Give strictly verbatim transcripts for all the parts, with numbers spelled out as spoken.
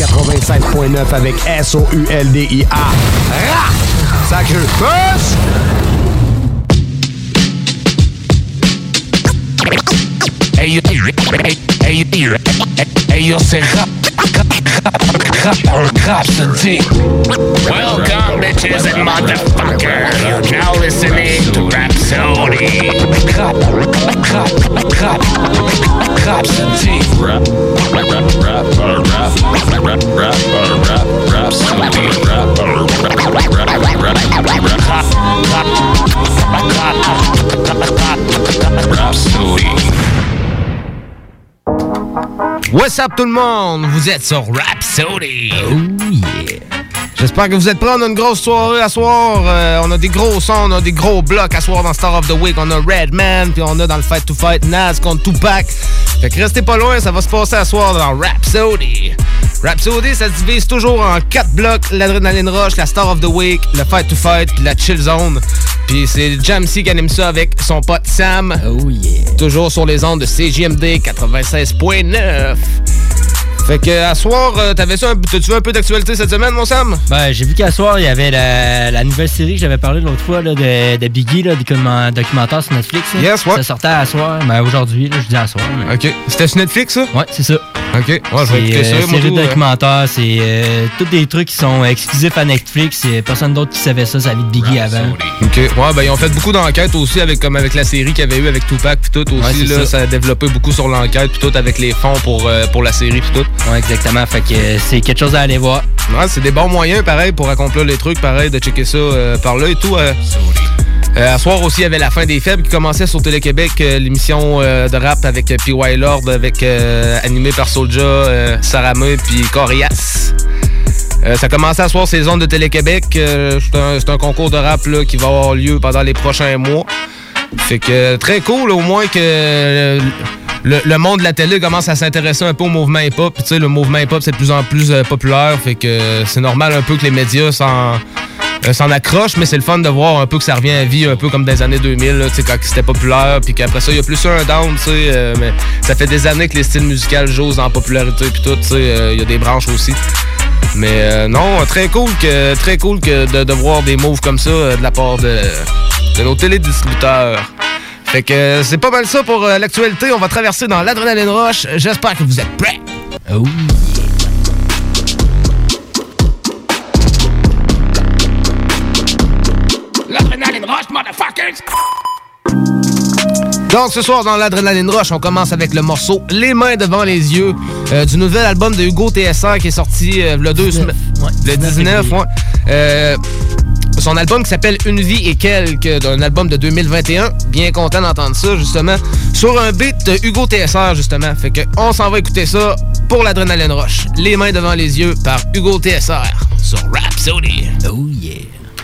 quatre-vingt-sept point neuf avec S O U L D I A. Rap! Sacré push! Hey, hey, hey, hey, hey, yo, c'est rap, rap, rap, rhapsody. Welcome, bitches and motherfuckers. You're now listening to Rhapsody. Rap, rap, rap, rhapsody. Rap, rap, rap, rap, rap, rap, rap, rap, rhapsody. Rap, rap, rap, rap, rhapsody. What's up tout le monde? Vous êtes sur Rhapsody. Oh yeah. J'espère que vous êtes prêts. On a une grosse soirée à soir. Euh, on a des gros sons, on a des gros blocs à soir dans Star of the Week. On a Redman, puis on a dans le Fight to Fight Nas contre Tupac. Fait que restez pas loin, ça va se passer à soir dans Rhapsody. Rhapsody, ça se divise toujours en quatre blocs. L'Adrenaline Rush, la Star of the Week, le Fight to Fight, puis la Chill Zone. Puis c'est Jamsey qui anime ça avec son pote Sam. Oh yeah. Toujours sur les ondes de C J M D quatre-vingt-seize point neuf. Fait que à soir, euh, t'avais ça un, t'as-tu vu un peu d'actualité cette semaine, mon Sam? Ben, j'ai vu qu'à soir, il y avait la, la nouvelle série que j'avais parlé l'autre fois là, de, de Biggie, là, des documentaires sur Netflix. Là. Yes, ouais. Ça sortait à soir, ben aujourd'hui, là, je dis à soir. Mais... OK. C'était sur Netflix, ça? Ouais, c'est ça. OK. Ouais, je vais écouter ça. C'est une série de documentaires, c'est euh, tous des trucs qui sont exclusifs à Netflix. Il y a personne d'autre qui savait ça, sa vie de Biggie avant. OK. Ouais, ben ils ont fait beaucoup d'enquêtes aussi, avec comme avec la série qu'il y avait eu avec Tupac puis tout aussi. Ouais, là, ça. ça a développé beaucoup sur l'enquête puis tout, avec les fonds pour, euh, pour la série puis tout. Ouais, exactement. Fait que euh, c'est quelque chose à aller voir. Ouais, c'est des bons moyens, pareil, pour accomplir les trucs, pareil, de checker ça euh, par là et tout. Euh. Euh, à soir aussi, il y avait La Fin des Faibles qui commençait sur Télé-Québec, euh, l'émission euh, de rap avec euh, P Y Lord, avec euh, animé par Soulja, euh, Sarame puis Corias. Euh, ça commençait à soir ces zones de Télé-Québec. Euh, c'est, un, c'est un concours de rap là, qui va avoir lieu pendant les prochains mois. Fait que très cool, au moins que euh, le, le monde de la télé commence à s'intéresser un peu au mouvement hip-hop. Puis tu sais, le mouvement hip-hop, c'est de plus en plus euh, populaire. Fait que euh, c'est normal un peu que les médias s'en... Euh, s'en accroche, mais c'est le fun de voir un peu que ça revient à vie, un peu comme dans les années deux mille, là, quand c'était populaire, puis qu'après ça, il y a plus un down, tu sais, euh, mais ça fait des années que les styles musicaux jouent en popularité, puis tout, tu sais, il euh, y a des branches aussi. Mais euh, non, très cool que très cool que de, de voir des moves comme ça euh, de la part de, de nos télédistributeurs. Fait que euh, c'est pas mal ça pour euh, l'actualité. On va traverser dans l'Adrenaline Rush. J'espère que vous êtes prêts. Oh yeah. L'Adrenaline Rush, motherfuckers! Donc ce soir dans l'Adrenaline Rush, on commence avec le morceau Les mains devant les yeux euh, du nouvel album de Hugo T S R qui est sorti euh, le deux semaines. Ouais, le dix-neuf, ouais. Euh, son album qui s'appelle Une vie et quelques, d'un album de deux mille vingt et un. Bien content d'entendre ça, justement. Sur un beat de Hugo T S R, justement. Fait que on s'en va écouter ça pour l'Adrenaline Rush. Les mains devant les yeux par Hugo T S R sur Rhapsody. Oh yeah.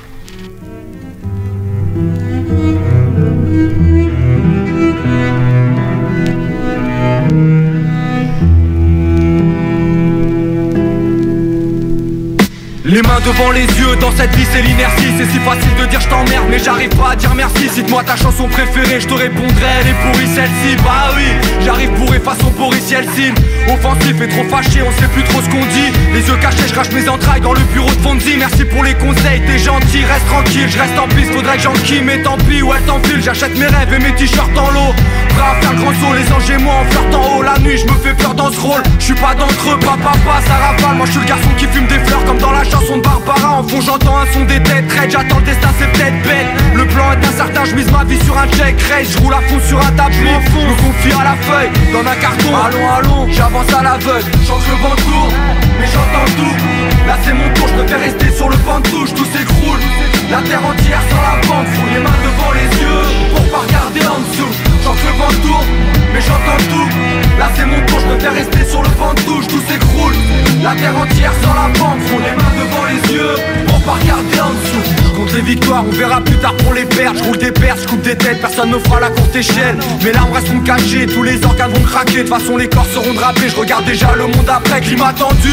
Les mains devant les yeux, dans cette vie c'est l'inertie. C'est si facile de dire je t'emmerde mais j'arrive pas à dire merci. Cite-moi ta chanson préférée, je te répondrai elle est pourrie celle-ci. Bah oui, j'arrive bourré façon Boris Yeltsin. Offensif et trop fâché, on sait plus trop ce qu'on dit. Les yeux cachés, je crache mes entrailles dans le bureau de Fonzie. Merci pour les conseils, t'es gentil, reste tranquille. Je reste en piste, faudrait que j'enquille, mais tant pis, ouais t'enfile. J'achète mes rêves et mes t-shirts en lot. Prêt à faire le grand saut, les anges et moi en flirtant haut. La nuit, je me fais peur dans ce rôle. Je suis pas d'entre eux, papa, papa, ça rafale. Moi je suis le garçon qui fume des fleurs comme dans la chanson de Barbara. En fond j'entends un son des têtes raides, j'attends le destin c'est peut-être bête. Le plan est incertain, je mise ma vie sur un check race. Je roule à fond sur un tapis, je me confie à la feuille dans un carton. Allons, allons, j'avance à l'aveugle. Chante le vent tourne, mais j'entends tout. Là c'est mon tour, je préfère rester sur le banc de touche. Tout s'écroule, la terre entière sans la bande. Fous les mains devant les yeux, pour pas regarder en dessous. Chante le vent tourne, mais j'entends tout. Là c'est mon tour, je préfère rester sur le banc de touche. Tout s'écroule, la terre entière sans la bande. Fous les mains devant les yeux, pour pas regarder en dessous. Je compte les victoires, on verra plus tard pour les perdre. Je roule des pertes, je coupe des têtes, personne ne fera la courte échelle. Mes larmes resteront cachées, tous les organes vont craquer. De toute façon les corps seront drapés, je regarde déjà le monde après. Climat tendu,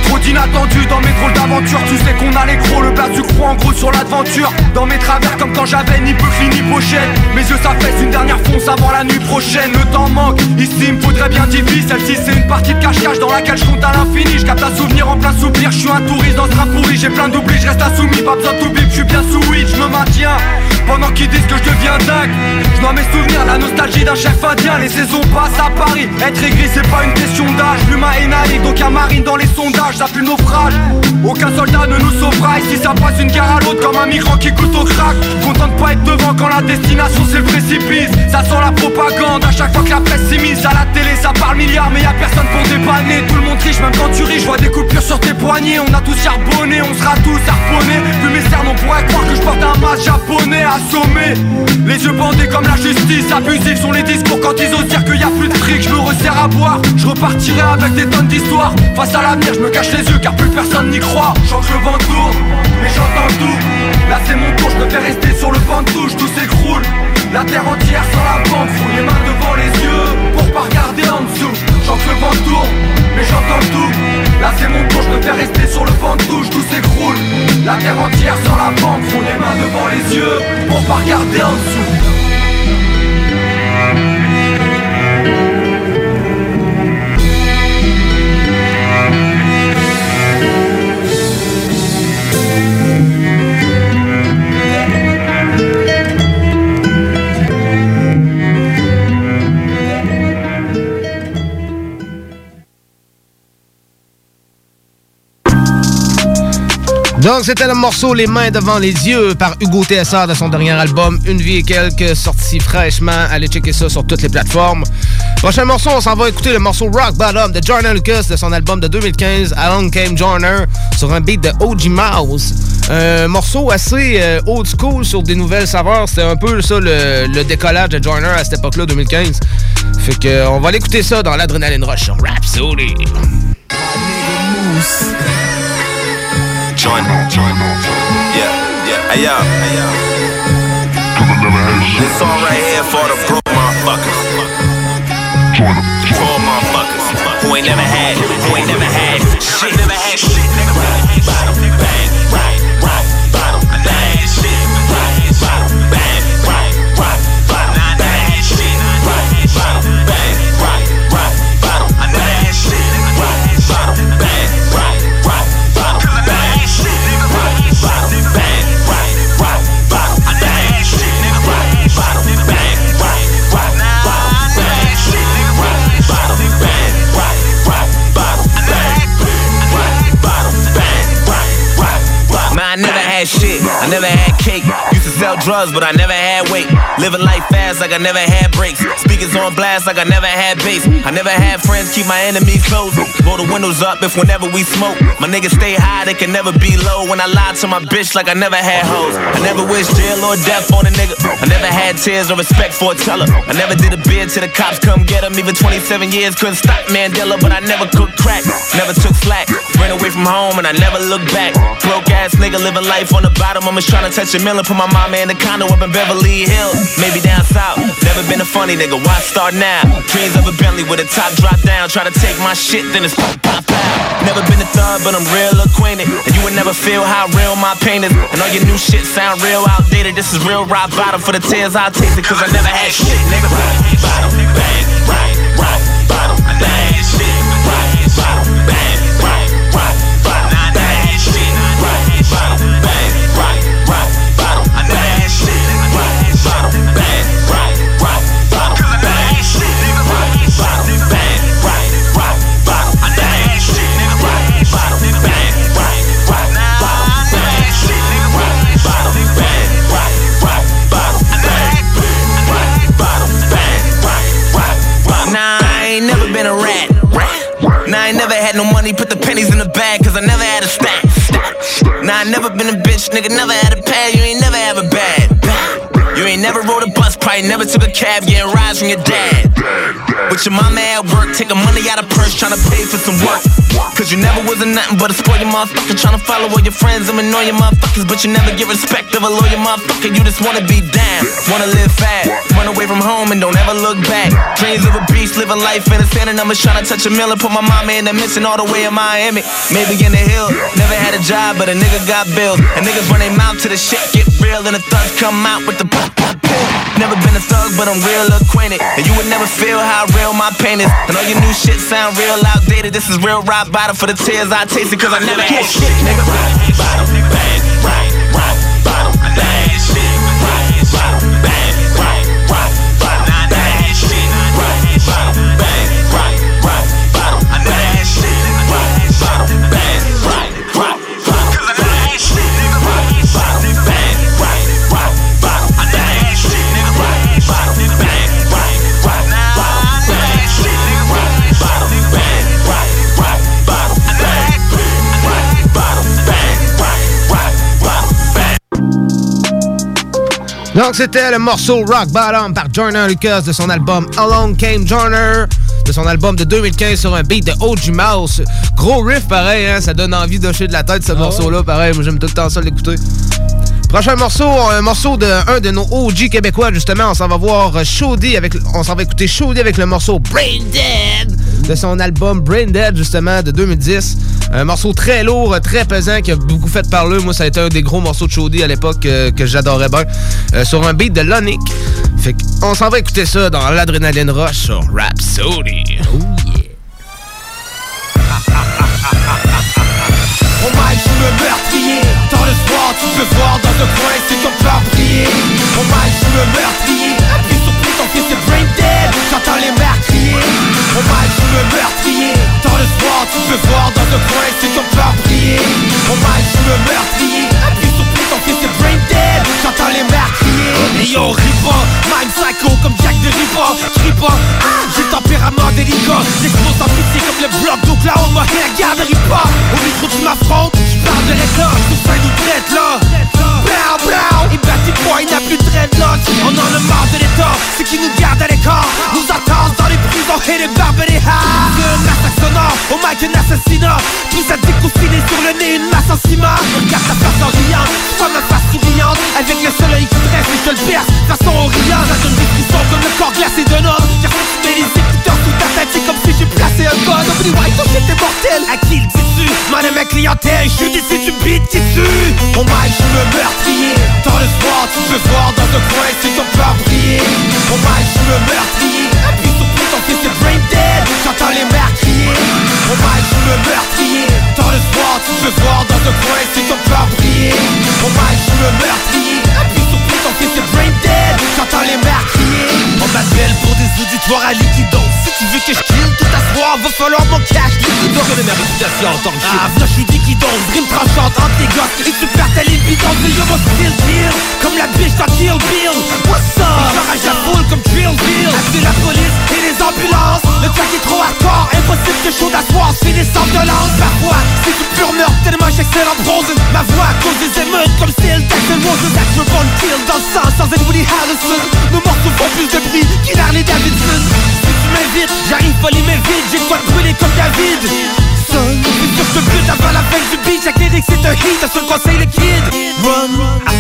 trop d'inattendus dans mes drôles d'aventures. Tu sais qu'on a les gros, le blaze du croc en gros sur l'aventure. Dans mes travers comme quand j'avais ni Buckley ni pochette. Mes yeux s'affaissent, une dernière fonce avant la nuit prochaine. Le temps manque, ici il me faudrait bien diviser. Celle-ci c'est une partie de cache-cache dans laquelle je compte à l'infini. Je capte un souvenir en plein soupir, je suis un touriste dans ce rap pourri. J'ai plein d'oublis, je reste insoumis, pas besoin de tout bip, je suis bien sous weed, je me maintiens. Pendant qu'ils disent que je deviens dingue, je dois mes souvenirs, la nostalgie d'un chef indien. Les saisons passent à Paris, être aigri c'est pas une question d'âge. L'humain est naïf, donc y'a marine dans les sondages, ça pue le naufrage. Aucun soldat ne nous sauvera ici, ça passe une guerre à l'autre comme un migrant qui goûte au crack. Content de pas être devant quand la destination c'est le précipice. Ça sent la propagande, à chaque fois que la presse s'immisce. À la télé ça parle milliards mais y'a personne pour dépanner. Tout le monde triche, même quand tu ris, je vois des coupures sur tes poignets. On a tous charbonné, on sera tous harponnés. Vu mes cernes on pourrait croire que je porte un masque japonais assommé. Les yeux bandés comme la justice, abusifs sont les discours quand ils osent dire qu'il y a plus de fric. Je me resserre à boire, je repartirai avec des tonnes d'histoires. Face à l'avenir je me cache les yeux car plus personne n'y croit. Je sens que le vent tourne, mais j'entends tout. Là c'est mon tour, je préfère rester sur le banc de touche, tout s'écroule. La terre entière sans la bande, fous les mains devant les yeux pour pas regarder en dessous. Je sens que le vent tourne, mais j'entends tout. Là c'est mon tour, je préfère rester sur le banc de touche, tout s'écroule. La terre entière sans la bande, fous les mains devant les yeux pour pas regarder en dessous. Donc, c'était le morceau Les mains devant les yeux par Hugo T S A de son dernier album Une vie et quelques, sorti fraîchement. Allez checker ça sur toutes les plateformes. Prochain morceau, on s'en va écouter le morceau Rock Bottom de Joyner Lucas de son album de deux mille quinze, Along Came Joyner, sur un beat de O G Mouse. Un morceau assez euh, old school sur des nouvelles saveurs. C'était un peu ça le, le décollage de Joyner à cette époque-là, deux mille quinze. Fait que euh, on va aller écouter ça dans l'Adrenaline Rush sur Rhapsody. Join, join, yeah, yeah, hey yo, hey yo. This song right here for the broke motherfuckers, poor motherfuckers who ain't never had, who ain't never had shit, never had shit, nigga. Bottom, bang, right, right, bottom, I never had shit, right, bottom, bang, right, right, bottom, I never had shit, right, bottom, bang, right, right, bottom, I never had shit, right, bottom, bang, right, right, bottom, bang. Bottom, bang, right, right, bottom, I never had shit, nigga, right, bottom, bang, right, right, bottom, bang, shit, nigga, right, bottom, bang, right, right, bottom, bang, right, bottom, bang, right, right, bottom. Man, I never had shit, I never had cake. Used to sell drugs, but I never had weight. Living life fast like I never had breaks. Speakers on blast like I never had bass. I never had friends, keep my enemies close. Roll the windows up if whenever we smoke. My niggas stay high, they can never be low. When I lie to my bitch like I never had hoes. I never wish jail or death on a nigga. I never had tears or respect for a teller. I never did a bid till the cops come get him. Even twenty-seven years couldn't stop Mandela, but I never cooked crack. Never took slack. Ran away from home and I never looked back. Broke ass nigga living life on the bottom. I'm just trying to touch a million. Put my mama in the condo up in Beverly Hills. Maybe down south. Never been a funny nigga. Why start now? Dreams of a Bentley with a top drop down. Try to take my shit, then it's pop, pop, pop. Never been a thug, but I'm real acquainted. And you would never feel how real my pain is. And all your new shit sound real outdated. This is real rock bottom. For the tears I'll taste it, cause I never had shit, nigga. Bottom, bang, right, right, bottom, I never had shit, right, bottom, bang, right, right, bottom, I never had shit, right, bottom, bang, right, right, bottom, I never had shit, right, bottom, bang, right, right, bottom, cause I never had shit, nigga, right, bottom, bang, right, right, bottom, I never had shit, nigga, right, bottom, bang, right, right, bottom, I never had shit, nigga, right, bottom, bang, right, right, bottom, I never had right, bottom, bang, right, right, bottom. Nah, I ain't never been a rat, rat. Nah, I ain't never had no money, put the pennies in the bag, cause I never had a stack. Nah, I never been a bitch, nigga, never had a pad, you ain't never have a bad. You ain't never rode a bus, probably never took a cab, getting rides from your dad. With your mama at work, taking money out of purse, trying to pay for some work. Cause you never was a nothing but a spoiled motherfucker, trying to follow all your friends and annoy your motherfuckers, but you never get respect of a loyal motherfucker. You just wanna be down, wanna live fast, run away from home and don't ever look back. Dreams of a beast, living life in a sand, and I'm just trying to touch a mill and put my mama in the mission all the way in Miami. Maybe in the hill, never had a job, but a nigga got bills. And niggas run their mouth to the shit get real, and the thugs come out with the pop pop pill. Never been a thug, but I'm real acquainted, and you would never feel how real my pain is. And all your new shit sound real outdated. This is real rock bottom for the tears I tasted, cause I never had shit, nigga. Rock bottom, bang, right, rock bottom, bang, shit, rock bottom, bang, right, rock bottom, bang, shit, rock bottom, bang, right, rock bottom, I never had shit, rock bottom, bang, right, rock bottom, cause I never had shit, nigga. Rock bottom, bang, right, rock bottom, I never had shit, nigga. Rock bottom, bang, right, rock bottom, bang, shit, nigga. Rock bottom, bang, right, rock bottom, bang, right, bottom, bang, right, rock bottom, bang. Donc, c'était le morceau Rock Bottom par Joyner Lucas de son album Along Came Joyner, de son album de deux mille quinze sur un beat de O G Mouse. Gros riff pareil, hein, ça donne envie d'hocher de la tête ce ah morceau-là, ouais. Pareil, moi j'aime tout le temps ça l'écouter. Prochain morceau, un morceau de un de nos O G québécois, justement, on s'en va voir Shody avec, on s'en va écouter Shody avec le morceau Brain Dead de son album Brain Dead, justement, de deux mille dix. Un morceau très lourd, très pesant, qui a beaucoup fait parler. Moi, ça a été un des gros morceaux de Shody à l'époque euh, que j'adorais bien. Euh, sur un beat de Lonic. Fait qu'on s'en va écouter ça dans l'Adrénaline Rush sur Rhapsody. Oh yeah. Oh my, je suis le meurtrier. Dans le soir, tu peux voir dans un coin, c'est ton peur briller. Oh my, je suis le meurtrier. Appuie sur play, ton fils est brain dead. J'entends les mères crier. Oh my, je suis le meurtrier. Dans le soir, tu peux voir dans un coin, c'est ton peur briller. Oh my, je suis le meurtrier. Appuie sur play, ton fils est brain dead. J'entends les mères crier. Et yo, ris pas, même psycho comme Jack de Riva. Crie pas, ah, j'ai le tempérament délicat. J'explose en pitié comme le bloc d'Oklahoma. Et la garderie pas. Au micro tu m'affrontes, je parle de réclame. Tout ça nous traite là. Blau, blau. Et Batty Boy n'a plus de dreadlocks. On en a marre de l'état, c'est qui nous garde à l'écart. Nous attendent dans les prisons et les barbes et les hares. C'est un massacre sonore, au mic un assassinat. Tout ça découssiné sur le nez, une masse en ciment. Regarde ta face en riant, tu vois ma face souriante. Avec le soleil qui stresse et je te le perce, façon oriente. Ça donne des frissons comme le corps glacé d'un homme. Car si tu mets les écouteurs sous ta tête, c'est comme si j'ai placé un gun. Nobody white, ton shit est mortel. À qui le dis-tu? Madame ma clientèle, je suis d'ici, tu beats qui tue. Oh my, je suis le meurtrier. Dans le soir, tu peux voir dans un coin, c'est ton peur briller. Oh my, je suis le meurtrier. Appuie sur play, ton fils est brain dead. J'entends les mères crier. Oh my, je suis le meurtrier. Dans le soir, tu peux voir dans un coin, c'est ton peur briller. Oh my, je suis le meurtrier. Appuie sur play, ton fils est brain dead. J'entends les mères crier. On m'appelle pour des auditoires à liquido. Si tu veux que je kill tout à soir, va falloir mon cash liquido. Je connais ma réputation en tant que shit. Ah, v'là j'suis liquido, rime tranchante entre tes gosses. Et tu perds ta libido, mais yo mon style kill. Comme la biche dans Kill Bill. What's up? Et j'enrage la foule comme Drill Bill. Appeler la police et les ambulances. Le track est trop hardcore, impossible que chaud d'asseoir. J'finis sans violence. Parfois, c'est du pur meurtre, tellement j'excelle en prose. Ma voix cause des émeutes comme style Jackson Roses. Actual born kill dans le sang sans être Woody Harrelson. Nos morceaux font plus de bruit qu'il Harley Davidson. Si tu m'invites, j'arrive pas les mains vides. J'ai quoi de brûler comme David. Son, c'est sûr que je te bute avant la fin du beat. Chaque lyric c'est un hit, un seul conseil le kid. Run.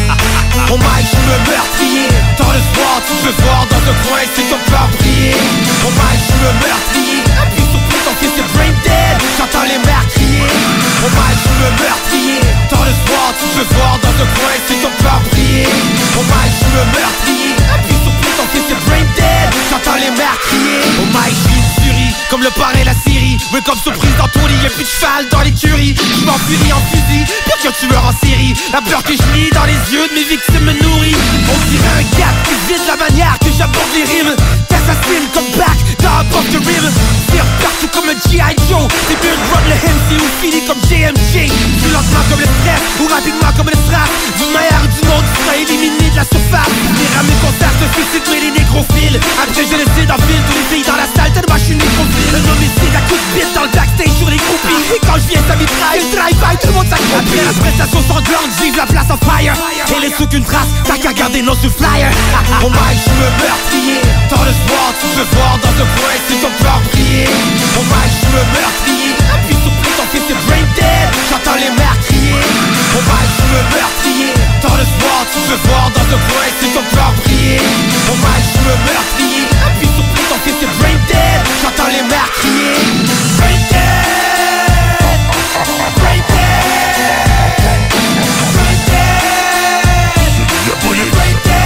Oh my, je suis le meurtrier. Dans le soir, tu peux voir dans un coin, c'est ton peur briller. Oh my, je suis le meurtrier. Appuie sur play, ton fils est brain dead. J'entends les mères crier. Oh my, je suis le meurtrier. Dans le soir, tu peux voir dans un coin, c'est ton peur briller. Oh my, je suis le meurtrier. Appuie sur play, ton fils est brain dead. J'entends les mères crier. Oh my, je suis une furie, comme le parrain la Syrie. Mais comme surprise dans ton lit, y'a plus de cheval dans l'écurie. Je m'enfurie en fusil, pire qu'un tueur en série. La peur que je lis dans les yeux de mes victimes me nourrit. On dirait un gars qui vide la manière que j'aborde les rimes. T'assassines comme back dans un pop de rime. Tire partout comme un G I Joe. C'est mieux de run le M C ou fini comme J M J. Plus lentement comme le stress ou rapidement comme le strap. Du meilleur du monde, tu seras éliminé de la surface. Les rames concerts te suicide mais les nécrophiles. Après je décide en file tous les filles dans la salle. Tellement je suis nécrophile. Un homicide à coups de bite dans le backstage sur les groupies. Et quand je viens ça mitraille, je drive bail, tout le monde s'accroupit. Après la prestation sanglante, vive la place en fire. Et laisse aucune trace, t'as qu'à garder nos sous flyer. Au mic, je me meurtrier. Dans le sport, tu peux voir dans un coin si ton cœur briller. Au mic, je me meurtrier. Puis surpris, ton fils est brain dead. J'entends les mères crier. Au mic, je me meurtrier. Dans le sport, tu peux voir dans un coin si ton cœur briller. Au mic, je me meurtrier. Puis surpris, ton fils est brain dead. J'entends les mères crier. Brain dead. Brain dead. Brain dead. Brain dead.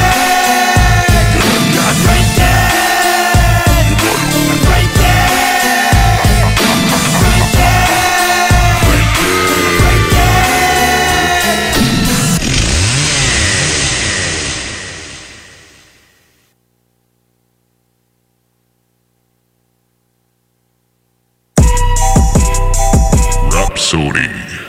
Rhapsody.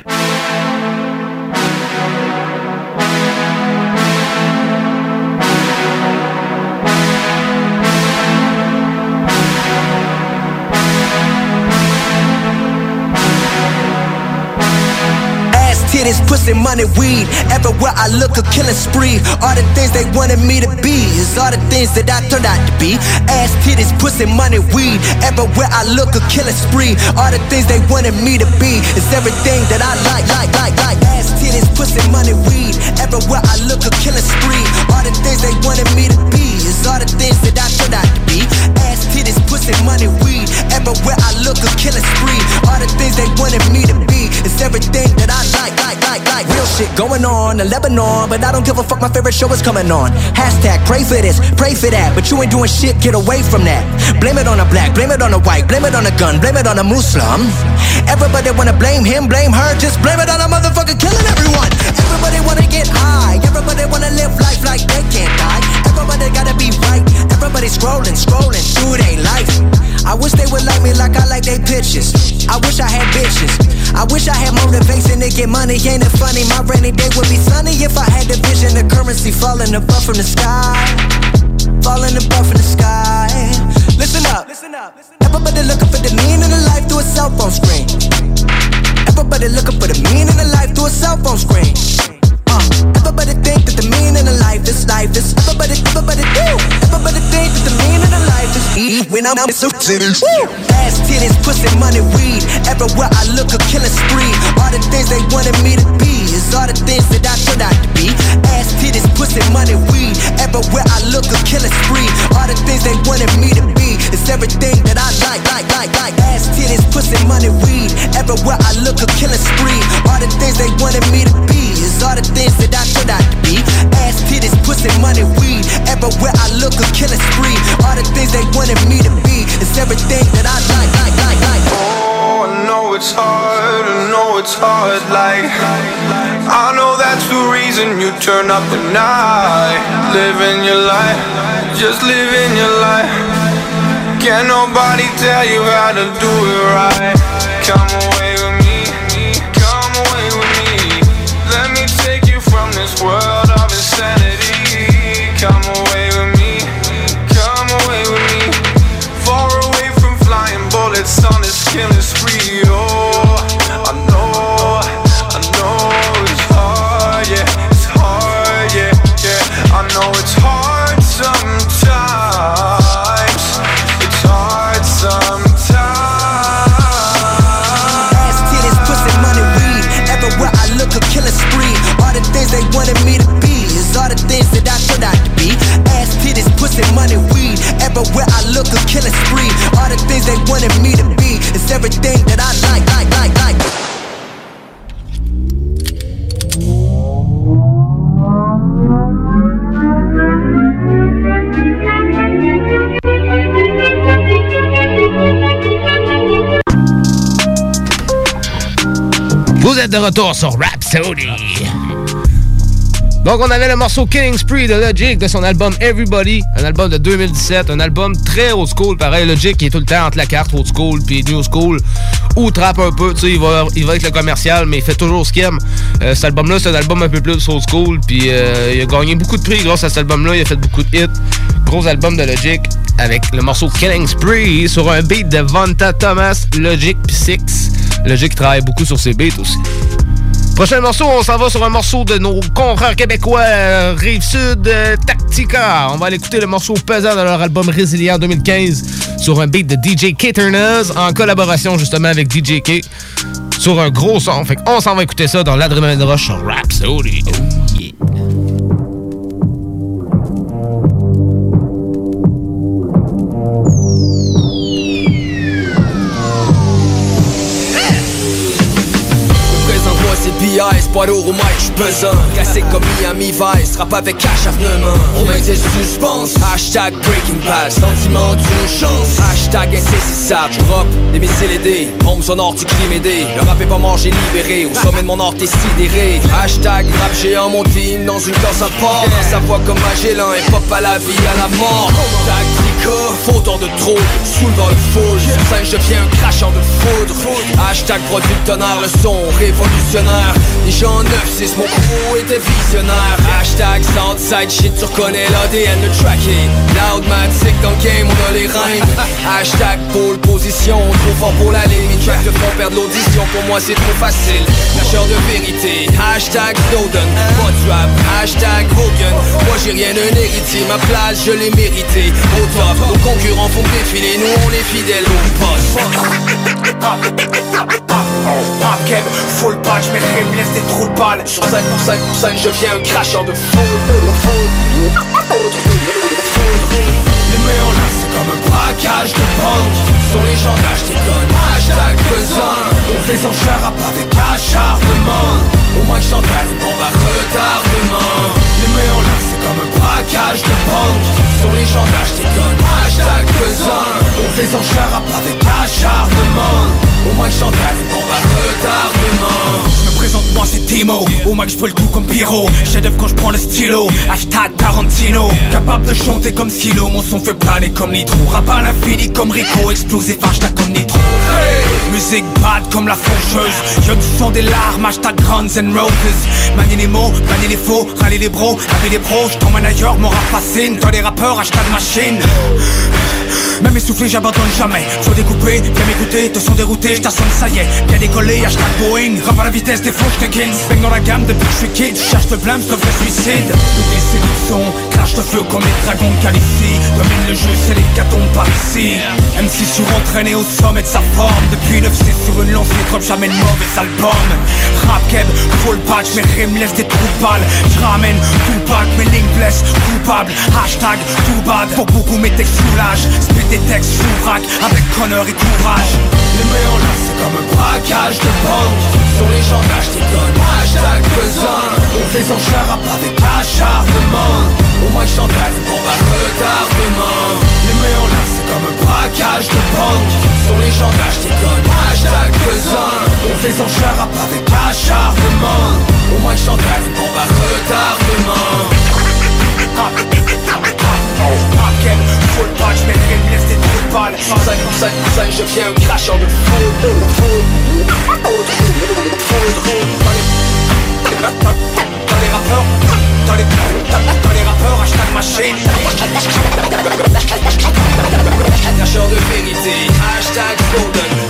Titties, pussy, money, weed. Everywhere I look, a killing spree. All the things they wanted me to be is all the things that I turned out to be. Ass, titties, pussy, money, weed. Everywhere I look, a killing spree. All the things they wanted me to be is everything that I like, like, like, like. Ass, titties, pussy, money, weed. Everywhere I look, a killing spree. All the things they wanted me to be is all the things that I turned out to be. Ass, titties, pussy, money, weed. Everywhere I look, a killing spree. All the things they wanted me to be is everything that I like. Like, like, like, real shit going on in Lebanon, but I don't give a fuck, my favorite show is coming on. Hashtag pray for this, pray for that, but you ain't doing shit, get away from that. Blame it on a black, blame it on a white, blame it on a gun, blame it on a Muslim. Everybody wanna blame him, blame her, just blame it on a motherfucker killing everyone. Everybody wanna get high, everybody wanna live life like they can't die. Everybody gotta be right, everybody scrolling, scrolling through their life. I wish they would like me like I like they pictures. I wish I had bitches. I wish I had motivation to get money. Ain't it funny? My rainy day would be sunny if I had the vision of currency falling above from the sky. Falling above from the sky. Listen up. Listen up. Everybody looking for the meaning of life through a cell phone screen. Everybody looking for the meaning of life through a cell phone screen. Uh, everybody think that the meaning of life is life is. Everybody, everybody do. Everybody think that the meaning of life is eat when I'm so serious. Ass, titties, pussy, money, weed. Everywhere I look, a killing spree. All the things they wanted me to be is all the things that I turned out to be. Ass, titties, pussy, money, weed. Everywhere I look, a killing spree. All the things they wanted me to be is everything that I like, like, like, like. Ass, titties, pussy, money, weed. Everywhere I look, a killing spree. All the things they wanted me to be is all the things that I turned out to be. Ass, titties, pussy, money, weed. Everywhere I look, a killing spree. All the things they wanted me to be is everything that I like, like, like, like. Oh, I know it's hard, I know it's hard, like I know that's the reason you turn up at night. Living your life, just living your life. Can't nobody tell you how to do it right. Come away with me, come away with me. Let me take you from this world of insanity. Come away with me, come away with me. Far away from flying bullets on this killing spree. Oh, I know, I know it's hard, yeah, it's hard, yeah, yeah. I know it's hard sometimes. It's hard sometimes. Ass, titties, pussy, money, weed. Everywhere I look, a killing spree. All the things they wanted me to be is all the things that I turned out to be. Ass, titties, pussy, money, weed. Everywhere I look, a killing spree. All the things they wanted me to be is everything that I like, like, like, like. Vous êtes de retour sur Rhapsody. Donc, on avait le morceau Killing Spree de Logic de son album Everybody, un album de deux mille dix-sept, un album très old school. Pareil, Logic qui est tout le temps entre la carte old school puis new school, ou trap un peu, tu sais, il va, il va avec le commercial, mais il fait toujours ce qu'il aime. Euh, cet album-là, c'est un album un peu plus old school, puis euh, il a gagné beaucoup de prix grâce à cet album-là, il a fait beaucoup de hits. Gros album de Logic avec le morceau Killing Spree sur un beat de Vonta Thomas, Logic puis Six. Logic travaille beaucoup sur ses beats aussi. Prochain morceau, on s'en va sur un morceau de nos confrères québécois, euh, Rive-Sud, euh, Tactica. On va aller écouter le morceau pesant de leur album Résilient deux mille quinze sur un beat de D J K-Turners en collaboration justement avec D J K sur un gros son. Fait qu'on s'en va écouter ça dans l'Adrénaline Rush sur Rhapsody. Oh yeah. B I, pas d'euro mic, j'suis pesant. Classé comme Miami Vice, rap avec acharnement. On met des suspense, hashtag Breaking Bad. Sentiment d'une chance, hashtag insaisissable. J'drop des missiles aidés, bombe sonore du crime aidé. Le rap est pas mort, j'ai libéré, au sommet de mon art t'es sidéré. Hashtag rap géant, mon team dans une danse à part. Sa voix comme Magellan, et pop à la vie, à la mort. Tactica, fauteur de trop, soulevant le foule. Sur scène, je deviens un cracheur de foudre. Hashtag produit de tonnerre, le son révolutionnaire. Déjà en neuf six, mon crew était visionnaire. Hashtag Southside shit, tu reconnais l'A D N de tracker. Loudmatic dans le game, on a les rhymes. Hashtag pole position, trop fort pour la ligne. Mes tracks te font perdre l'audition, pour moi c'est trop facile. Lâcheur de vérité, hashtag Snowden. Pas du rap, hashtag Hogan. Moi j'ai rien un héritier, ma place je l'ai mérité. Au top, nos concurrents font défiler, nous on est fidèles au poste. Pop Keb, full patch, mes rimes laissent des trous de balles. Sur cinq pour cinq pour cinq, je viens un cracheur de foudre. Les mains en l'air, c'est comme un braquage de banque. Sur les gens d'acheter connes, hashtag pesant. On fait son cher rap avec acharnement. Au moins que j'entends une bombe à retardement. Les mains en l'air, c'est comme un braquage de banque. Sur les gens d'acheter connes, hashtag pesant. On fait son cher rap avec acharnement. Au moins que j'entends une bombe à retardement. Je me présente, moi c'est Timo. Au moins que je peux le coup comme Pyro. Chef d'œuvre quand je prends le stylo. Hashtag Tarantino. Capable de chanter comme Silo. Mon son fait planer comme Nitro. Rap à l'infini comme Rico. Explosif hashtag comme Nitro. Hey. Musique bad comme la faucheuse. Y'a du son des larmes. Hashtag Guns and Roses. Manier les mots, manier les faux. Râler les bros, avec les pros. J't'emmène ailleurs, mon rap fascine. Toi les rappeurs, hashtag machine. Même essoufflé, j'abandonne jamais. Faut découper, viens m'écouter, te sont déroutés, j't'assomme, ça y est, bien décollé, hashtag Boeing. Rap à la vitesse des faux, j'te kill. Bang dans la gamme depuis que je suis kid. Cherche le blâme, j'te fais suicide. Toutes les séries de son, crash de feu comme les dragons qualifient. Domine le jeu, c'est les catons par ici. M C surentraîné au sommet de sa forme. Depuis neuf six sur une lancée, drop jamais de mauvais album. Rap Keb, full patch, mes rimes laissent des trous de balles. J'ramène tout pack, mes lignes blessent, coupable. Hashtag tout bad, pour beaucoup mes textes soulagent. Des textes sous rack avec honneur et courage. Les mains en l'air, c'est comme un braquage de banque. Sur les gens d'acheter connes, hashtag pesant. On fait son cher rap avec acharnement. Au moins que j'entends une bombe à retardement. Les mains en l'air, c'est comme un braquage de banque. Sur les gens d'acheter connes, hashtag pesant. On fait son cher rap avec acharnement. Au moins que j'entends une bombe à retardement. Raken, full patch, mes rimes laissent des trous de balles. cinq pour cinq pour cinq, je viens un cracheur de foudre. Dans les rappeurs, dans les, dans les rappeurs, hashtag machine. Cracheur de vérité, hashtag golden.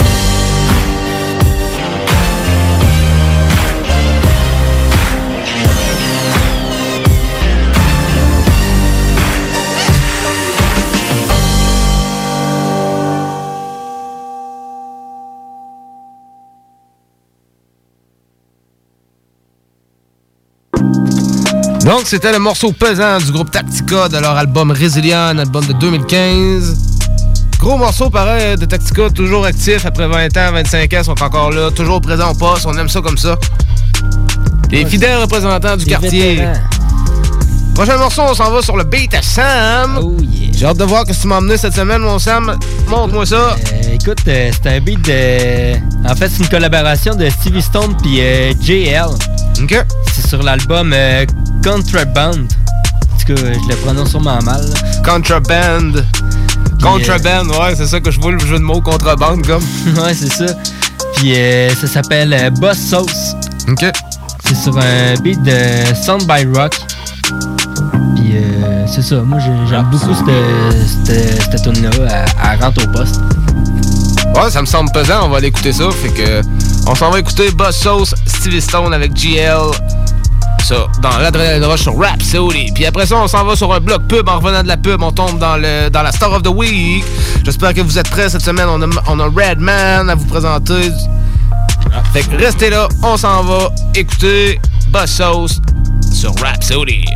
Donc, c'était le morceau pesant du groupe Tactica de leur album Résilient, un album de deux mille quinze. Gros morceau, pareil, de Tactica, toujours actif après vingt ans, vingt-cinq ans, sont encore là, toujours présents au poste, on aime ça comme ça. Les ouais, fidèles représentants du quartier. Vétérans. Prochain morceau, on s'en va sur le beat à Sam. Oh yeah. J'ai hâte de voir ce que tu m'as emmené cette semaine, mon Sam. Montre-moi ça. Euh, écoute, euh, c'est un beat de... En fait, c'est une collaboration de Stevie Stone puis euh, J L. OK. C'est sur l'album euh, Contraband. En tout cas, je le prononce sûrement mal. Là. Contraband. Puis, Contraband, euh... ouais, c'est ça que je vois le jeu de mots contrebande comme. Ouais, c'est ça. Puis euh, ça s'appelle euh, Boss Sauce. OK. C'est sur un beat de Sound by Rock. Puis euh, c'est ça, moi j'aime beaucoup cette, cette, cette tune-là, elle, elle rentre au poste. Ouais, ça me semble pesant, on va aller écouter ça. Fait que on s'en va écouter Boss Sauce, Stevie Stone avec G L. Ça, dans l'Adrenaline Rush sur Rhapsody. Puis après ça, on s'en va sur un bloc pub. En revenant de la pub, on tombe dans, le, dans la Star of the Week. J'espère que vous êtes prêts cette semaine. On a, on a Redman à vous présenter. Fait que restez là, on s'en va écouter Boss Sauce sur Rhapsody.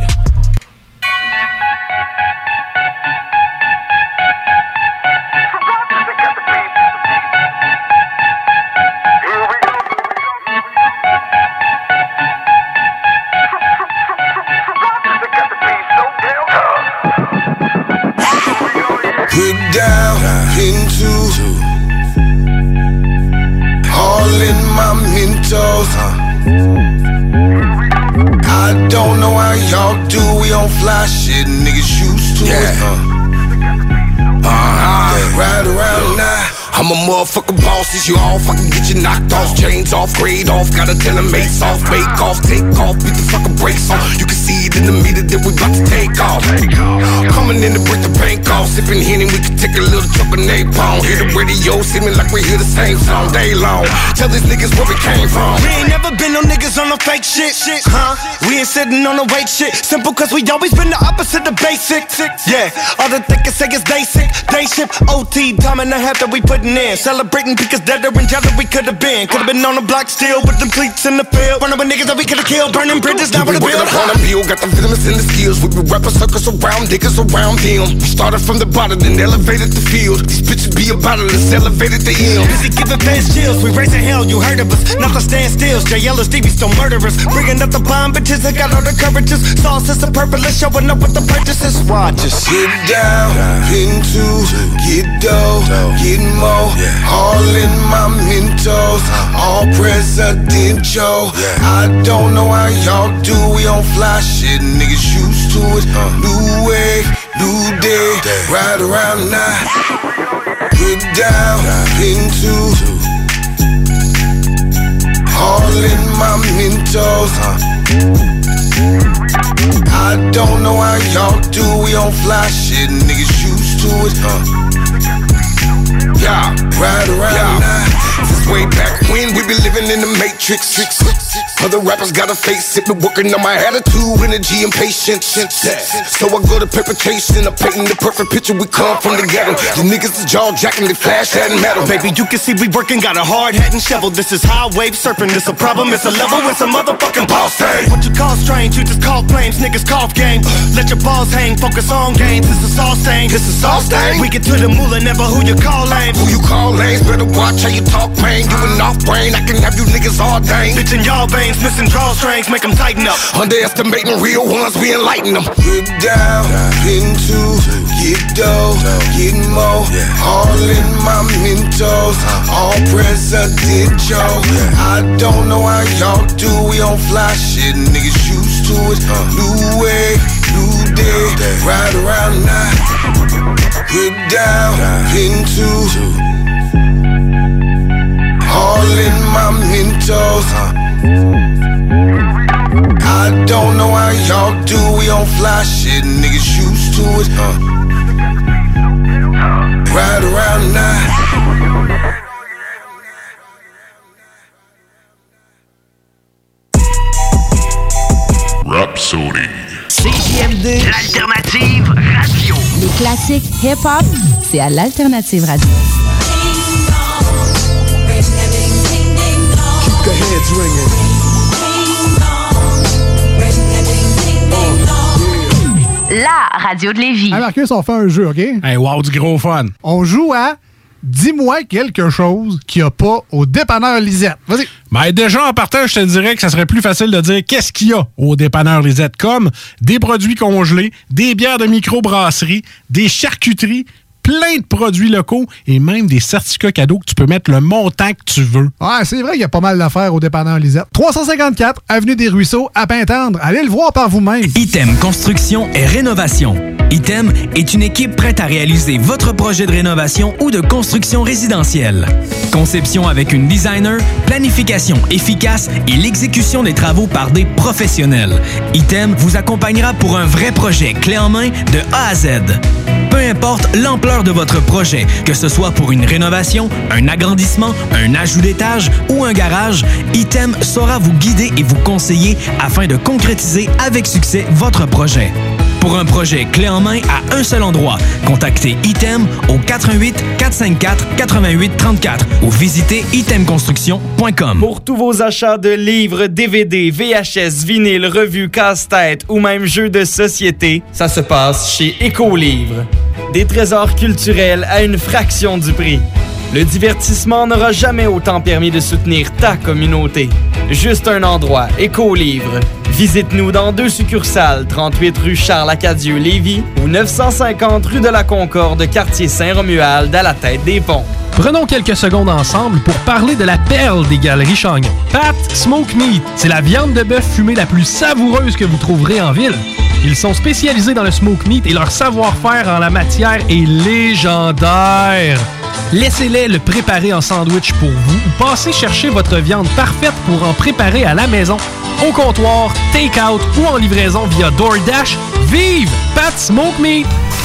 Get down into all in my Mentos. I don't know how y'all do, we on fly shit, niggas used to yeah. it. Uh, uh-huh. Right around now. I'm a motherfucking boss, is you all fucking get you knocked off. Chains off, grade off, gotta tell them mates off. Bake off, take off, beat the fucking brakes on. You can see it in the meter that we bout to take off. Coming in to break the bank off. Sipping Henny, we can take a little chunk of napalm. Hear the radio, seeming like we hear the same song day long. Tell these niggas where we came from. We ain't never been no niggas on no fake shit, shit, huh? We ain't sitting on no weight shit. Simple cause we always been the opposite of basic. Yeah, all the thickest say is basic. Day shift, O T, time and a half that we putting in. Celebrating because deader and jealous we could've been. Could've been on the block still with them cleats in the field. Running with niggas that we could've killed. Burning bridges down with the bill. On a bill, got the venomous in the skills. We be rapping circles around, niggas around them. We started from the bottom, then elevated the field. These bitches be about it, let's elevate it to him. Busy giving fans chills, we raising hell, you heard of us. Not to stand still, J L S D, we still murderers. Bringing up the bomb bitches, I got all the coverages. Sauce is a purplish, showing up with the purchases. Watch us. Get down, into, get dough, get more. All in my Mentos, all presidential. I don't know how y'all do, we on fly shit, niggas used to it. New wave, new day, right around now. Get down, into all in my Mentos. I don't know how y'all do, we on fly shit, niggas used to it. Yeah, right around yeah. now. Since way back when we been living in the matrix. Other rappers got a face it, been working on my attitude, energy, and patience. So I go to perpetration, I'm painting the perfect picture. We come from the ghetto. You niggas is jaw jacking, they flash that metal. Baby, you can see we working, got a hard hat and shovel. This is high wave surfing, this a problem, it's a level, it's a motherfucking boss thing. What you call strange, you just call flames, niggas cough game. Let your balls hang, focus on games. This is all stain, this is all stain. We get to the moolah, never who you call lame. Who you call lanes, better watch how you talk, man. You an off brain, I can have you niggas all dang. Bitch in y'all veins, missing drawstrings, make them tighten up. Underestimating real ones, we enlighten them. Get down, into, get dough, get more. All in my Mentos, all presidential. I don't know how y'all do, we on fly shit, niggas used to it. New way, new day, right around now. Get down, into all in my Mentos. I don't know how y'all do, we on fly shit, niggas used to it. Right around now. Rhapsody. C J M D, l'alternative radio. Les classiques hip-hop, c'est à l'alternative radio. Keep the heads ringing. La radio de Lévis. Hey Marcus, on fait un jeu, OK? Hey, wow, du gros fun. On joue à Dis-moi quelque chose qu'il n'y a pas au dépanneur Lisette. Vas-y. Ben déjà, en partant, je te dirais que ça serait plus facile de dire qu'est-ce qu'il y a au dépanneur Lisette, comme des produits congelés, des bières de microbrasserie, des charcuteries, plein de produits locaux et même des certificats cadeaux que tu peux mettre le montant que tu veux. Ouais, c'est vrai qu'il y a pas mal d'affaires au dépanneur Lisette. trois cent cinquante-quatre, Avenue des Ruisseaux, à Pintendre. Allez le voir par vous-même. Item Construction et Rénovation. Item est une équipe prête à réaliser votre projet de rénovation ou de construction résidentielle. Conception avec une designer, planification efficace et l'exécution des travaux par des professionnels. Item vous accompagnera pour un vrai projet clé en main de A à Z. Peu importe l'ampleur l'ampleur de votre projet, que ce soit pour une rénovation, un agrandissement, un ajout d'étage ou un garage, Item saura vous guider et vous conseiller afin de concrétiser avec succès votre projet. Pour un projet clé en main à un seul endroit, contactez Item au quatre un huit, quatre cinq quatre, huit huit trois quatre ou visitez item construction point com. Pour tous vos achats de livres, D V D, V H S, vinyles, revues, casse-tête ou même jeux de société, ça se passe chez Écolivre. Des trésors culturels à une fraction du prix. Le divertissement n'aura jamais autant permis de soutenir ta communauté. Juste un endroit, Écolivre. Visite-nous dans deux succursales, trente-huit rue Charles-Acadieux-Lévis ou neuf cent cinquante rue de la Concorde, quartier Saint-Romuald, à la tête des ponts. Prenons quelques secondes ensemble pour parler de la perle des Galeries Chagnon. Pat Smoke Meat, c'est la viande de bœuf fumée la plus savoureuse que vous trouverez en ville. Ils sont spécialisés dans le smoke meat et leur savoir-faire en la matière est légendaire. Laissez-les le préparer en sandwich pour vous ou passez chercher votre viande parfaite pour en préparer à la maison, au comptoir, take-out ou en livraison via DoorDash. Vive Pat Smoke Meat!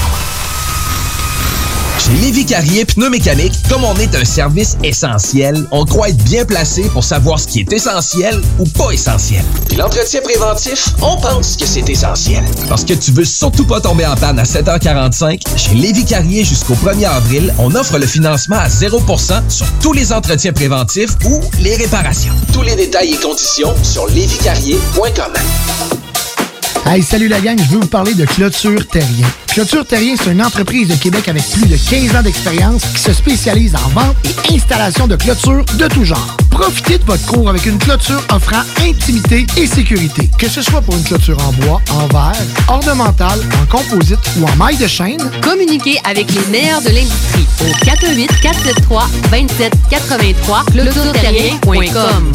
Chez Lévis Carrier Pneumécanique, comme on est un service essentiel, on croit être bien placé pour savoir ce qui est essentiel ou pas essentiel. Puis l'entretien préventif, on pense que c'est essentiel. Parce que tu veux surtout pas tomber en panne à sept heures quarante-cinq, chez Lévis Carrier jusqu'au premier avril, on offre le financement à zéro pour cent sur tous les entretiens préventifs ou les réparations. Tous les détails et conditions sur lévis carrier point com. Hey, salut la gang, je veux vous parler de Clôture Terrien. Clôture Terrien, c'est une entreprise de Québec avec plus de quinze ans d'expérience qui se spécialise en vente et installation de clôtures de tout genre. Profitez de votre cour avec une clôture offrant intimité et sécurité. Que ce soit pour une clôture en bois, en verre, ornementale, en composite ou en maille de chaîne, communiquez avec les meilleurs de l'industrie au quatre un huit, quatre sept trois, deux sept huit trois, clôture terrien point com.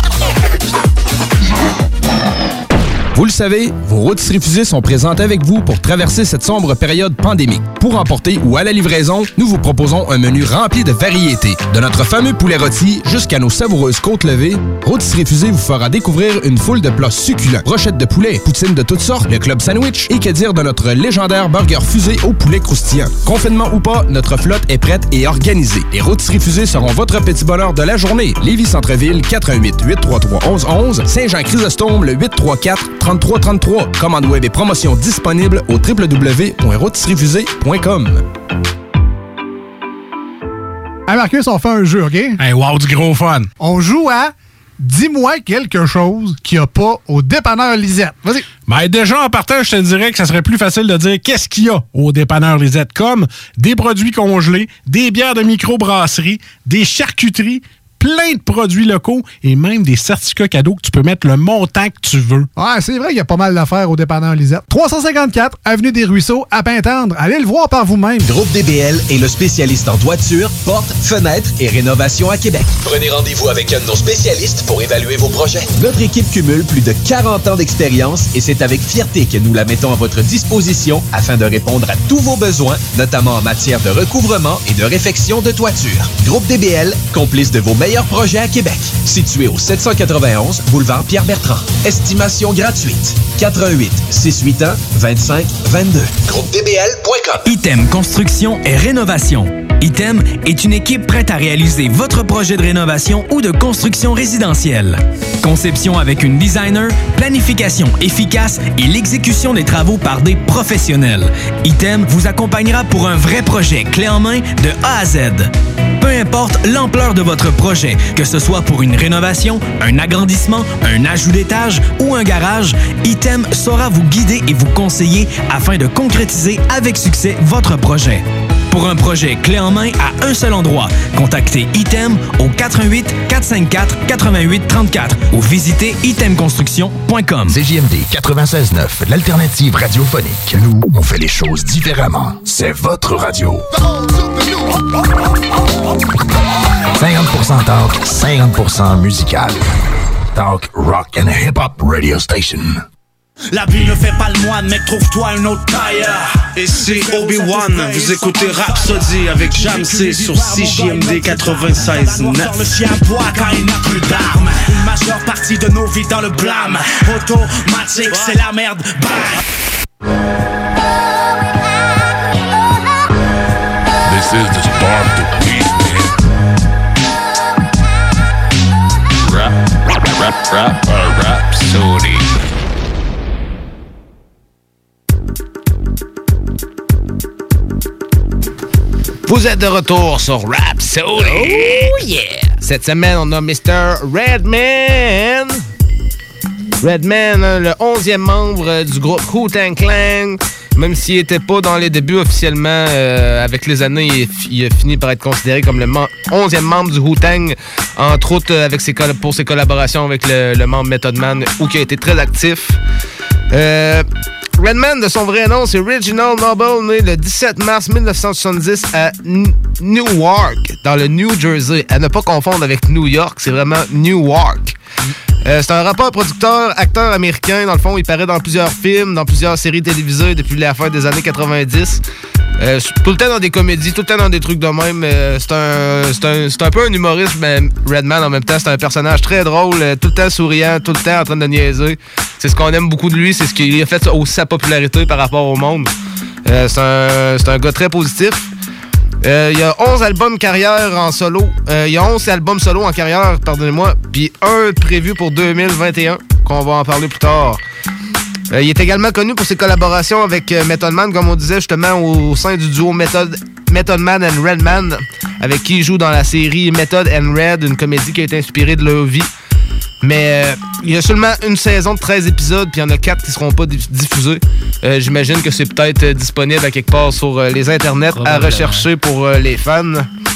Vous le savez, vos rôtisseries fusées sont présentes avec vous pour traverser cette sombre période pandémique. Pour emporter ou à la livraison, nous vous proposons un menu rempli de variétés. De notre fameux poulet rôti jusqu'à nos savoureuses côtes levées, Rôtisseries fusées vous fera découvrir une foule de plats succulents. Brochettes de poulet, poutines de toutes sortes, le club sandwich et que dire de notre légendaire burger fusé au poulet croustillant. Confinement ou pas, notre flotte est prête et organisée. Les Rôtisseries fusées seront votre petit bonheur de la journée. Lévis Centre-Ville, quatre un huit, huit trois trois, onze onze, Saint-Jean-Chrysostome, le huit trois quatre, trente-trois trente-trois. Commande web et promotion disponible au w w w point rôtisserie fusée point com. Hey Marcus, on fait un jeu, OK? Hey, wow, du gros fun! On joue à Dis-moi quelque chose qu'il n'y a pas au dépanneur Lisette. Vas-y. Ben déjà, en partant, je te dirais que ça serait plus facile de dire qu'est-ce qu'il y a au dépanneur Lisette, comme des produits congelés, des bières de microbrasserie, des charcuteries, plein de produits locaux et même des certificats cadeaux que tu peux mettre le montant que tu veux. Ouais, c'est vrai qu'il y a pas mal d'affaires au dépanneur Lisette. trois cent cinquante-quatre Avenue des Ruisseaux, à Pintendre. Allez le voir par vous-même. Groupe D B L est le spécialiste en toiture, portes, fenêtres et rénovation à Québec. Prenez rendez-vous avec un de nos spécialistes pour évaluer vos projets. Notre équipe cumule plus de quarante ans d'expérience et c'est avec fierté que nous la mettons à votre disposition afin de répondre à tous vos besoins, notamment en matière de recouvrement et de réfection de toiture. Groupe D B L, complice de vos meilleurs projets à Québec. Situé au sept cent quatre-vingt-onze boulevard Pierre-Bertrand. Estimation gratuite. quatre un huit, six huit un, vingt-cinq vingt-deux. groupe d b l point com. Item Construction et Rénovation. Item est une équipe prête à réaliser votre projet de rénovation ou de construction résidentielle. Conception avec une designer, planification efficace et l'exécution des travaux par des professionnels. Item vous accompagnera pour un vrai projet clé en main de A à Z. Peu importe l'ampleur de votre projet, que ce soit pour une rénovation, un agrandissement, un ajout d'étage ou un garage, Item saura vous guider et vous conseiller afin de concrétiser avec succès votre projet. Pour un projet clé en main à un seul endroit, contactez Item au quatre un huit, quatre cinq quatre, huit huit trois quatre ou visitez item construction point com. C J M D quatre-vingt-seize neuf, l'alternative radiophonique. Nous, on fait les choses différemment. C'est votre radio. cinquante pour cent talk, cinquante pour cent musical. Talk, rock and hip-hop radio station. La vie ne fait pas le moine, mec, trouve-toi une autre taille. Et c'est Obi-Wan, vous écoutez Rhapsody avec Jamsey sur C J M D quatre-vingt-seize neuf. Le chien boit quand il n'a plus d'armes. Une majeure partie de nos vies dans le blâme. Automatique, c'est la merde, bye. Bomb the beat, man. Rap, rap, rap, rap, uh, Rhapsody. Vous êtes de retour sur Rhapsody. Oh yeah! Cette semaine, on a mister Redman. Redman, hein, le onzième membre du groupe Wu-Tang Clan. Même s'il n'était pas dans les débuts officiellement, euh, avec les années, il, il a fini par être considéré comme le onzième membre du Wu-Tang, entre autres avec ses pour ses collaborations avec le, le membre Method Man, où qui a été très actif. Euh, Redman, de son vrai nom, c'est Reginald Noble, né le dix-sept mars mille neuf cent soixante-dix à N- Newark, dans le New Jersey. À ne pas confondre avec New York, c'est vraiment Newark. Euh, c'est un rappeur, producteur, acteur américain. Dans le fond, il paraît dans plusieurs films, dans plusieurs séries télévisées depuis la fin des années quatre-vingt-dix. Euh, tout le temps dans des comédies, tout le temps dans des trucs de même. Euh, c'est, un, c'est, un, c'est un peu un humoriste, mais Redman, en même temps, c'est un personnage très drôle, euh, tout le temps souriant, tout le temps en train de niaiser. C'est ce qu'on aime beaucoup de lui, c'est ce qui a fait aussi sa popularité par rapport au monde. Euh, c'est, un, c'est un gars très positif. Euh, il y a onze albums carrière en solo. Euh, il y a onze albums solo en carrière, pardonnez-moi. Puis un prévu pour deux mille vingt et un, qu'on va en parler plus tard. Euh, il est également connu pour ses collaborations avec euh, Method Man, comme on disait justement au, au sein du duo Method, Method Man and Redman, avec qui il joue dans la série Method and Red, une comédie qui a été inspirée de leur vie. Mais euh, il y a seulement une saison de treize épisodes, puis il y en a quatre qui ne seront pas diffusés. Euh, j'imagine que c'est peut-être euh, disponible à quelque part sur euh, les internets à rechercher pour euh, les fans.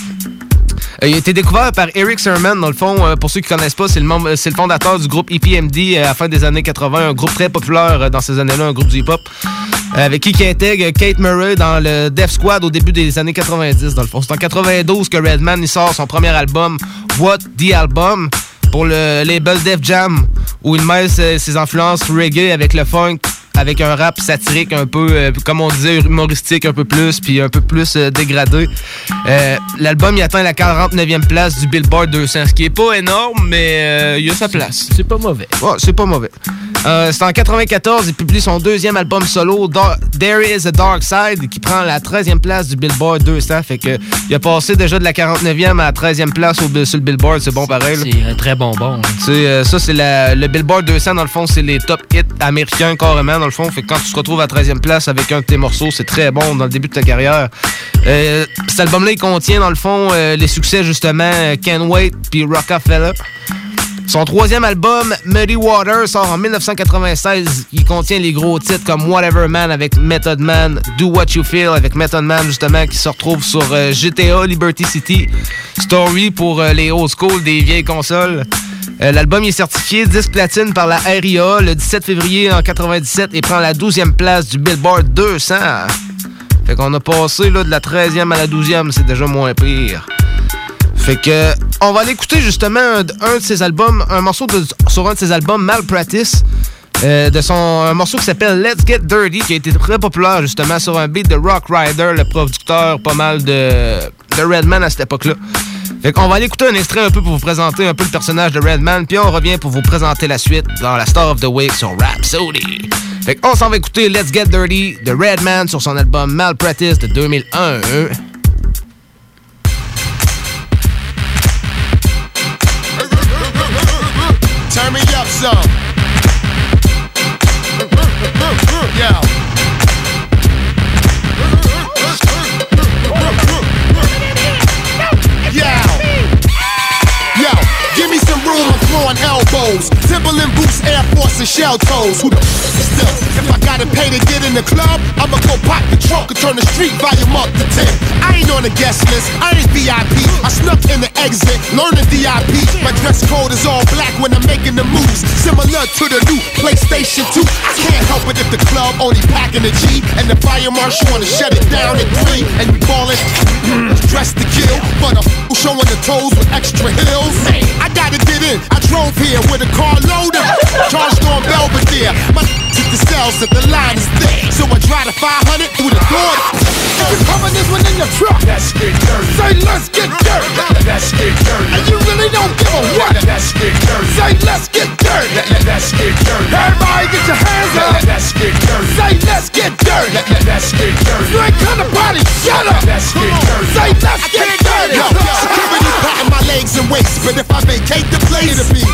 Euh, il a été découvert par Eric Sermon, dans le fond. Euh, pour ceux qui ne connaissent pas, c'est le, membre, c'est le fondateur du groupe E P M D euh, à la fin des années quatre-vingts, un groupe très populaire euh, dans ces années-là, un groupe du hip-hop, euh, avec qui il intègre Kate Murray dans le Def Squad au début des années quatre-vingt-dix, dans le fond. C'est en quatre-vingt-douze que Redman il sort son premier album, What the Album, pour le label Def Jam, où il mêle ses, ses influences reggae avec le funk, avec un rap satirique un peu, euh, comme on disait, humoristique un peu plus, puis un peu plus euh, dégradé. Euh, l'album, il atteint la quarante-neuvième place du Billboard deux cents, ce qui est pas énorme, mais euh, il a sa place. C'est pas mauvais. Ouais, c'est pas mauvais. Euh, c'est en quatre-vingt-quatorze, il publie son deuxième album solo, Dar- There Is a Dark Side, qui prend la treizième place du Billboard deux cents. Fait que il a passé déjà de la quarante-neuvième à la treizième place au, sur le Billboard. C'est bon pareil. Là. C'est un très bon bon. Hein. C'est, euh, ça, c'est la, le Billboard deux cents, dans le fond, c'est les top hits américains carrément, dans le fond. Fait que quand tu te retrouves à la treizième place avec un de tes morceaux, c'est très bon dans le début de ta carrière. Euh, cet album-là, il contient, dans le fond, euh, les succès, justement, Can't Wait puis Rockefeller. Son troisième album, Muddy Water, sort en dix-neuf cent quatre-vingt-seize. Il contient les gros titres comme Whatever Man avec Method Man, Do What You Feel avec Method Man, justement, qui se retrouve sur euh, G T A, Liberty City, Story pour euh, les old school des vieilles consoles. Euh, l'album est certifié disque platine par la R I A le dix-sept février en quatre-vingt-dix-sept et prend la douzième place du Billboard deux cents. Fait qu'on a passé là, de la treizième à la douzième, c'est déjà moins pire. Fait que on va aller écouter justement un, un de ses albums, un morceau de, sur un de ses albums, Malpractice, euh, de son un morceau qui s'appelle Let's Get Dirty, qui a été très populaire justement sur un beat de Rock Rider, le producteur pas mal de, de Redman à cette époque-là. Fait qu'on va aller écouter un extrait un peu pour vous présenter un peu le personnage de Redman, puis on revient pour vous présenter la suite dans la Star of the Week sur Rhapsody. Fait qu'on s'en va écouter Let's Get Dirty de Redman sur son album Malpractice de deux mille un. Turn me up some. Yeah. Yeah. Yo, give me some room, I'm throwing elbows. Timberland boots, Air Force, and shell toes. Who the f is still? If I gotta pay to get in the club, I'ma go pop the trunk and turn the street volume up to ten. I ain't on the guest list, I ain't V I P. I snuck in the exit, learn the D I P. My dress code is all black when I'm making the moves, similar to the new PlayStation two. I can't help it if the club only packing a G and the fire marshal wanna shut it down at three. And you ballin', dressed to kill, but I'm showing the toes with extra heels. I gotta get in, I drove here with a car loaded, charged on Belvedere. My hit the cells if the line is thick, so I drive the five hundred through the door. If you're coming this one in your truck, let's get dirty. Say let's get dirty. Let's get dirty. And you really don't give a what. Let's get dirty. Say let's get dirty. Let's get dirty. Everybody get your hands up. Let's get dirty. Say let's get dirty. dirty. Let's get dirty. You ain't come to party, shut up. Let's get dirty. Say let's get dirty. Yo, security patting my legs and waist, but if I vacate the place, it'll be.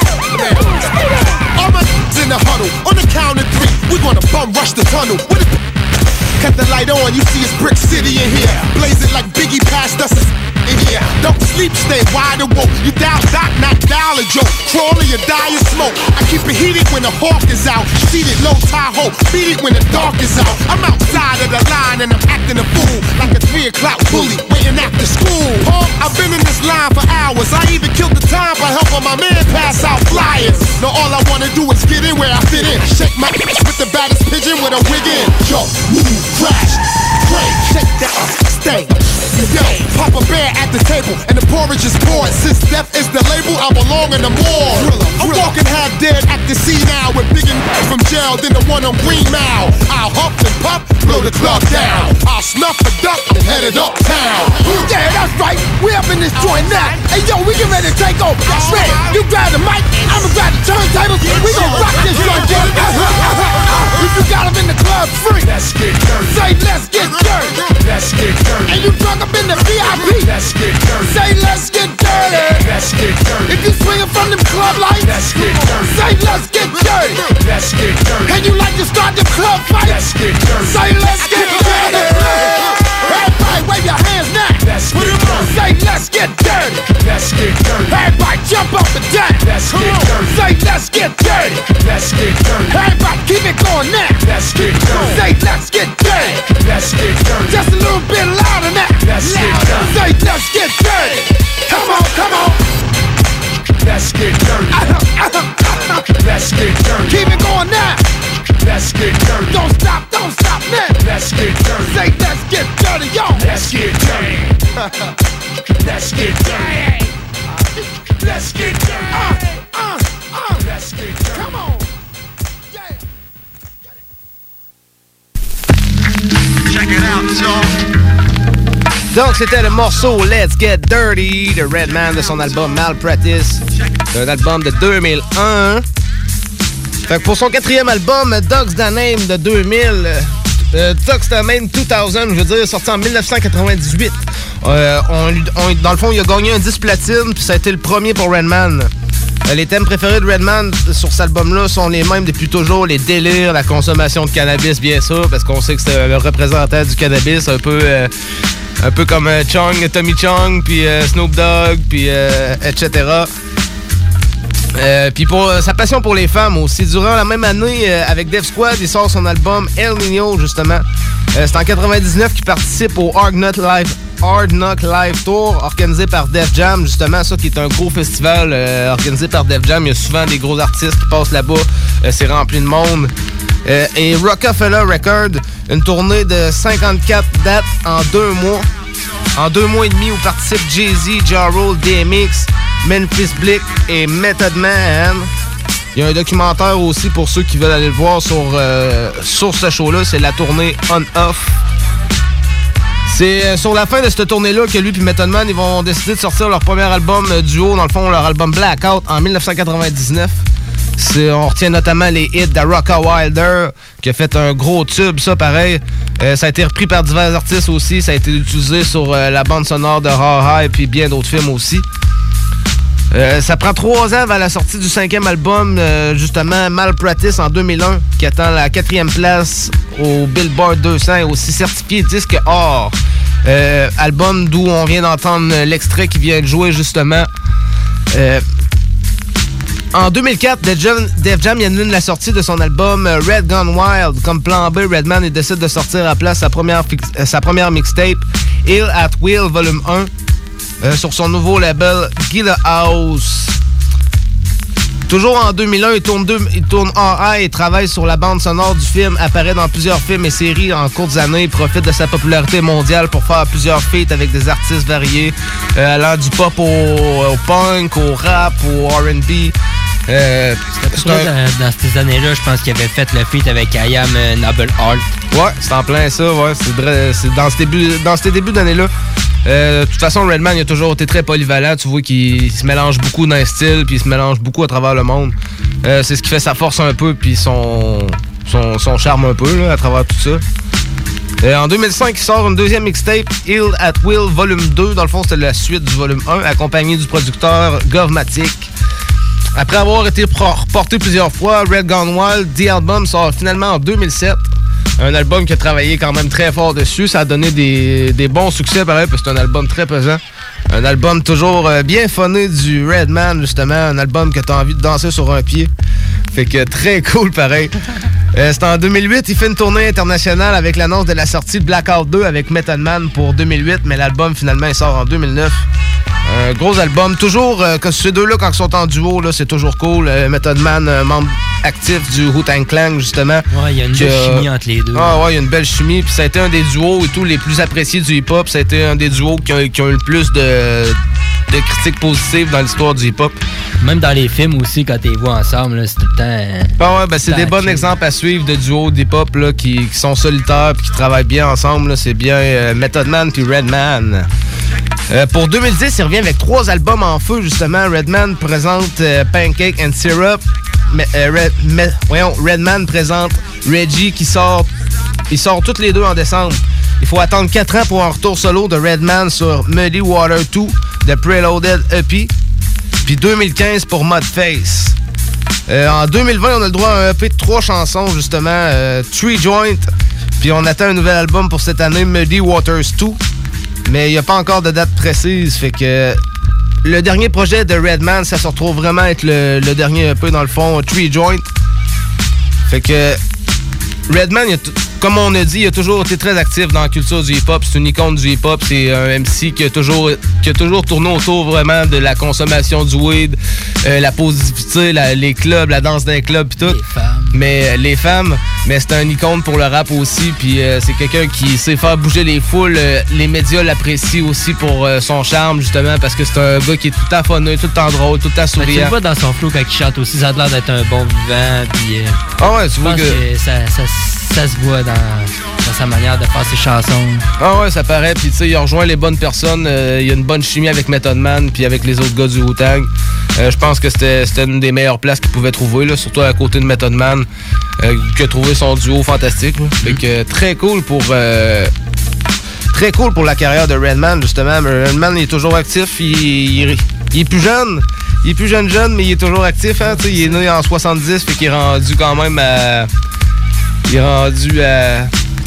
All my in the huddle, on the count of three, we gonna bum rush the tunnel. What is cut the light on, you see it's Brick City in here. Blaze it like Biggie passed us in here. Don't sleep, stay wide awoke. You down, doc, not dial a joke. Crawl or you die in smoke. I keep it heated when the hawk is out. Seated low Tahoe, beat it when the dark is out. I'm outside of the line and I'm acting a fool, like a three o'clock bully waiting after school. Huh? I've been in this line for hours. I even killed the time by helping my man pass out flyers. Now all I wanna do is get in where I fit in. Shake my ass with the baddest pigeon with a wig in. Yo, move, crash, break, shake that stay. Yo, Papa Bear at the table and the porridge is poured. Since death is the label, I belong in the morgue. I'm walking half dead at the sea now with bigger from jail than the one on Green Mile. I'll huff and puff, blow the club down. I'll snuff a duck and head it uptown. Yeah, that's right. We up in this joint now. Hey yo, we get ready to take over. Shred, you grab the mic, I'ma grab the turntables. We gon' rock this joint, baby. If you got 'em in the club free, let's get dirty. Say let's get dirty. Let's get dirty. And you drunk up in the V I P, let's get dirty. Say let's get dirty. Let's get dirty. If you swinging from them club lights, let's get dirty. Say let's get dirty. Let's get dirty. And you like to start the club fight, let's get dirty. Say let's get dirty. Everybody wave your hands now. Let's get dirty. Say let's get dirty. Let's get dirty. Everybody jump up and down. Let's get dirty. Say let's get dirty. Let's get dirty. Everybody keep it going now. Let's get dirty. Say let's get dirty. Let's get dirty. Just a little bit louder now. Let's get dirty. Say let's get dirty. Come on, come on. Let's get dirty. Let's get dirty. Keep it going now. Let's get dirty. Don't stop, don't stop now. Let's get dirty. Say let's get dirty, yo. Let's get dirty. Let's get dirty. Let's get dirty. Uh, uh, uh. Let's get dirty. Come on. Check it out, y'all. Donc, c'était le morceau Let's Get Dirty de Redman de son album Malpractice. C'est un album de deux mille un. Fait que pour son quatrième album, Dogs the Name de deux mille, euh, Dogs the Name deux mille, je veux dire, sorti en dix-neuf cent quatre-vingt-dix-huit. Euh, on, on, dans le fond, il a gagné un disque platine, puis ça a été le premier pour Redman. Euh, les thèmes préférés de Redman sur cet album-là sont les mêmes depuis toujours, les délires, la consommation de cannabis, bien sûr, parce qu'on sait que c'est le représentant du cannabis, un peu... Euh, Un peu comme euh, Chung, Tommy Chung, puis euh, Snoop Dogg, puis euh, et cetera. Euh, puis pour euh, sa passion pour les femmes aussi. Durant la même année, euh, avec Def Squad, il sort son album El Nino, justement. Euh, c'est en quatre-vingt-dix-neuf qu'il participe au Hard Knock Live, Hard Knock Live Tour, organisé par Def Jam, justement. Ça qui est un gros festival euh, organisé par Def Jam. Il y a souvent des gros artistes qui passent là-bas. Euh, c'est rempli de monde. Euh, et Rockefeller Records, une tournée de cinquante-quatre dates en deux mois. En deux mois et demi où participent Jay-Z, Ja Rule, D M X, Memphis Bleek et Method Man. Il y a un documentaire aussi pour ceux qui veulent aller le voir sur, euh, sur ce show-là. C'est la tournée On-Off. C'est euh, sur la fin de cette tournée-là que lui et Method Man ils vont décider de sortir leur premier album euh, duo, dans le fond, leur album Blackout en dix-neuf cent quatre-vingt-dix-neuf. C'est, on retient notamment les hits de Rocka Wilder, qui a fait un gros tube, ça, pareil. Euh, ça a été repris par divers artistes aussi. Ça a été utilisé sur euh, la bande sonore de Raw et puis bien d'autres films aussi. Euh, ça prend trois ans avant la sortie du cinquième album, euh, justement, Malpractice en deux mille un, qui attend la quatrième place au Billboard deux cents et aussi certifié disque or. Euh, album d'où on vient d'entendre l'extrait qui vient de jouer, justement. Euh, En deux mille quatre, Def Jam, Def Jam y annule la sortie de son album Red Gone Wild. Comme plan B, Redman il décide de sortir à place sa première, euh, sa première mixtape, Ill at Will Volume un, euh, sur son nouveau label Gila House. Toujours en deux mille un, il tourne, deux, il tourne en A et travaille sur la bande sonore du film, apparaît dans plusieurs films et séries en courtes années, il profite de sa popularité mondiale pour faire plusieurs feats avec des artistes variés, euh, allant du pop au, au punk, au rap, au R and B. Euh, c'est un... dans, dans ces années-là, je pense qu'il avait fait le feat avec I Am euh, Noble Art. Ouais, c'est en plein ça, ouais. C'est, c'est dans, ce début, dans ces débuts d'année-là. Euh, de toute façon, Redman, il a toujours été très polyvalent. Tu vois qu'il se mélange beaucoup dans les styles, puis il se mélange beaucoup à travers le monde. Euh, c'est ce qui fait sa force un peu, puis son, son, son charme un peu, là, à travers tout ça. Euh, en deux mille cinq, il sort une deuxième mixtape, Ill at Will Volume deux. Dans le fond, c'était la suite du volume un, accompagné du producteur Govmatic. Après avoir été reporté plusieurs fois, Red Gone Wild, The Album sort finalement en deux mille sept. Un album qui a travaillé quand même très fort dessus. Ça a donné des, des bons succès, pareil, parce que c'est un album très pesant. Un album toujours euh, bien funné du Redman, justement. Un album que t'as envie de danser sur un pied. Fait que très cool, pareil. Euh, c'est en deux mille huit, il fait une tournée internationale avec l'annonce de la sortie de Blackout deux avec Method Man pour deux mille huit, mais l'album, finalement, il sort en deux mille neuf. Un gros album. Toujours, euh, que ces deux-là, quand ils sont en duo, là, c'est toujours cool. Euh, Method Man, euh, membre actif du Wu-Tang Clan, justement. Ouais, il y a une belle euh, chimie entre les deux. Ah ouais, il y a une belle chimie. Puis ça a été un des duos et tout les plus appréciés du hip-hop. Ça a été un des duos qui ont, qui ont eu le plus de, de critiques positives dans l'histoire du hip-hop. Même dans les films aussi, quand tu les vois ensemble, là, c'est tout le temps... Euh, ah ouais, ben c'est des bons exemples à suivre de duos d'hip-hop là, qui, qui sont solitaires et qui travaillent bien ensemble. Là. C'est bien euh, Method Man puis Redman. Euh, pour deux mille dix, il revient avec trois albums en feu, justement. Redman présente euh, Pancake and Syrup. Mais, euh, Red, mais, voyons, Redman présente Reggie qui sort. Ils sortent tous les deux en décembre. Il faut attendre quatre ans pour un retour solo de Redman sur Muddy Water deux de Preloaded E P. Puis deux mille quinze pour Mudface. Euh, en deux mille vingt, on a le droit à un E P de trois chansons, justement. Euh, Three Joint. Puis on attend un nouvel album pour cette année, Muddy Waters deux. Mais il n'y a pas encore de date précise, fait que le dernier projet de Redman, ça se retrouve vraiment être le, le dernier E P dans le fond, Three Joint. Fait que Redman, il a t- comme on a dit, il a toujours été très actif dans la culture du hip-hop. C'est une icône du hip-hop. C'est un M C qui a toujours, qui a toujours tourné autour vraiment de la consommation du weed, euh, la positivité, la, les clubs, la danse d'un club pis tout. Les femmes. Mais euh, les femmes, mais c'est un icône pour le rap aussi. Puis euh, c'est quelqu'un qui sait faire bouger les foules. Euh, les médias l'apprécient aussi pour euh, son charme, justement, parce que c'est un gars qui est tout le temps funny, tout le temps drôle, tout le temps souriant. Ben, tu le vois dans son flow quand il chante aussi. Ça a l'air d'être un bon vivant. Puis, euh, ah ouais, tu vois que... que ça, ça, ça se voit dans, dans sa manière de faire ses chansons. Ah ouais, ça paraît. Puis tu sais, il a rejoint les bonnes personnes. Euh, il y a une bonne chimie avec Method Man puis avec les autres gars du Wu-Tang. Euh, je pense que c'était, c'était une des meilleures places qu'il pouvait trouver, là, surtout à côté de Method Man, euh, qui a trouvé son duo fantastique. Là. Fait que euh, très cool pour... Euh, très cool pour la carrière de Redman, justement. Redman, il est toujours actif. Il, il, il est plus jeune. Il est plus jeune jeune, mais il est toujours actif. Hein, il est né en soixante-dix, fait qu'il est rendu quand même à... Il est rendu à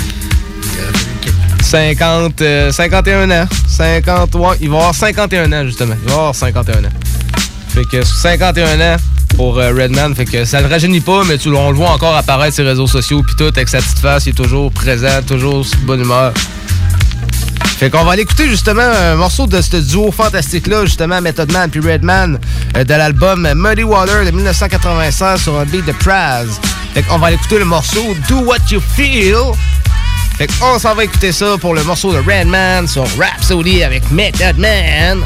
cinquante, euh, cinquante et un ans. cinquante, ouais, il va avoir cinquante et un ans, justement. Il va avoir cinquante et un ans. Fait que cinquante et un ans pour euh, Redman. Fait que ça ne rajeunit pas, mais tu, on le voit encore apparaître sur les réseaux sociaux. Puis tout, avec sa petite face, il est toujours présent, toujours de bonne humeur. Fait qu'on va aller écouter justement un morceau de ce duo fantastique-là, justement, Method Man puis Redman, euh, de l'album Muddy Water de dix-neuf cent quatre-vingt-seize sur un beat de Praz. Fait qu'on va aller écouter le morceau Do What You Feel. Fait qu'on s'en va écouter ça pour le morceau de Redman sur Rhapsody avec Method Man.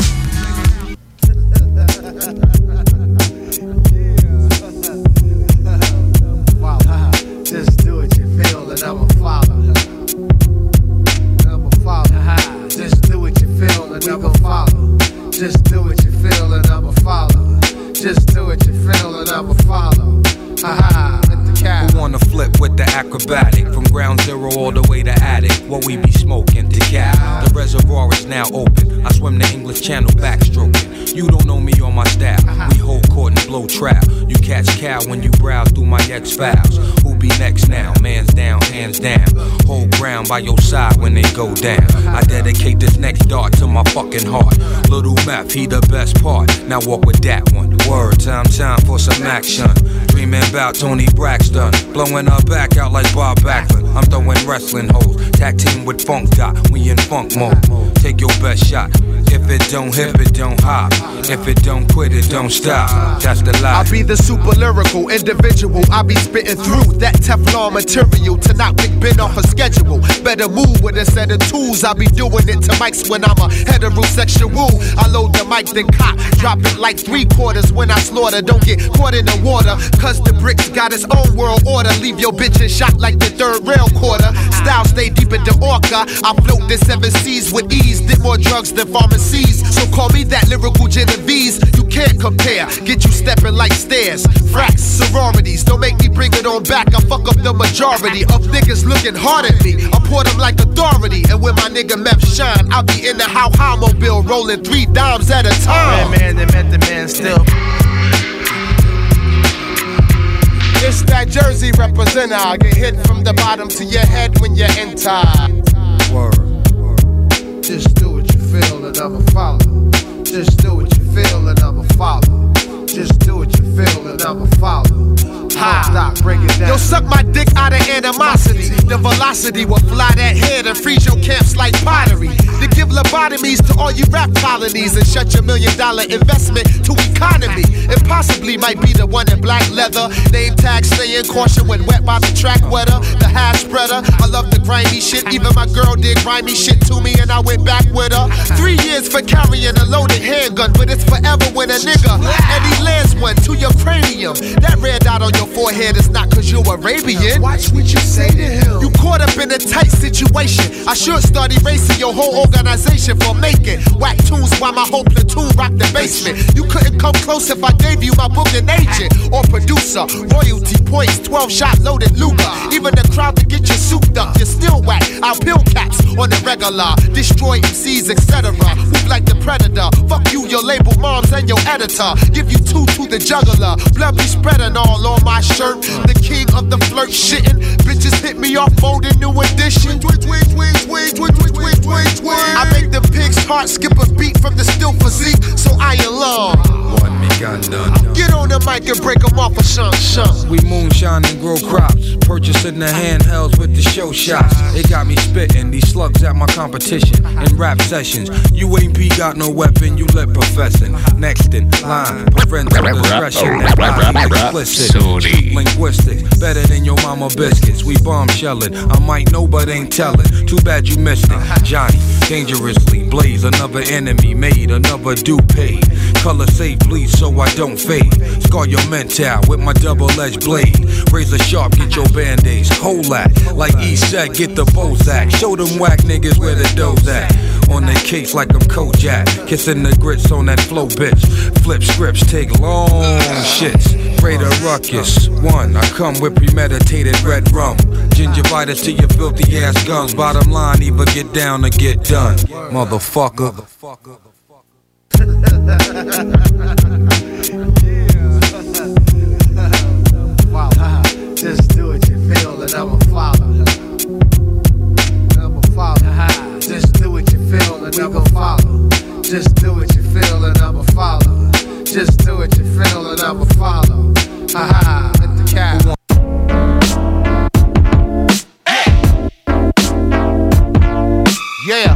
Just do what you feel and I'ma follow. Just do what you feel and I'ma follow. Ha-ha, let the cat. Who wanna flip with the acrobatic? From ground zero all the way to attic. What we be smoking to cap. The reservoir is now open. I swim the English Channel backstroking. You don't know me or my style. We hold court and blow trap. You catch cow when you browse through my X-Files. Who be next now? Man's down, hands down. Hold ground by your side when they go down. I dedicate this next dart to my fucking heart. Little Meth, he the best part. Now walk with that one. Word, time, time for some action. Dreaming about Tony Braxton. Blowing her back out like Bob Backlund. I'm throwing wrestling hoes. Tag team with Funk Dot. We in funk mode. Take your best shot. If it don't hip, it don't hop. If it don't quit, it don't stop. That's the lie. I be the super lyrical individual. I be spitting through that Teflon material to knock Big Ben off a schedule. Better move with a set of tools. I be doing it to mics when I'm a heterosexual. I load the mic, then cock. Drop it like three quarters when I slaughter. Don't get caught in the water. Cause the bricks got its own world order. Leave your bitch in shock like the third rail quarter. Style stay deep in the orca. I float the seven seas with ease. Did more drugs than pharmacies. So call me that lyrical Genovese. You can't compare. Get you stepping like stairs. Fracks, sororities. Don't make me bring bring it on back. I fuck up the majority of niggas looking hard at me. I pour them like authority. And when my nigga Meth shine, I'll be in the how how mobile rolling three dimes at a time. Man, man, they met the man still. It's that Jersey representer. I get hit from the bottom to your head when you enter. Word. Just do what you feel and I'ma follow. Just do what you feel and I'ma follow. Just do what you feel and I'ma follow. Ha. Stop, break it down. Yo, suck my dick out of animosity. The velocity will fly that head and freeze your camps like pottery. To give lobotomies to all you rap colonies and shut your million dollar investment to economy. It possibly might be the one in black leather. Name tag staying caution when wet by the track weather. The hash spreader. I love the grimy shit. Even my girl did grimy shit to me and I went back with her. Three years for carrying a loaded handgun, but it's forever when a nigga and he lands one to your cranium. That red dot on your forehead is not cause you're Arabian. Watch what you say to him. You caught up in a tight situation. I should start erasing your whole organization for making whack tunes while my whole platoon rock the basement. You couldn't come close if I gave you my booking agent or producer. Royalty points, twelve shot loaded Luger. Even the crowd to get you souped up, you're still whack. I'll pill caps on the regular, destroy M Cs, et cetera. Move like the predator. Fuck you, your label moms, and your editor. Give you two to the juggler. Blood be spreading all on my shirt. The king of the flirt shitting. Bitches hit me off folding new edition. I make the pig's heart skip a beat from the still physique, so I alarm. Get on the mic and break them off a shun shun. We moonshine and grow crops, purchasing the handhelds with the show shots. It got me spitting these slugs at my competition in rap sessions. You ain't P got no weapon, you lip professing. Next in line, parental discretion. Explicit, linguistics, better than your mama biscuits. We bombshelling, I might know but ain't telling. Too bad you missed it. Johnny, dangerously blaze, another enemy made, another dupe paid. Color safe bleed so I don't fade. Scar your mental with my double-edged blade. Razor sharp, get your band-aids. Hold that, like E said, get the Bozak. Show them whack niggas where the dough's at. On the case like I'm Kojak. Kissing the grits on that flow, bitch. Flip scripts, take long shits. Raider ruckus, one. I come with premeditated red rum. Gingivitis to your filthy ass gums. Bottom line, either get down or get done. Motherfucker. Just do what you feel and I'ma follow. I'ma follow. Just do what you feel and I'ma follow. Just do what you feel and I'ma follow. Just do what you feel and I'ma follow. Ha ha, hit the cap. Yeah.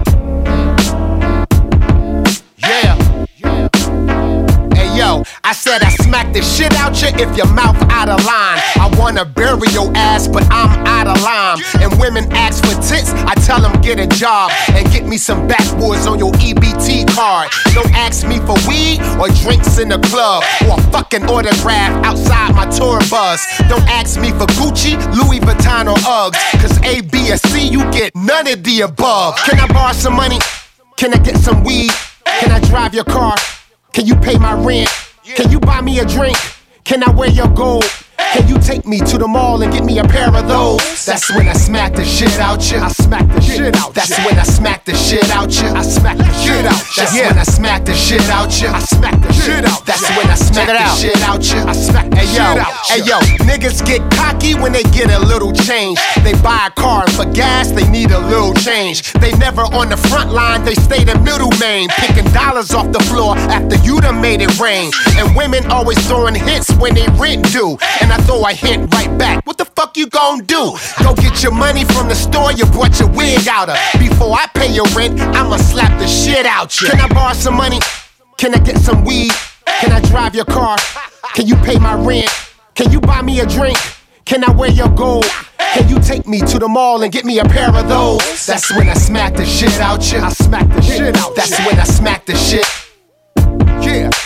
Yeah. Hey yo, I said I smack the shit out you if your mouth out of line. I wanna bury your ass, but I'm out of line. And women ask for tits, I tell them get a job and get me some backwoods on your E B T card. Don't ask me for weed or drinks in the club or a fucking autograph outside my tour bus. Don't ask me for Gucci, Louis Vuitton or Uggs, cause A, B, or C, you get none of the above. Can I borrow some money? Can I get some weed? Can I drive your car? Can you pay my rent? Can you buy me a drink? Can I wear your gold? Can you take me to the mall and get me a pair of those? That's when I smack the shit out you. I smack the shit out. That's when I smack the shit out you. I smack the shit out. That's when I smack the shit out you. I smack the shit out. That's when I smack the shit out you. I smack the shit out. Hey yo, niggas get cocky when they get a little change. They buy a car and for gas they need a little change. They never on the front line, they stay the middle main, picking dollars off the floor after you done made it rain. And women always throwing hints when they rent due. And I throw a hint right back. What the fuck you gon' do? Go get your money from the store you brought your wig out of. Before I pay your rent, I'ma slap the shit out you. Can I borrow some money? Can I get some weed? Can I drive your car? Can you pay my rent? Can you buy me a drink? Can I wear your gold? Can you take me to the mall and get me a pair of those? That's when I smack the shit out you. I smack the shit out. That's when I smack the shit. Yeah,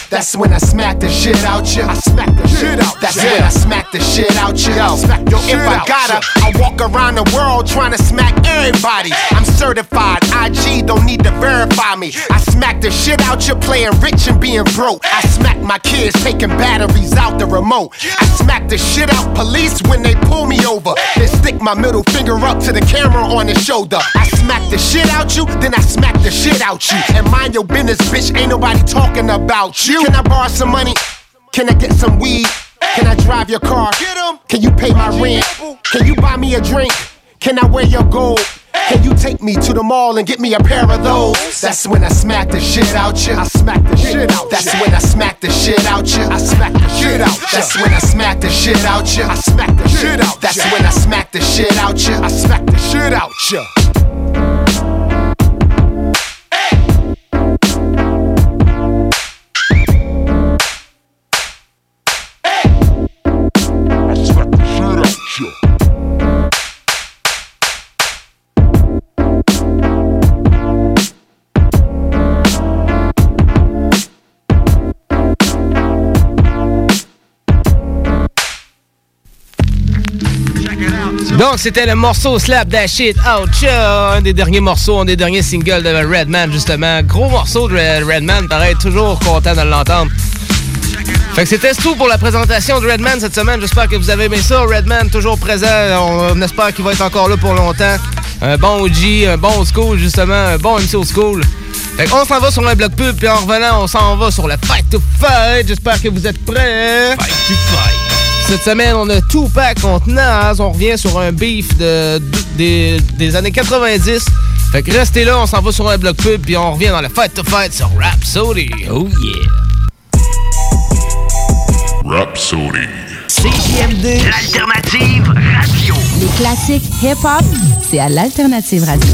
That's when I smack the shit out you. I smack the shit out. That's when I smack the shit out you. Yo, if I gotta, I walk around the world trying to smack everybody. I'm certified. I G don't need to verify me. I smack the shit out you playing rich and being broke. I smack my kids taking batteries out the remote. I smack the shit out police when they pull me over. Then stick my middle finger up to the camera on the shoulder. I smack the shit out you, then I smack the shit out you. And mind your business, bitch, ain't nobody talking about you. Can I borrow some money? Can I get some weed? Can I drive your car? Can you pay my rent? Can you buy me a drink? Can I wear your gold? Can you take me to the mall and get me a pair of those? That's when I smack the shit out you. I smack the shit out. That's when I smack the shit out you. I smack the shit out. That's when I smack the shit out you. I smack the shit out. That's when I smack the shit out you. I smack the shit out you. Donc, c'était le morceau Slap That Shit Out, un des derniers morceaux, un des derniers singles de Redman, justement. Gros morceau de Redman, pareil, toujours content de l'entendre. Fait que c'était tout pour la présentation de Redman cette semaine. J'espère que vous avez aimé ça. Redman, toujours présent. On, on espère qu'il va être encore là pour longtemps. Un bon O G, un bon old school, justement, un bon M C old school. Fait qu'on s'en va sur un bloc pub, puis en revenant, on s'en va sur le Fight to Fight. J'espère que vous êtes prêts. Fight to Fight. Cette semaine, on a Tupac contre Nas. On revient sur un beef de, de, des, des années quatre-vingt-dix. Fait que restez là, on s'en va sur un bloc pub, puis on revient dans le Fight to Fight sur Rhapsody. Oh yeah! Rhapsody. C J M D, l'alternative radio. Les classiques hip-hop, c'est à l'alternative radio.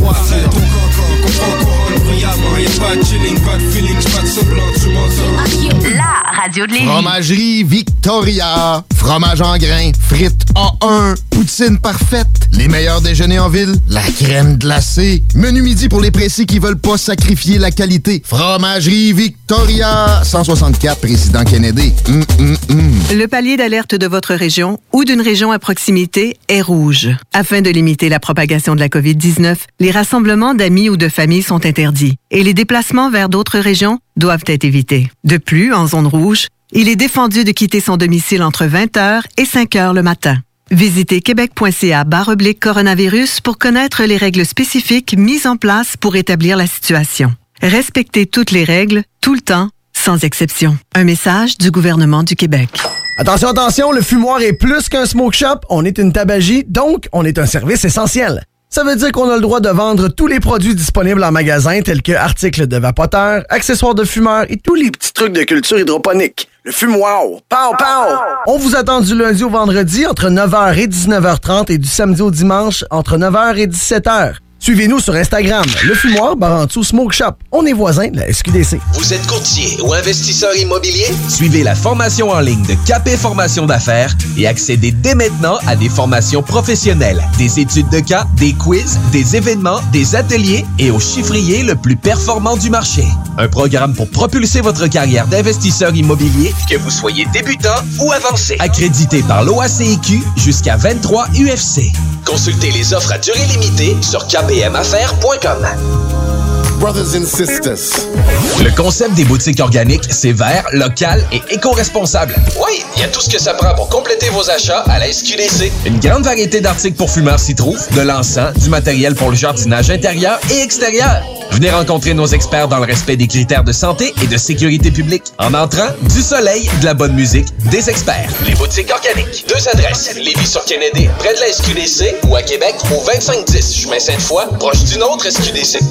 La radio de Lévis. Fromagerie Victoria. Fromage en grains, frites A un, poutine parfaite, les meilleurs déjeuners en ville, la crème glacée, menu midi pour les pressés qui veulent pas sacrifier la qualité. Fromagerie Victoria. cent soixante-quatre, Président Kennedy. Mm, mm, mm. Le palier d'alerte de votre région ou d'une région à proximité est rouge. Afin de limiter la propagation de la covid dix-neuf, les rassemblements d'amis ou de familles sont interdits et les déplacements vers d'autres régions doivent être évités. De plus, en zone rouge, il est défendu de quitter son domicile entre vingt heures et cinq heures le matin. Visitez québec.ca barre oblique coronavirus pour connaître les règles spécifiques mises en place pour établir la situation. Respectez toutes les règles, tout le temps, sans exception. Un message du gouvernement du Québec. Attention, attention, le fumoir est plus qu'un smoke shop. On est une tabagie, donc on est un service essentiel. Ça veut dire qu'on a le droit de vendre tous les produits disponibles en magasin, tels que articles de vapoteurs, accessoires de fumeurs et tous les petits trucs de culture hydroponique. Le fumoir. Pow, pow! On vous attend du lundi au vendredi entre neuf heures et dix-neuf heures trente et du samedi au dimanche entre neuf heures et dix-sept heures. Suivez-nous sur Instagram, Le Fumoir, barre en dessous Smoke Shop. On est voisins de la S Q D C. Vous êtes courtier ou investisseur immobilier? Suivez la formation en ligne de Capé Formation d'affaires et accédez dès maintenant à des formations professionnelles, des études de cas, des quiz, des événements, des ateliers et au chiffrier le plus performant du marché. Un programme pour propulser votre carrière d'investisseur immobilier, que vous soyez débutant ou avancé. Accrédité par l'O A C Q jusqu'à vingt-trois U F C. Consultez les offres à durée limitée sur K B M affaires point com. Brothers and sisters. Le concept des boutiques organiques, c'est vert, local et éco-responsable. Oui, il y a tout ce que ça prend pour compléter vos achats à la S Q D C. Une grande variété d'articles pour fumeurs s'y trouve, de l'encens, du matériel pour le jardinage intérieur et extérieur. Venez rencontrer nos experts dans le respect des critères de santé et de sécurité publique. En entrant, du soleil, de la bonne musique, des experts. Les boutiques organiques. Deux adresses. Lévis-sur-Kennedy, près de la S Q D C, ou à Québec, au vingt-cinq dix chemin Sainte-Foy, proche d'une autre S Q D C.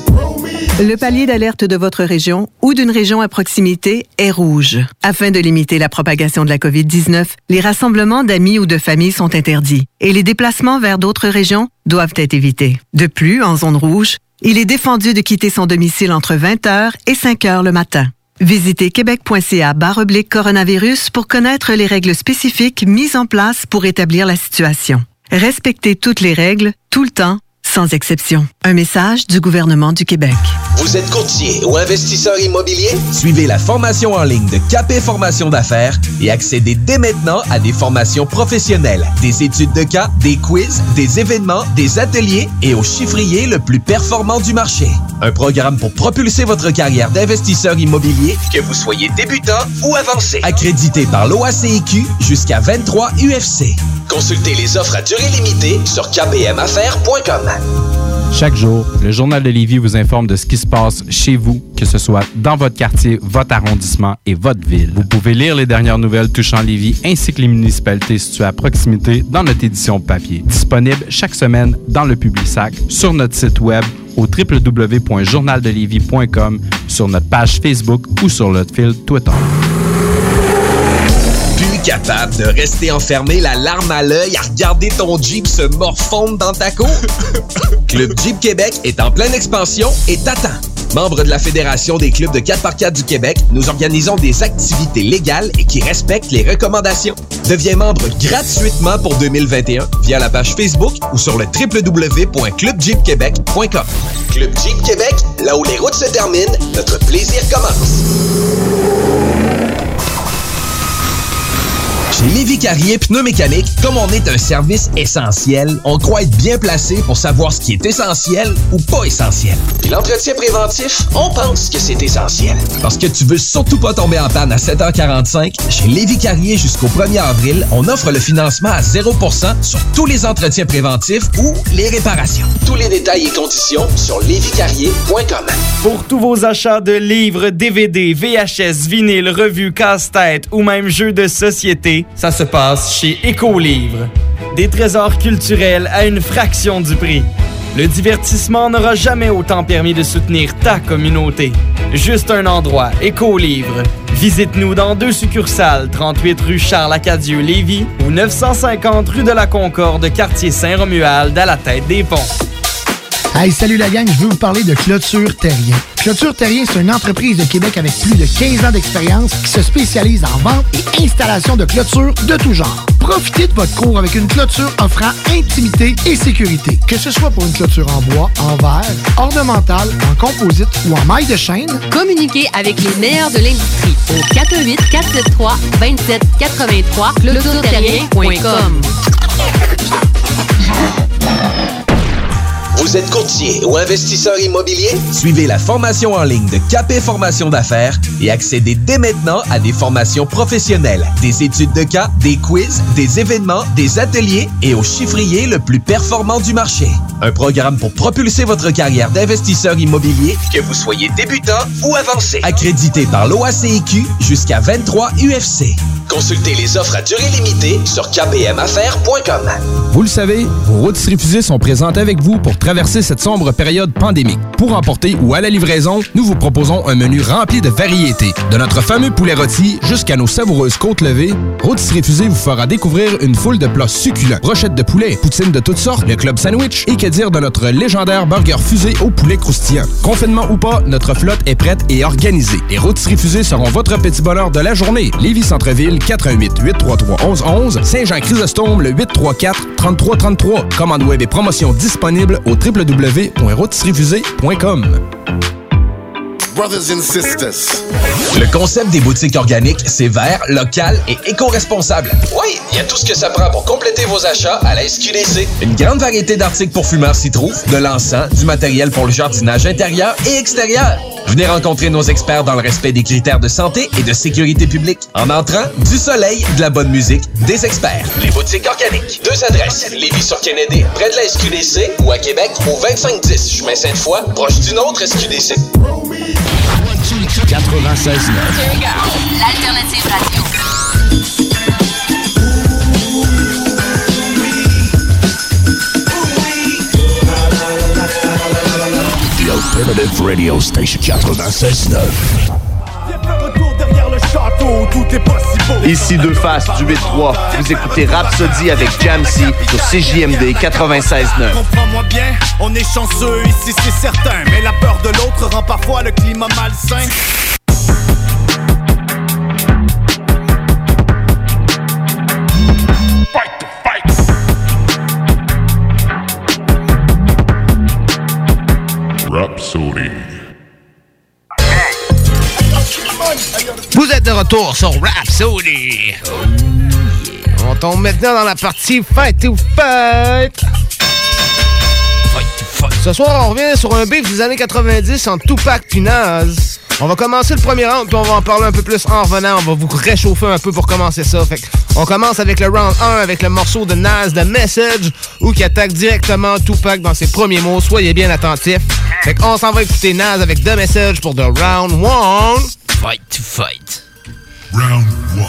Le palier d'alerte de votre région ou d'une région à proximité est rouge. Afin de limiter la propagation de la covid dix-neuf, les rassemblements d'amis ou de familles sont interdits et les déplacements vers d'autres régions doivent être évités. De plus, en zone rouge, il est défendu de quitter son domicile entre vingt heures et cinq heures le matin. Visitez québec.ca barre oblique coronavirus pour connaître les règles spécifiques mises en place pour établir la situation. Respectez toutes les règles, tout le temps, sans exception. Un message du gouvernement du Québec. Vous êtes courtier ou investisseur immobilier? Suivez la formation en ligne de Capé Formation d'affaires et accédez dès maintenant à des formations professionnelles, des études de cas, des quiz, des événements, des ateliers et au chiffrier le plus performant du marché. Un programme pour propulser votre carrière d'investisseur immobilier, que vous soyez débutant ou avancé. Accrédité par l'O A C I Q jusqu'à vingt-trois U F C. Consultez les offres à durée limitée sur k p m affaires point com. Chaque jour, le Journal de Lévis vous informe de ce qui se passe chez vous, que ce soit dans votre quartier, votre arrondissement et votre ville. Vous pouvez lire les dernières nouvelles touchant Lévis ainsi que les municipalités situées à proximité dans notre édition papier. Disponible chaque semaine dans le Publisac, sur notre site web au w w w point journal de lévis point com, sur notre page Facebook ou sur notre fil Twitter. Plus capable de rester enfermé la larme à l'œil à regarder ton Jeep se morfondre dans ta cour? Club Jeep Québec est en pleine expansion et t'attend. Membre de la Fédération des clubs de quatre par quatre du Québec, nous organisons des activités légales et qui respectent les recommandations. Deviens membre gratuitement pour deux mille vingt et un via la page Facebook ou sur le w w w point club jeep québec point com. Club Jeep Québec, là où les routes se terminent, notre plaisir commence. Chez Lévis Carrier Pneumécanique, comme on est un service essentiel, on croit être bien placé pour savoir ce qui est essentiel ou pas essentiel. Puis l'entretien préventif, on pense que c'est essentiel. Parce que tu veux surtout pas tomber en panne à sept heures quarante-cinq, chez Lévis Carrier jusqu'au premier avril, on offre le financement à zéro pour cent sur tous les entretiens préventifs ou les réparations. Tous les détails et conditions sur lévis carrier point com. Pour tous vos achats de livres, D V D, V H S, vinyle, revues, casse-tête ou même jeux de société, ça se passe chez Écolivre. Des trésors culturels à une fraction du prix. Le divertissement n'aura jamais autant permis de soutenir ta communauté. Juste un endroit, Écolivre. Visite-nous dans deux succursales, trente-huit rue Charles-Acadieux-Lévis ou neuf cent cinquante rue de la Concorde, quartier Saint-Romuald, à la tête des ponts. Hey, salut la gang, je veux vous parler de Clôture Terrien. Clôture Terrien, c'est une entreprise de Québec avec plus de quinze ans d'expérience qui se spécialise en vente et installation de clôtures de tout genre. Profitez de votre cour avec une clôture offrant intimité et sécurité. Que ce soit pour une clôture en bois, en verre, ornementale, en composite ou en maille de chaîne, communiquez avec les meilleurs de l'industrie au quatre un huit, quatre sept trois, deux sept huit trois, clôture terrien point com. Vous êtes courtier ou investisseur immobilier? Suivez la formation en ligne de Capé Formation d'affaires et accédez dès maintenant à des formations professionnelles, des études de cas, des quiz, des événements, des ateliers et au chiffrier le plus performant du marché. Un programme pour propulser votre carrière d'investisseur immobilier, que vous soyez débutant ou avancé. Accrédité par l'O A C I Q jusqu'à vingt-trois U F C. Consultez les offres à durée limitée sur k p m affaires point com. Vous le savez, vos routes refusées sont présentes avec vous pour traverser cette sombre période pandémique. Pour emporter ou à la livraison, nous vous proposons un menu rempli de variétés. De notre fameux poulet rôti jusqu'à nos savoureuses côtes levées, Rôtisserie Fusée vous fera découvrir une foule de plats succulents. Brochettes de poulet, poutines de toutes sortes, le club sandwich et que dire de notre légendaire burger fusée au poulet croustillant. Confinement ou pas, notre flotte est prête et organisée. Les Rôtisseries Fusées seront votre petit bonheur de la journée. Lévis Centre-Ville, quatre un huit, huit trois trois, un un un un. Saint-Jean-Chrysostome, le huit trois quatre, trente-trois trente-trois. Commande web et promotion disponible au w w w point rôtisserie fusée point com. Brothers and sisters. Le concept des boutiques organiques, c'est vert, local et éco-responsable. Oui, il y a tout ce que ça prend pour compléter vos achats à la S Q D C. Une grande variété d'articles pour fumeurs s'y trouve, de l'encens, du matériel pour le jardinage intérieur et extérieur. Venez rencontrer nos experts dans le respect des critères de santé et de sécurité publique. En entrant, du soleil, de la bonne musique, des experts. Les boutiques organiques. Deux adresses. Lévis-sur-Kennedy, près de la S Q D C, ou à Québec, au vingt-cinq dix, chemin Sainte-Foy, proche d'une autre S Q D C. quatre-vingt-seize neuf. L'alternative radio. The Alternative Radio Station quatre-vingt-seize neuf. Ici Deux Faces du huit trois. Vous écoutez Rhapsody avec Jamsey sur C J M D quatre-vingt-seize neuf. Comprends-moi bien, on est chanceux ici c'est certain, mais la peur de l'autre rend parfois le climat malsain. êtes de retour sur Rhapsody. Oh, yeah. On tombe maintenant dans la partie Fight to Fight. Fight to Fight. Ce soir, on revient sur un beef des années quatre-vingt-dix entre Tupac et Nas. On va commencer le premier round, puis on va en parler un peu plus en revenant. On va vous réchauffer un peu pour commencer ça. Fait on commence avec le round un, avec le morceau de Nas, The Message, où qui attaque directement Tupac dans ses premiers mots. Soyez bien attentifs. Fait qu'on s'en va écouter Nas avec The Message pour the round one. Fight to Fight. Round one.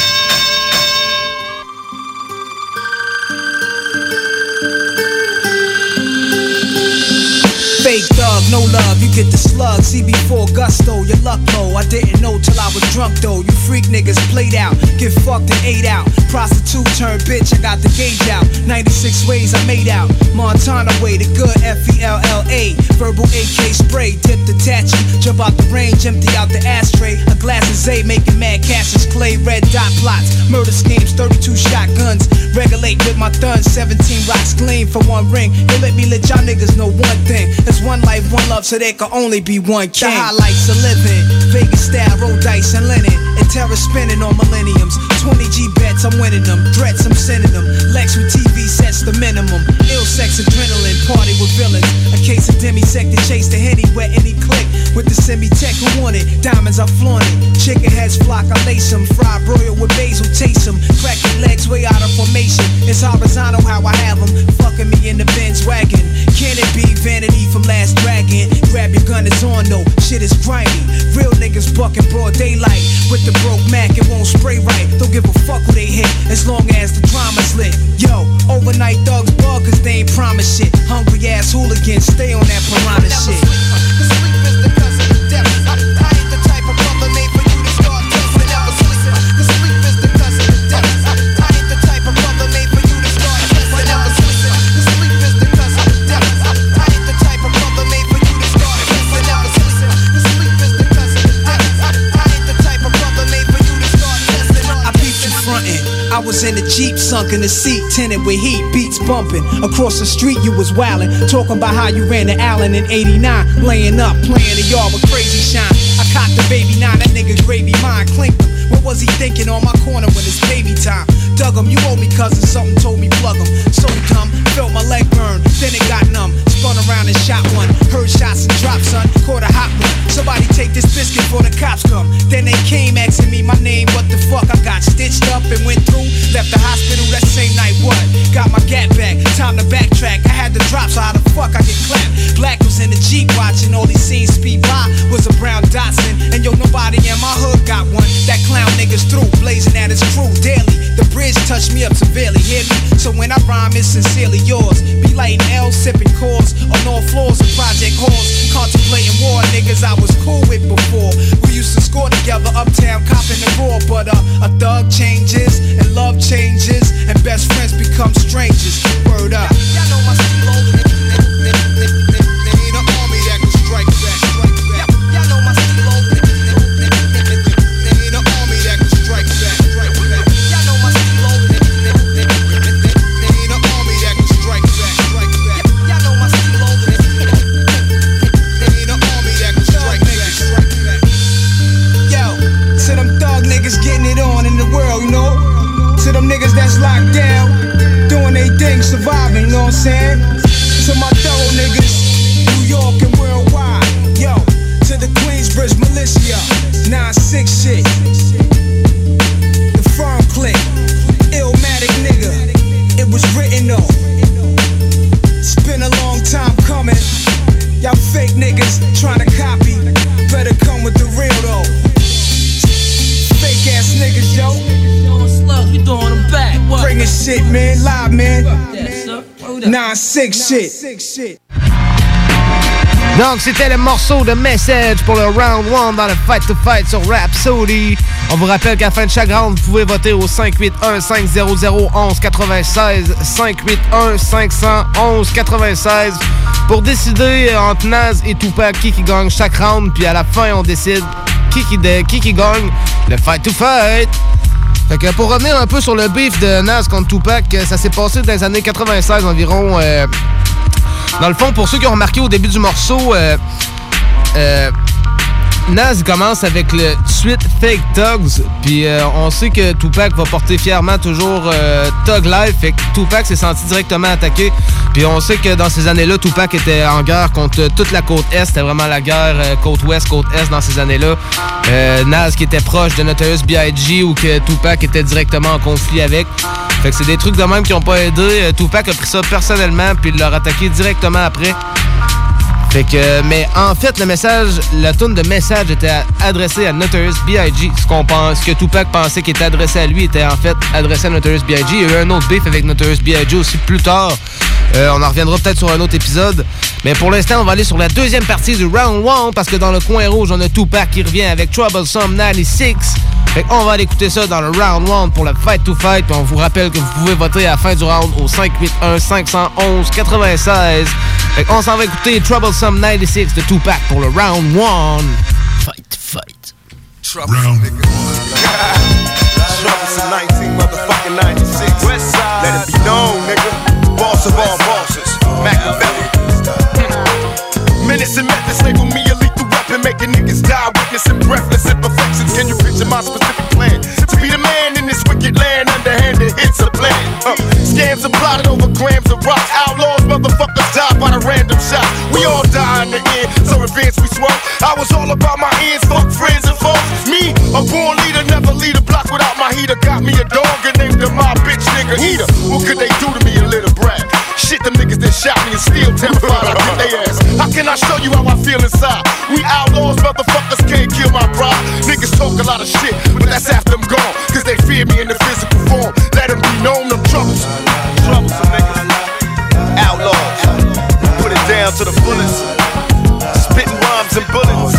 Fake thug, no love, you get the slug. C B four gusto, your luck low. I didn't know till I was drunk though. You freak niggas played out, get fucked and ate out. Prostitute turned bitch, I got the gauge out. ninety-six ways I made out. Montana way, the good F E L L A. Verbal A K spray, tip detach you. Jump out the range, empty out the ashtray. A glass of Zay, making mad Cassius Clay. Red dot plots, murder schemes, thirty-two shotguns. Regulate with my thuns, seventeen rocks gleam for one ring. They let me let y'all niggas know one thing. There's one life, one love, so there can only be one king. The highlights of living, Vegas style, roll dice and linen, and terror spinning on millenniums. twenty G bets, I'm winning them. Threats, I'm sending them. Lex with T V sets the minimum. Ill sex, adrenaline, party with villains. A case of demisec to chase the henny, wet any click. With the semi-tech who want it, diamonds I flaunt it. Chicken heads flock, I lace them. Fried broil with basil, taste them. Crack your legs way out of formation. It's horizontal how I have them. Fucking me in the Benz wagon. Can it be vanity from Last Dragon? Grab your gun, it's on though. Shit is grimy. Real niggas bucking broad daylight. With the broke Mac, it won't spray right. Don't give a fuck who they hit, as long as the drama's lit. Yo, overnight thugs bug, cause they ain't promise shit. Hungry ass hooligans, stay on that piranha shit. I was in the Jeep, sunk in the seat, tinted with heat, beats bumping. Across the street you was wildin', talking about how you ran to Allen in eighty-nine. Laying up, playing the yard with crazy shine. I cocked the baby nine, that nigga gravy mine, clinked him. What was he thinking on my corner when it's baby time? Dug him, you owe me cousin, something told me plug him. So dumb, felt my leg burn, then it got numb. Spun around and shot one, heard shots and drops, son. Caught a hot one, somebody take this biscuit before the cops come. Then they came asking me my name, what the fuck? I got stitched up and went through. Left the hospital that same night, what? Got my gat back, time to backtrack. I had the drop, so how the fuck I get clapped? Black was in the Jeep watching, all he seen speed by was a brown Datsun. And yo, nobody in my hood got one. That clown niggas through, blazing at his crew daily. The bridge touched me up severely, hear me? So when I rhyme, it's sincerely yours. Be lighting L, sipping cores on all floors of project halls. Contemplating war, niggas I was cool with before. We used to score together uptown, copping the raw. But uh, a thug changes, and love changes, and best friends become strangers. Word up. Y'all know my stilo. They ain't an army that can strike back. Y'all know my stilo. They ain't an army that can strike back. Y'all know my stilo. They ain't an army that can strike back. Y'all know my stilo. They ain't an army that can strike back. Yo, to them thug niggas getting it on in the world, you know. To them niggas that's locked down, doing they thing, surviving, you know what I'm saying? To my thorough niggas, New York and worldwide, yo. To the Queensbridge militia, nine six shit. The firm click, Illmatic nigga, it was written though. It's been a long time coming. Y'all fake niggas trying to copy, better come with the real though. Fake ass niggas, yo. You throwing them back. What? Bringing shit, man. Live, man. nine six shit. Donc, c'était le morceau de Message pour le round one dans le Fight to Fight sur Rhapsody. On vous rappelle qu'à la fin de chaque round, vous pouvez voter au cinq huit un, cinq zéro zéro, onze quatre-vingt-seize, cinq huit un, cinq zéro zéro, onze quatre-vingt-seize pour décider entre Nas et Tupac qui qui gagne chaque round. Puis à la fin, on décide qui qui, de, qui, qui gagne le Fight to Fight. Fait que pour revenir un peu sur le beef de Nas contre Tupac, ça s'est passé dans les années quatre-vingt-seize environ. Euh, dans le fond, pour ceux qui ont remarqué au début du morceau, euh, euh, Nas commence avec le suite Fake Thugs, puis euh, on sait que Tupac va porter fièrement toujours euh, Thug Life, fait que Tupac s'est senti directement attaqué, puis on sait que dans ces années-là, Tupac était en guerre contre toute la côte Est, c'était vraiment la guerre euh, côte Ouest, côte Est dans ces années-là. Euh, Nas qui était proche de Notorious B I G ou que Tupac était directement en conflit avec. Fait que c'est des trucs de même qui n'ont pas aidé. Euh, Tupac a pris ça personnellement, puis il l'a attaqué directement après. Fait que, mais en fait, le message, la toune de message était adressée à Notorious B I G. Ce qu'on pense, ce que Tupac pensait qui était adressé à lui était en fait adressé à Notorious B I G. Il y a eu un autre beef avec Notorious B I G aussi plus tard. Euh, on en reviendra peut-être sur un autre épisode. Mais pour l'instant, on va aller sur la deuxième partie du Round un parce que dans le coin rouge, on a Tupac qui revient avec Troublesome quatre-vingt-six. Fait qu'on va aller écouter ça dans le Round un pour le Fight to Fight. Puis on vous rappelle que vous pouvez voter à la fin du round au cinq huit un, cinq un un, neuf six. Fait qu'on s'en va écouter Troublesome quatre-vingt-six de Tupac pour le Round un. Fight to Fight. Round. Troublesome nineteen, motherfucking ninety-six. Westside. Let it be known, nigga. Boss of all bosses. Machiavelli. Minutes and methods label me a lethal weapon, making niggas die, witnessing breathless imperfections. Can you picture my specific plan? To be the man in this wicked land, underhanded hits a plan. Uh, scams are plotted over grams of rocks. Outlaws, motherfuckers die by the random shot. We all die in the end, so advance we swerve. I was all about my ends, fuck friends and foes. Me, a born leader, never lead a block without my heater. Got me a dog and named him my bitch nigga eater. What could they do to me, a little brat? Shit, them niggas that shot me and still terrified, I beat they ass. How can I show you how I feel inside? We outlaws, motherfuckers can't kill my pride. Niggas talk a lot of shit, but that's after them gone. Cause they fear me in the physical form. Let them be known, them troublesome. Troublesome niggas. Outlaws. Put it down to the fullest. Spitting rhymes and bullets.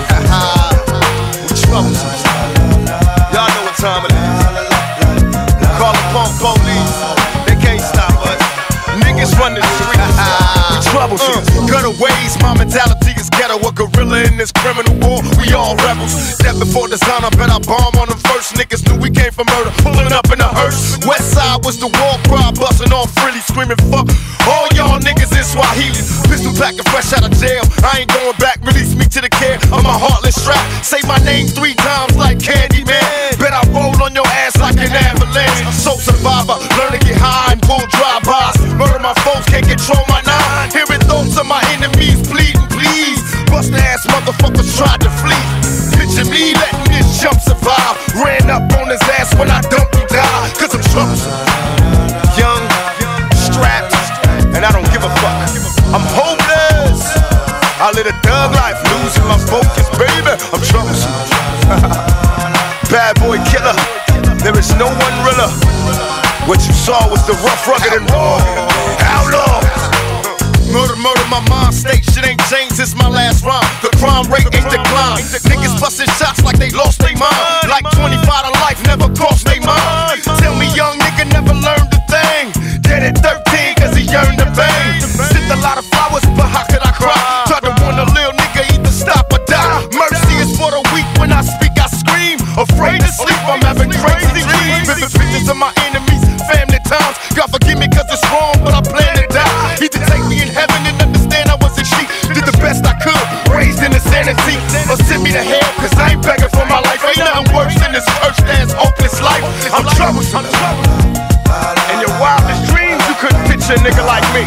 We troublesome. Y'all know what time it is. Call the punk police. They can't stop us. Niggas run the streets. We troublesome. Uh, Gutaways, my mentality is ghetto. A gorilla in this criminal war. We all rebels. Death before design, I bet I bomb on them first. Niggas knew we came from murder. Pulling up in a hearse. West side was the war cry. Busting off frilly, screaming fuck all y'all niggas in Swahili. Pistol packing fresh out of jail. I ain't going back. Release me to the care of my heartless strap. Say my name three times like Candyman. Bet I roll on your ass like an avalanche. Soul survivor. Learn to get high and pull drive-bys. Murder my foes, can't control my nine. Hearing thoughts of my enemies bleeding, please. Bust ass motherfuckers tried to flee. Picture me letting this jump survive. Ran up on his ass when I dumped him down. Cause I'm troublesome. Young, strapped, and I don't give a fuck. I'm hopeless. I live a thug life, losing my focus, baby. I'm troublesome. Bad boy killer. There is no one realer. What you saw was the rough, rugged, and raw. Outlaw. Murder, murder, my mind state. Shit ain't changed since my last rhyme. The crime rate ain't declined. Niggas busting shots like they lost their mind. Like twenty-five to life never crossed their mind. Tell me young nigga never learned a thing. Dead at thirteen cause he yearned to bang. Sent a lot of flowers, but how could I cry? Tried to warn a little nigga either stop or die. Mercy is for the weak, when I speak I scream. Afraid to sleep, I'm having crazy dreams. Vivid pictures of my enemies, family times. God forgive me cause it's wrong, but I plan to die. Either take me in heaven and understand I was a sheep. Did the best I could, raised in insanity. Or send me to hell cause I ain't begging for my life. Ain't nothing worse than this cursed ass hopeless life. I'm troublesome. In your wildest dreams you couldn't picture a nigga like me.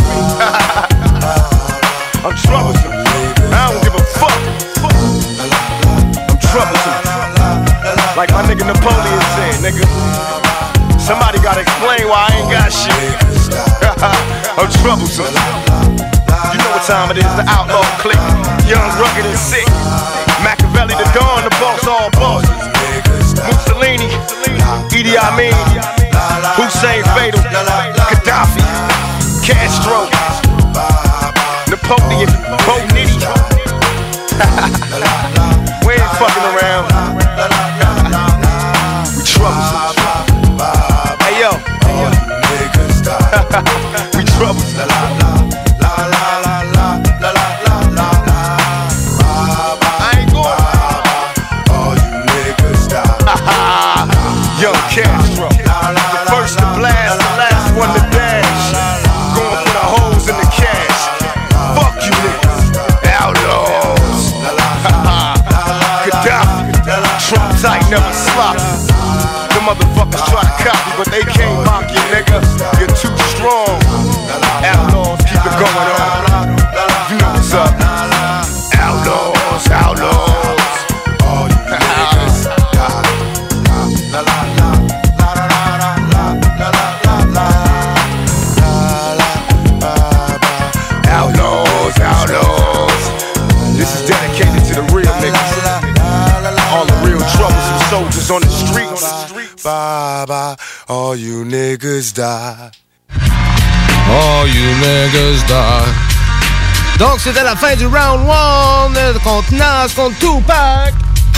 I'm troublesome. I don't give a fuck. I'm troublesome. Like my nigga Napoleon said, nigga. Somebody gotta explain why I ain't got shit. I'm troublesome. You know what time it is, the outlaw clique. Young, rugged, and sick. Machiavelli, the Dawn, the boss, all bosses. Mussolini, Idi Amin, Hussein Fatal, Gaddafi, Castro, Napoleon, Bo Nitty. We ain't fucking around. We troublesome. Hey yo, we troublesome. I ain't going. Young Castro, the first to blast, the last one to dash. Going for the holes in the cash. Fuck you niggas, outlaws. All you niggas die. Oh, you niggas die. Donc, c'était la fin du round one contre Nas, contre Tupac.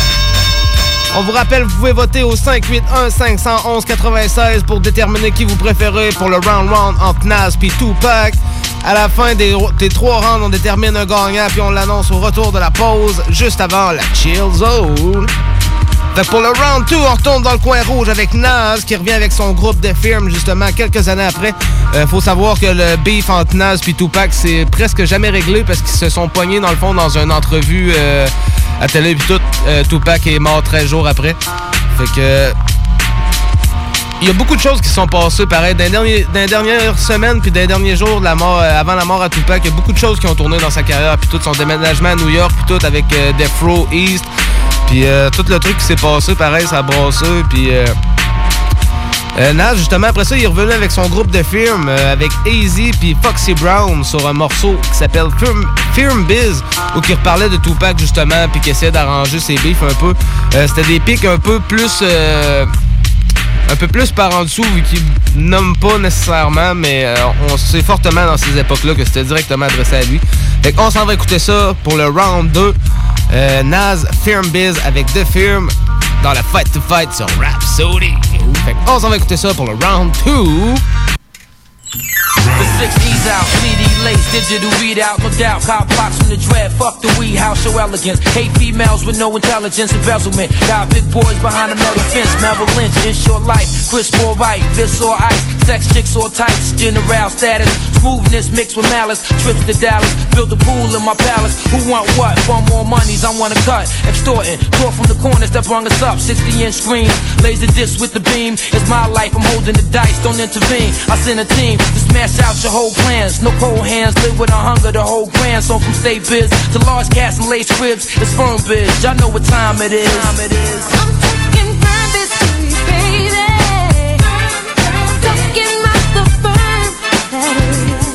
On vous rappelle, vous pouvez voter au cinq huit un cinq un un neuf pour déterminer qui vous préférez pour le round one entre Nas et Tupac. À la fin des, des trois rounds, on détermine un gagnant puis on l'annonce au retour de la pause, juste avant la Chill Zone. Fait pour le round deux, on retourne dans le coin rouge avec Nas qui revient avec son groupe de firmes justement quelques années après. Euh, faut savoir que le beef entre Nas et Tupac c'est presque jamais réglé parce qu'ils se sont pognés dans le fond dans une entrevue euh, à télé puis tout. Euh, Tupac est mort treize jours après. Fait que il y a beaucoup de choses qui se sont passées pareil dans les, derniers, dans les dernières semaines puis dans les derniers jours de la mort, euh, avant la mort à Tupac. Il y a beaucoup de choses qui ont tourné dans sa carrière puis tout son déménagement à New York puis tout avec euh, Death Row East. Puis euh, tout le truc qui s'est passé, pareil, ça a brassé. Puis euh, euh, Nas, justement, après ça, il est revenu avec son groupe de firmes, euh, avec A-Z puis Foxy Brown sur un morceau qui s'appelle Firm, Firm Biz, où il reparlait de Tupac, justement, puis qui essayait d'arranger ses beefs un peu. Euh, c'était des pics un peu plus... Euh, un peu plus par en dessous, vu qu'il nomme pas nécessairement, mais euh, on sait fortement dans ces époques-là que c'était directement adressé à lui. Fait qu'on s'en va écouter ça pour le round deux. Euh, Nas, Firm Biz avec The Firm dans la Fight to Fight sur Rhapsody. Fait qu'on s'en va écouter ça pour le round two. The sixties out, C D lace, digital readout, no doubt. Cop blocks from the dread, fuck the weed house, so elegant. Hate females with no intelligence, embezzlement. Got big boys behind a metal fence, Merrill Lynch, in short life. Crisp or right, this or ice, sex chicks or tights, general status. Smoothness mixed with malice, trips to Dallas. Build a pool in my palace. Who want what? Want more monies, I want a cut. Extorting, talk from the corners that brung us up. sixty inch screens, laser disc with the beam. It's my life, I'm holding the dice, don't intervene. I send a team to smash out your whole plans. No cold hands, live with a hunger, the whole grand. So from state biz to large cats and lace cribs, it's firm biz. Y'all know what time it is. Time it is. I'm taking firm biz to you, baby. Talking about the firm that is.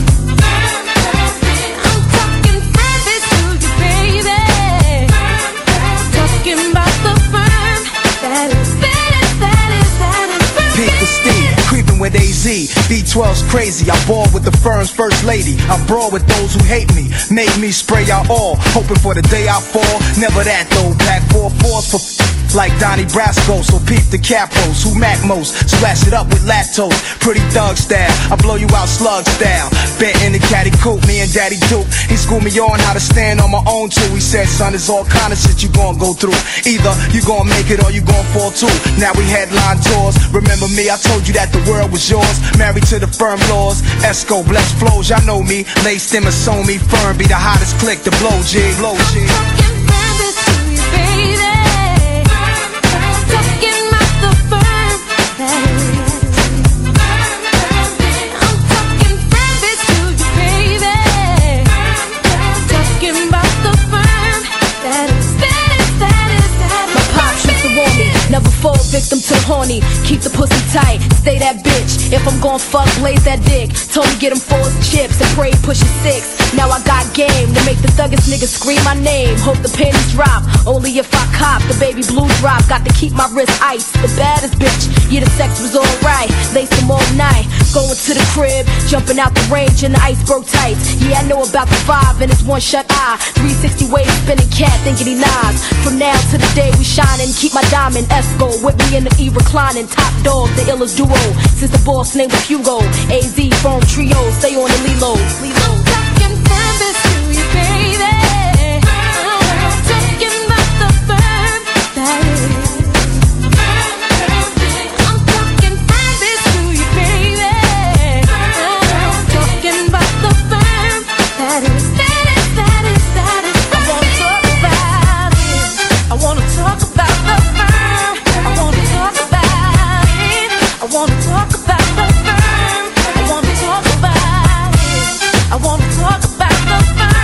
I'm talking firm biz to you, baby. Talking about the firm that is. That is, that is, that is. Peep the steed, creeping with A Z. B twelve's crazy, I ball with the firm's first lady. I brawl with those who hate me, made me spray out all. Hoping for the day I fall, never that though. Pack four fours for like Donnie Brasco. So peep the capos, who mac most. Splash it up with lactose, pretty thug style. I blow you out slug style. Bet in the caddy coupe, me and Daddy Duke. He schooled me on how to stand on my own too. He said, son, it's all kind of shit you gon' go through. Either you gon' make it or you gon' fall too. Now we headline tours. Remember me, I told you that the world was yours. Married to the firm laws. Esco, blessed flows, y'all know me. Laced in Masoni, firm be the hottest click, the blow G, blow G. Never fall victim to the horny. Keep the pussy tight, stay that bitch. If I'm gon' fuck, blaze that dick. Told me get him four chips and pray push his six. Now I got game to make the thuggest niggas scream my name. Hope the panties drop, only if I cop. The baby blue drop, got to keep my wrist iced. The baddest bitch, yeah the sex was alright. Laced them all night, going to the crib. Jumping out the range in the iceberg tights. Yeah I know about the five and it's one shut eye. three sixty waves spinning cat thinking he nods. From now to the day we shining, keep my diamond Esco with me in the E reclining. Top dog, the illest duo. Since the boss name was Hugo. A Z phone trio, stay on the Lilo. Lilo. I'm talking firm biz to you, baby. I'm talking about the firm that is. I'm talking firm biz to you, baby. I'm talking about the firm that is. That is, that is, that is. I wanna talk about it. I wanna talk about the firm. I wanna talk about it. I wanna talk about the firm. I wanna talk about it. I wanna talk about the firm.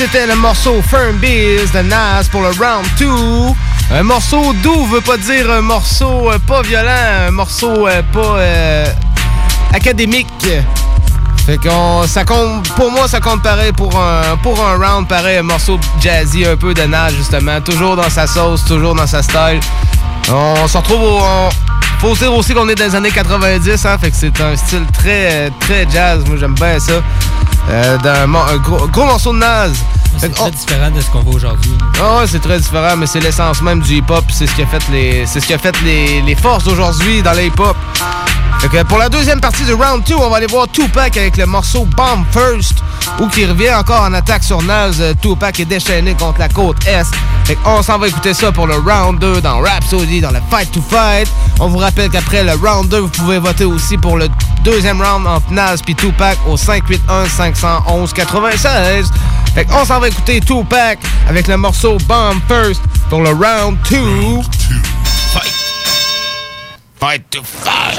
c'était le morceau Firm Biz de Nas pour le Round deux. Un morceau doux veut pas dire un morceau euh, pas violent, un morceau euh, pas euh, académique. Fait qu'on, ça compte, pour moi, ça compte pareil pour un, pour un round, pareil, un morceau jazzy, un peu de Nas, justement. Toujours dans sa sauce, toujours dans sa style. On se retrouve au... On, faut dire aussi qu'on est dans les années quatre-vingt-dix, hein, fait que c'est un style très, très jazz. Moi, j'aime bien ça. Euh, d'un, un gros, gros morceau de Nas. C'est très on... différent de ce qu'on voit aujourd'hui. Ah ouais, c'est très différent, mais c'est l'essence même du hip-hop. C'est ce qui a fait les, c'est ce qui a fait les, les forces d'aujourd'hui dans le hip-hop. Fait que pour la deuxième partie du Round deux, on va aller voir Tupac avec le morceau Bomb First, où qui revient encore en attaque sur Nas. Tupac est déchaîné contre la côte Est. Fait qu'on s'en va écouter ça pour le Round deux dans Rhapsody, dans le Fight to Fight. On vous rappelle qu'après le Round deux, vous pouvez voter aussi pour le deuxième round entre Nas et Tupac au cinq huit un cinq un un quatre-vingt-seize. Fait qu'on s'en va écouter Tupac avec le morceau Bomb First pour le Round deux. Fight. Fight to fight.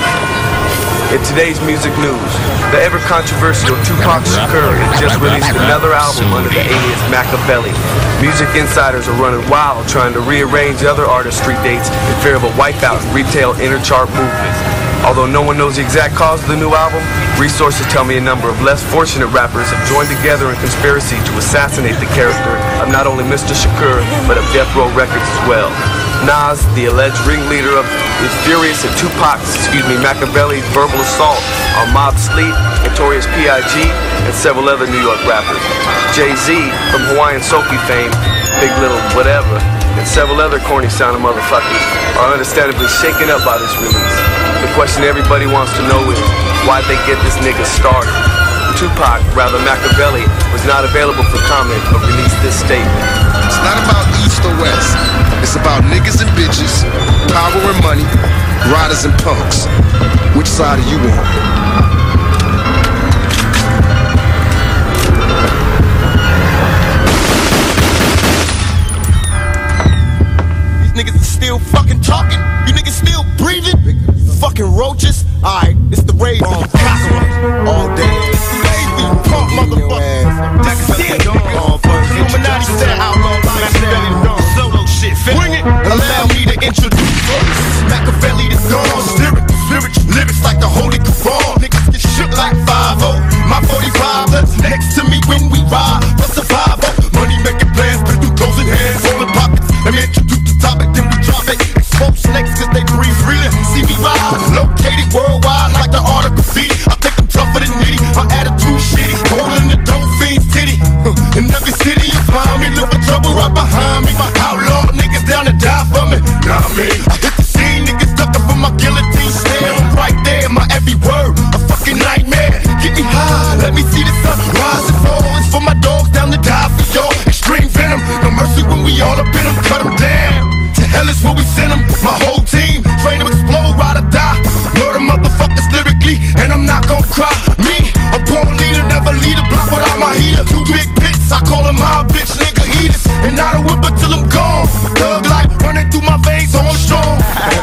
In today's music news, the ever controversial Tupac Shakur has just released another album under the alias Machiavelli. Music insiders are running wild trying to rearrange other artists' street dates in fear of a wipeout retail interchart movement. Although no one knows the exact cause of the new album, resources tell me a number of less fortunate rappers have joined together in conspiracy to assassinate the character of not only Mister Shakur, but of Death Row Records as well. Nas, the alleged ringleader of the Furious and Tupac's, excuse me, Machiavelli's verbal assault on Mob Sleep, Notorious P I G, and several other New York rappers. Jay-Z, from Hawaiian Sophie fame, Big Little Whatever, and several other corny-sounding motherfuckers are understandably shaken up by this release. The question everybody wants to know is, why'd they get this nigga started? Tupac, rather Machiavelli, was not available for comment but released this statement. It's not about East or West. It's about niggas and bitches, power and money, riders and punks. Which side are you on? These niggas are still fucking talking. You niggas still breathing. Fucking roaches. Alright, it's the rave on all day. Baby, pump motherfucker. Illuminati said outlaw Machiavelli the Dawn. Solo shit, bring it. Allow me to introduce Machiavelli the Dawn. Spirit, spirit, lyrics like the Holy Quran. Niggas get shook like five oh. My forty-five that's next to me when we ride. For survival, money making plans, but through closing hands, rolling pockets. Let me introduce the topic, then we drop it. Expose snakes cause they breathe freely. See me ride, located worldwide like the art of graffiti. I think I'm tougher than nitty, my attitude shitty. Holding the dope fiend's titty. In every city you find me, look for trouble right behind me. My outlaw niggas down to die for me. Nah, me. I hit the scene, niggas ducking for my guillotine stare. I'm right there, my every word, a fucking nightmare. Get me high, let me see the sun rise and fall. It's for my dogs down to die for y'all. Extreme venom, no mercy when we all up in them, cut them down. To hell is where we send them, my whole team. Train them explode, ride or die. Murder motherfuckers lyrically, and I'm not gon' cry. Me, a born leader, never lead a block without my heater. Two big pits, I call them my bitch nigga eaters. And I don't whip until I'm gone. Thug life running through my veins, on strong.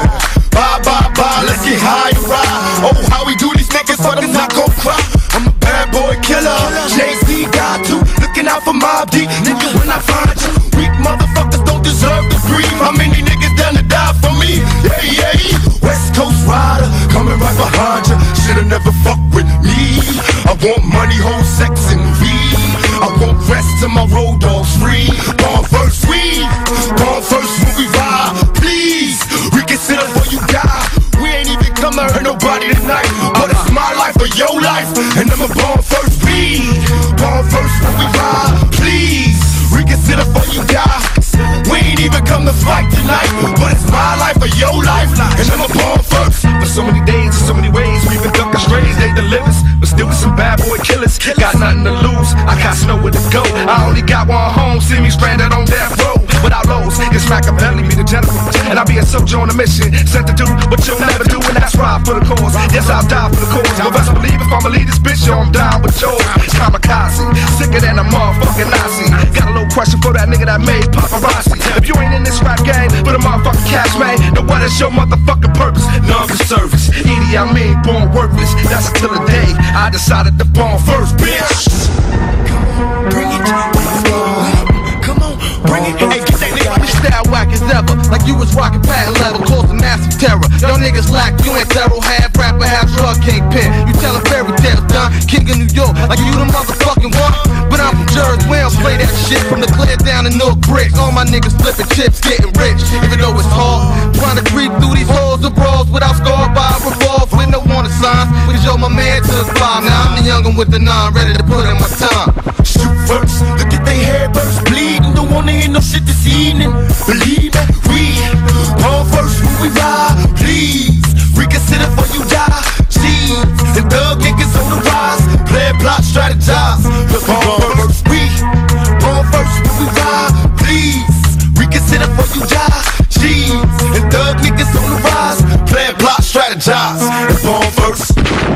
Bye, bye, bye, let's get high and ride. Oh, how we do these niggas, but I'm not gon' cry. I'm a bad boy killer, Jay-Z got to. Looking out for Mob D, nigga, when I find you. Weak motherfuckers don't deserve to breathe. How many niggas down to die for me? Yeah, yeah, West Coast rider, coming right behind you. Should've never fucked with me. I want money, whole sex, and weed. I want rest till my road dogs free. Born first, we born first when we ride. Please, reconsider before you die. We ain't even come to hurt nobody tonight, but it's my life or your life, and I'm a born first we. Born first when we ride. Please, reconsider before you die. We ain't even come to fight tonight, but it's my life or your life, and I'm a born first. For so many days, so many ways, we've been ducking strays, they deliver, but still with some bad boy killers. Got nothing to lose, I got nowhere to go. I only got one home, see me stranded on death row. Without lows, it's Machiavelli, me the general, and I'll be a soldier on a mission, sent to do what you'll never do, and that's ride for the cause. Yes, I'll die for the cause. But best believe if I'ma lead this bitch, yo, I'm down with yours. Kamikaze, sicker than a motherfucking Nazi. Got a little question for that nigga that made paparazzi. If you ain't in this rap game, but a motherfucking cash man, then what is your motherfucking purpose? None for service. Edie, I mean, born worthless. That's until the day I decided to born first, bitch. Bring it to me. Bring it, hey, get that nigga. Your style whack as ever, like you was rocking patent leather, causing massive terror. Y'all niggas lack, you ain't thorough, half rapper, half drug kingpin. You tellin' fairy tales, done, king of New York, like you the motherfucking one. But I'm from Jersey, we don't play that shit. From the clear down to North Brick, all my niggas flipping chips, getting rich. Even though it's hard, trying to creep through these halls of brawls without scarred by revolves with no warning signs. Cause yo, my man took five. Now I'm the youngin' with the nine, ready to put in my time. Shoot first, look at they hair burst, bleeding. Don't wanna hear no shit this evening. Believe me, we on first when we ride. Please reconsider before you die. Cheese and thug niggas on the rise. Play plot, strategize. Look on first, we on first when we ride. Please reconsider before you die. Cheese and thug niggas on the rise. Play plot, strategize. Look on first.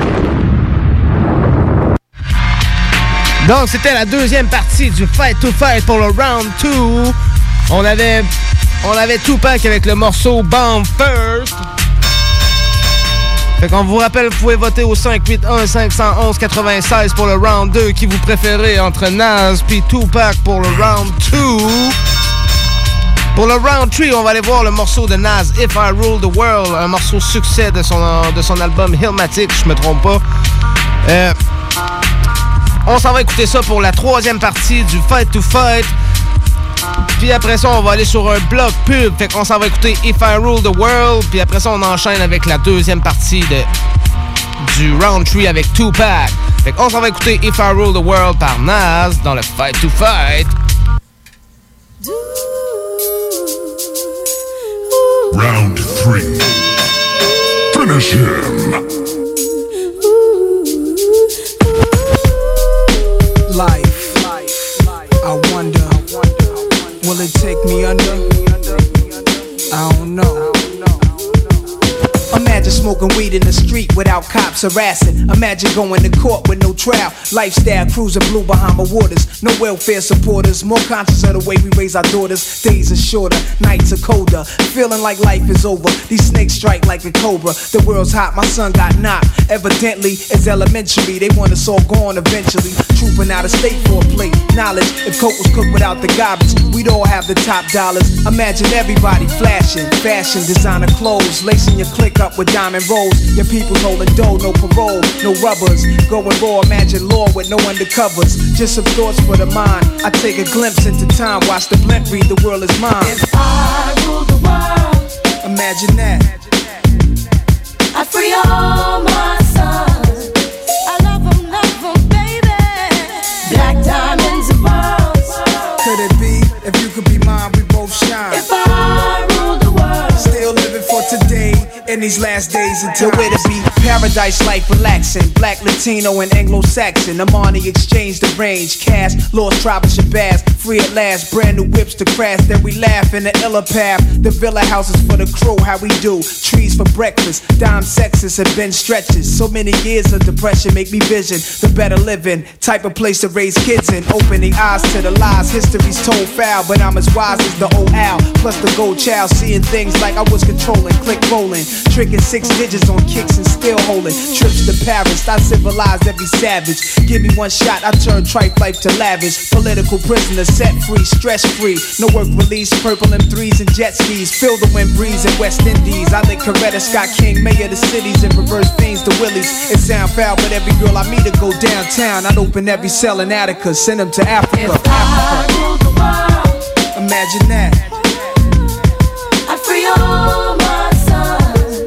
Donc, c'était la deuxième partie du Fight to Fight pour le Round deux. On avait, on avait Tupac avec le morceau Bomb First. Fait qu'on vous rappelle, vous pouvez voter au cinq huit un cinq un un quatre-vingt-seize pour le Round deux qui vous préférez entre Nas puis Tupac pour le Round deux. Pour le Round trois, on va aller voir le morceau de Nas, If I Rule the World, un morceau succès de son, de son album Illmatic, je me trompe pas. Euh... On s'en va écouter ça pour la troisième partie du Fight to Fight. Puis après ça, on va aller sur un bloc pub. Fait qu'on s'en va écouter If I Rule the World. Puis après ça, on enchaîne avec la deuxième partie de, du Round trois avec Tupac. Fait qu'on s'en va écouter If I Rule the World par Nas dans le Fight to Fight. Round three. Finish him. Life, I wonder, will it take me under? I don't know. Imagine smoking weed in the street without cops harassing. Imagine going to court with no trial. Lifestyle cruising blue Bahama waters. No welfare supporters. More conscious of the way we raise our daughters. Days are shorter, nights are colder. Feeling like life is over. These snakes strike like a cobra. The world's hot, my son got knocked. Evidently, it's elementary. They want us all gone eventually. Trooping out of state for a plate. Knowledge, if coke was cooked without the garbage, we'd all have the top dollars. Imagine everybody flashing. Fashion, designer clothes. Lacing your click up with diamond rolls. Your people holding dough, no parole, no rubbers. Going raw, imagine law with no undercovers. Just some thoughts for the mind. I take a glimpse into time, watch the blimp read, the world is mine. If I rule the world, imagine that. I free all my sons. I love them, love them, baby. Black diamonds and pearls. Could it be, if you could be mine, we both shine. If I rule the world, still living for today. In these last days until where to be. Paradise life relaxing. Black, Latino, and Anglo-Saxon. Amani exchange the range. Cash, lost tribe of Shabazz. Free at last. Brand new whips to crash. Then we laugh in the illa path. The villa houses for the crew. How we do. Trees for breakfast. Dime sexes have been stretches. So many years of depression make me vision the better living. Type of place to raise kids in. Opening eyes to the lies. History's told foul. But I'm as wise as the old owl. Plus the gold child. Seeing things like I was controlling. Click rolling. Tricking six digits on kicks and still holding. Trips to Paris, I civilized every savage. Give me one shot, I turn tripe life to lavish. Political prisoner set free, stress free. No work release, purple M threes and jet skis. Feel the wind breeze in West Indies. I lick Coretta Scott King, mayor of the cities, and reverse fiends to Willies. It sound foul, but every girl I meet to go downtown. I'd open every cell in Attica, send them to Africa. If I rule the world, imagine that. I free all my sons.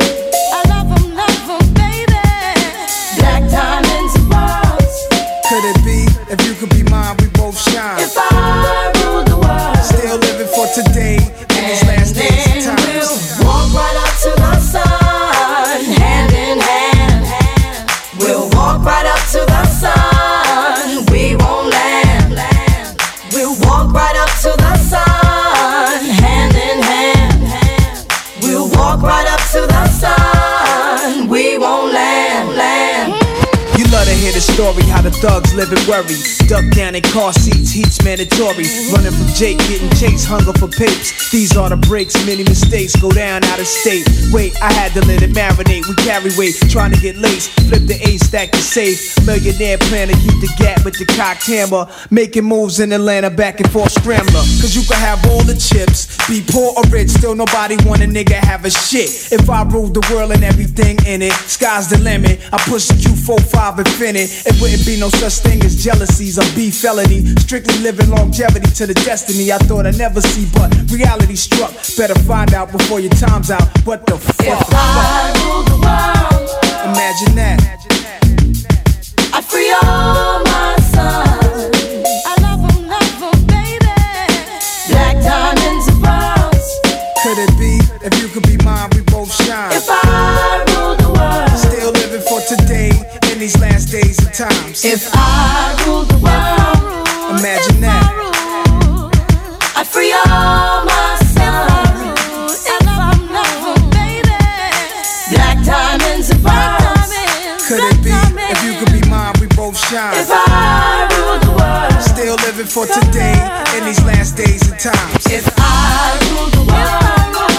Could it be, if you could be mine, we both shine. If I rule the world, still living for today, in these last days and times. We'll walk right up to the sun, hand in hand. We'll walk right up to the sun, we won't land. We'll walk right up to the sun, hand in hand. We'll walk right up to the sun, we won't land, land. You love to hear the story, how the thugs live and worry. Duck down in car seats, heat's mandatory. Running from Jake, getting chased, hunger for papes. These are the breaks, many mistakes go down out of state. Wait, I had to let it marinate. We carry weight, trying to get laced. Flip the ace, stack the safe. Millionaire plan to keep the gap with the cocked hammer. Making moves in Atlanta, back and forth scrambler. Cause you can have all the chips, be poor or rich, still nobody want a nigga have a shit. If I ruled the world and everything in it, sky's the limit. I push the Q forty-five infinite. It wouldn't be no such thing as jealousies or beef felony. Strictly living longevity to the destiny I thought I'd never see, but reality struck. Better find out before your time's out. What the fuck? If I rule the world, imagine that. I free all my sons. I love them, love them, baby. Black diamonds and pearls. Could it be? If you could be mine, we both shine. If I rule the world, still living for today in these last days and times. If I rule the world, imagine that. I free all my sons. I love them, love them, baby. Black diamonds and pearls. Could it be? If you could be mine, we both shine. If I rule the world, still living for today in these last days and times. If I rule the world,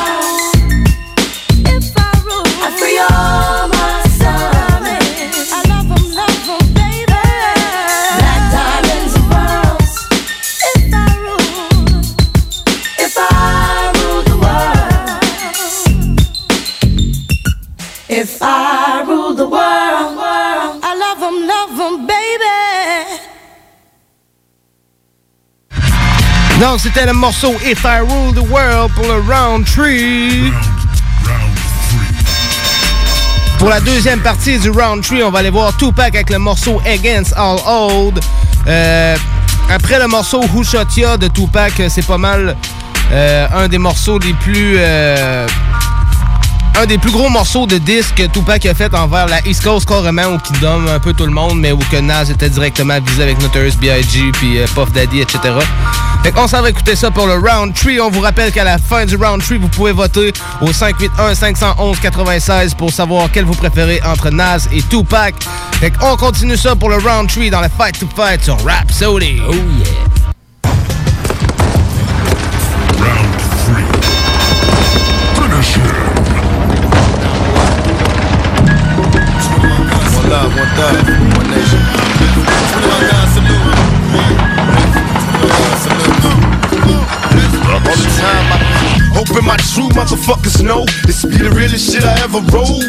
if I rule, I free all my sons. I love them, love them, baby. Black diamonds and pearls. If I rule, if I rule the world, if I rule the world, I love them, love them, baby. Donc, c'était le morceau If I Rule the World pour le Round three. Pour la deuxième partie du Round three, on va aller voir Tupac avec le morceau Against All Old. Euh, après le morceau Who Shot Ya de Tupac, c'est pas mal euh, un des morceaux les plus... Euh, un des plus gros morceaux de disque que Tupac a fait envers la East Coast, carrément, où il donne un peu tout le monde, mais où que Nas était directement visé avec Notorious B I G puis euh, Puff Daddy, et cetera. Fait qu'on s'en va écouter ça pour le Round three. On vous rappelle qu'à la fin du Round three, vous pouvez voter au cinq huit un cinq un un neuf pour savoir quel vous préférez entre Nas et Tupac. Fait qu'on continue ça pour le Round three dans le Fight to Fight sur Rhapsody. Oh yeah! Round three. Finish him. One love, one thug, one nation. twenty-one gun salute. All the time I hoping my true motherfuckers know this be the realest shit I ever wrote.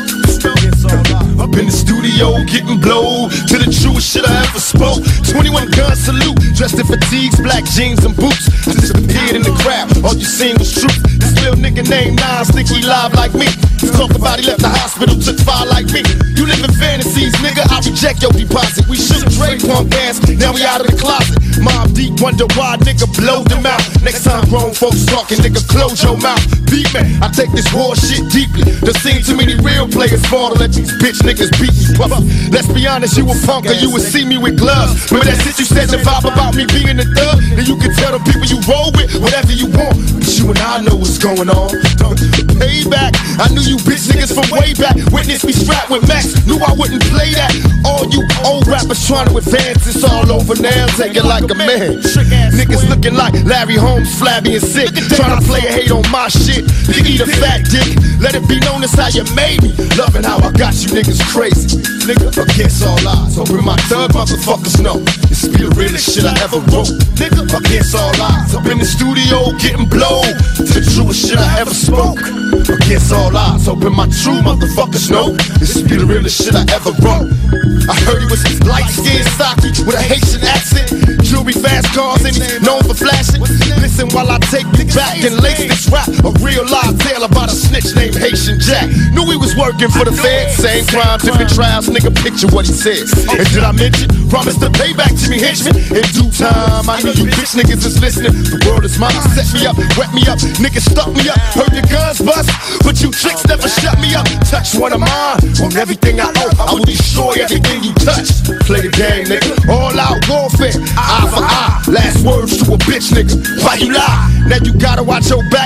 Up in the studio getting blowed to the truest shit I ever spoke. twenty-one gun salute, dressed in fatigues, black jeans and boots. I disappeared in the crowd, all you seen was truth. This little nigga named Nas think he live like me. Talk about he left the hospital, took fire like me. You live in fantasies, nigga, I reject your deposit. We should Dre punk ass, now we out of the closet. Mob Deep wonder why nigga blow them out. Next time grown folks talking, nigga close your mouth. Beat me, I take this war shit deeply. There seen too many real players fall to let these bitch niggas beat me. Puff. Let's be honest, you a punk or you would see me with gloves. Remember that shit you said the vibe about me being a thug? Then you can tell the people you roll with whatever you want. But you and I know what's going on. Payback, I knew you bitch niggas from way back. Witness me strapped with Max, knew I wouldn't play that. All you old rappers trying to advance, it's all over now. Take it like a man. Niggas looking like Larry Holmes, flabby and sick. Trying to play a hate on my shit. You eat a fat dick. Let it be known as how you made me. Loving how I got you niggas crazy. Nigga, against all odds. Hoping my thug motherfuckers know this be the realest shit I ever wrote. Nigga, against all odds. Up in the studio getting blown to the truest shit I ever spoke. Against all odds. Hoping my true motherfuckers know this be the realest shit I ever wrote. I heard he was light skinned, stocky, with a Haitian accent. Jewelry, fast cars, and he's known for flashing. Listen while I take you back and lace this rap. A real live tale about a snitch named Haitian Jack. Knew he was working for the feds. Same crime, different trials, nigga, picture what he said. And did I mention? Promise to pay back Jimmy Henchman. In due time, I know you bitch niggas is listening. The world is mine, set me up, wet me up. Niggas stuck me up, heard your guns bust. But you tricks never shut me up. Touch one of mine, on everything I owe. I will destroy everything you touch. Play the game, nigga. All out warfare, eye for eye. Last words to a bitch, nigga. Why you lie? Now you gotta watch your back now.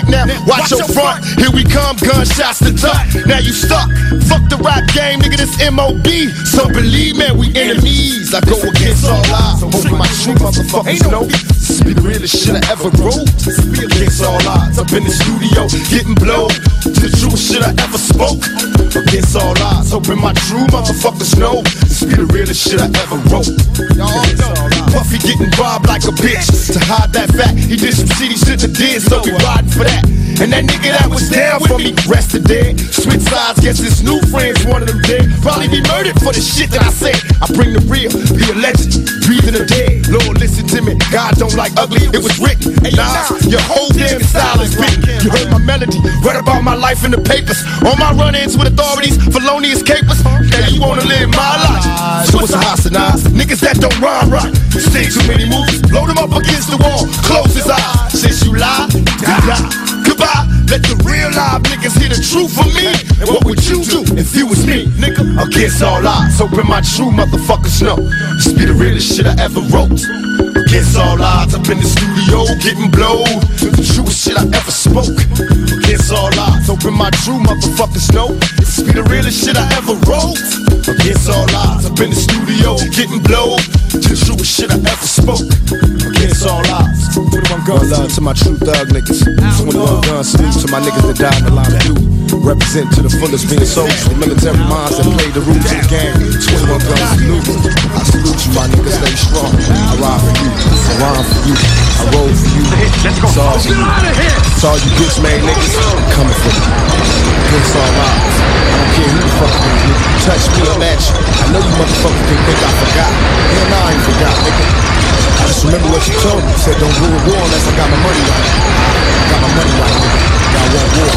Watch your front, here we come, gunshots to duck. Now you stuck. Fuck the rap game, nigga, this M O B. So believe me, we enemies. I go against all odds. Hoping my true motherfuckers know this be the realest shit I ever wrote. Against all odds, up in the studio, getting blowed. The truest shit I ever spoke. Against all odds, hoping my true motherfuckers know this be the realest shit I ever wrote. Y'all know Puffy getting robbed like a bitch. To hide that fact, he did some shitty shit that did, so we riding for that. And that nigga that was down for me, rested dead. Switch sides, guess his new friends, one of them dead. Probably be murdered for the shit that I said. I bring the real, be a legend, breathing the dead. Lord, listen to me, God don't like ugly, it was written. Nah, your whole damn style is written. You heard my melody, read about my life in the papers. On my run-ins with authorities, felonious capers. Now you wanna live my life, so it's a hostilize. Niggas that don't rhyme right, you see too many movies. Load them up against the wall, close his eyes. Since you lie, die. Goodbye, let the real live niggas hear the truth from me. And what would you do if you was me, nigga? Against all odds, hoping my true motherfuckers know this be the realest shit I ever wrote. Against all odds, up in the studio, getting blowed. The truest shit I ever spoke. Against all odds, hoping my true motherfuckers know this be the realest shit I ever wrote. Against all odds, up in the studio, getting blowed. The truest shit I ever spoke. Against all odds. twenty-one gun love to my true thug niggas. twenty-one gun salute to my niggas that died in the line of duty. Represent to the fullest being soldiers, the military minds that play the rules of the game. twenty-one gun salute. I salute you, my niggas, stay strong. I ride for you, I rhyme for you, I roll for you. It's all for you. It's all you bitch made niggas. I'm coming for you. Against all odds. I don't care who the fuck you touch me or match you. I know you motherfuckers can think I forgot. Hell nah, I ain't forgot, nigga. I just remember what you told me. You said don't go to war unless I got my money right. I got my money right, nigga. Got one war.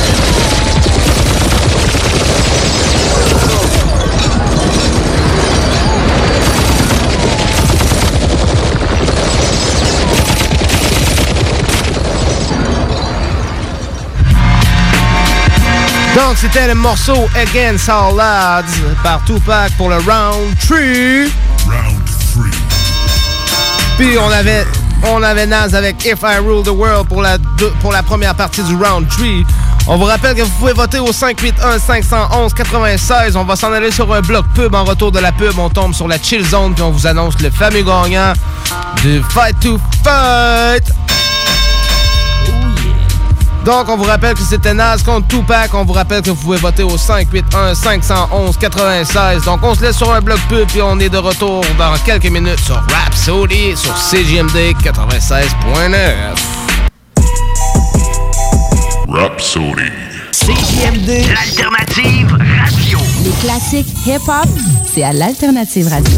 Donc, c'était le morceau Against All Odds par Tupac pour le Round trois. Round trois. Puis on avait, on avait Nas avec If I Rule the World pour la, deux, pour la première partie du Round trois. On vous rappelle que vous pouvez voter au cinq huit un cinq un un quatre-vingt-seize. On va s'en aller sur un bloc pub. En retour de la pub, on tombe sur la Chill Zone puis on vous annonce le fameux gagnant du Fight to Fight. Donc, on vous rappelle que c'était Nas contre Tupac. On vous rappelle que vous pouvez voter au cinq huit un cinq un un quatre-vingt-seize. Donc, on se laisse sur un bloc pub puis on est de retour dans quelques minutes sur Rhapsody sur C J M D quatre-vingt-seize neuf. Rhapsody. C J M D, l'alternative radio. Les classiques hip-hop, c'est à l'alternative radio.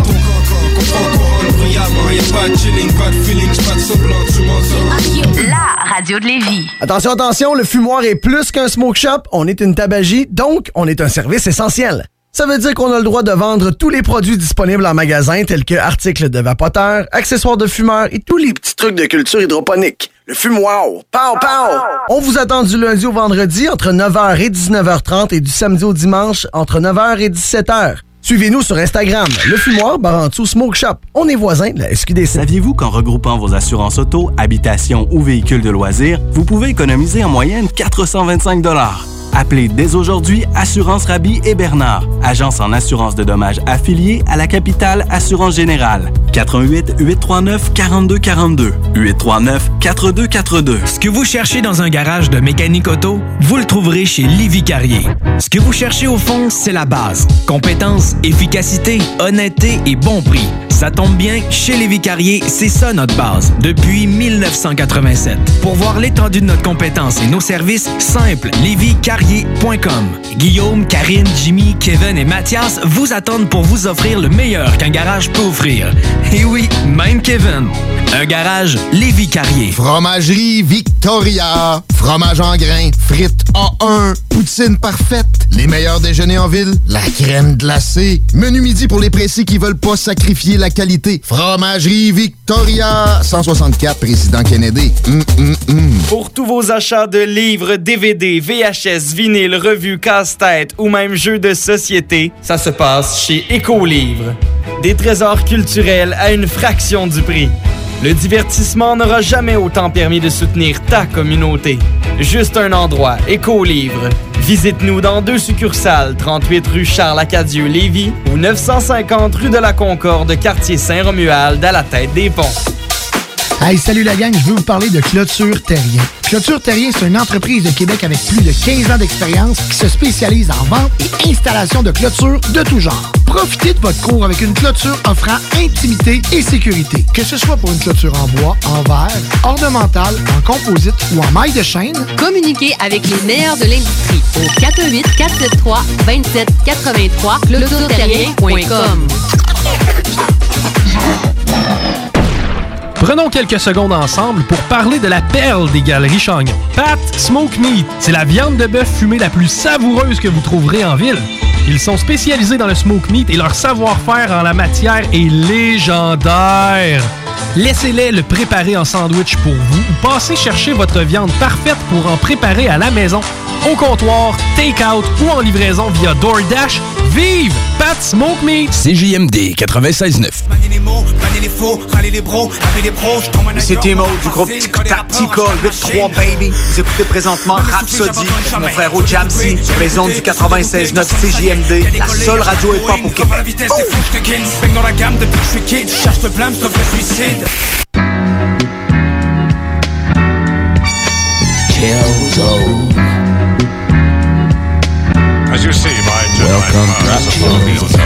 La radio de Lévis. Attention, attention, le fumoir est plus qu'un smoke shop. On est une tabagie, donc on est un service essentiel. Ça veut dire qu'on a le droit de vendre tous les produits disponibles en magasin, tels que articles de vapoteurs, accessoires de fumeurs et tous les petits trucs de culture hydroponique. Le fumoir, pow, pow! On vous attend du lundi au vendredi entre neuf heures et dix-neuf heures trente et du samedi au dimanche entre neuf heures et dix-sept heures. Suivez-nous sur Instagram, Le Fumoir, Barantou Smoke Shop. On est voisins de la S Q D C. Saviez-vous qu'en regroupant vos assurances auto, habitation ou véhicules de loisirs, vous pouvez économiser en moyenne quatre cent vingt-cinq dollars? Appelez dès aujourd'hui Assurance Rabi et Bernard, agence en assurance de dommages affiliée à la capitale Assurance Générale. quatre un huit, huit trois neuf, quatre deux quatre deux. huit trois neuf, quatre deux quatre deux. Ce que vous cherchez dans un garage de mécanique auto, vous le trouverez chez Lévis Carrier. Ce que vous cherchez au fond, c'est la base. Compétence, efficacité, honnêteté et bon prix. Ça tombe bien, chez Lévis Carrier, c'est ça notre base, depuis mille neuf cent quatre-vingt-sept. Pour voir l'étendue de notre compétence et nos services, simple, lévis carrier point com. Guillaume, Karine, Jimmy, Kevin et Mathias vous attendent pour vous offrir le meilleur qu'un garage peut offrir. Et oui, même Kevin. Un garage Lévis Carrier. Fromagerie Victoria. Fromage en grains, frites A un, poutine parfaite, les meilleurs déjeuners en ville, la crème glacée, menu midi pour les pressés qui veulent pas sacrifier la qualité. Fromagerie Victoria. cent soixante-quatre, Président Kennedy. Mm, mm, mm. Pour tous vos achats de livres, D V D, V H S, vinyles, revues, casse-tête ou même jeux de société, ça se passe chez Écolivre. Des trésors culturels à une fraction du prix. Le divertissement n'aura jamais autant permis de soutenir ta communauté. Juste un endroit, Écolivre. Visite-nous dans deux succursales, trente-huit rue Charles-Acadieux-Lévis ou neuf cent cinquante rue de la Concorde, quartier Saint-Romuald, à la tête des ponts. Hey, salut la gang, je veux vous parler de Clôture Terrien. Clôture Terrien, c'est une entreprise de Québec avec plus de quinze ans d'expérience qui se spécialise en vente et installation de clôtures de tout genre. Profitez de votre cour avec une clôture offrant intimité et sécurité. Que ce soit pour une clôture en bois, en verre, ornementale, en composite ou en maille de chaîne, communiquez avec les meilleurs de l'industrie au quatre un huit, quatre sept trois, deux sept huit trois clôture terrien point com. Prenons quelques secondes ensemble pour parler de la perle des Galeries Chagnon. Pat Smoke Meat, c'est la viande de bœuf fumée la plus savoureuse que vous trouverez en ville. Ils sont spécialisés dans le smoke meat et leur savoir-faire en la matière est légendaire. Laissez-les le préparer en sandwich pour vous ou passez chercher votre viande parfaite pour en préparer à la maison, au comptoir, take-out ou en livraison via DoorDash. Vive Pat Smoke Meat! C J M D quatre-vingt-seize neuf. C'est Timo du groupe Tactical huit trois Baby. Vous écoutez présentement Rhapsody, mon frère au Jamsey, maison du quatre-vingt-seize neuf C J M D, la seule radio hip-hop au Québec. Oh! Dans la gamme depuis que je suis kid, je cherche le blâme sauf le suicide. Killzone. As you see, my Welcome to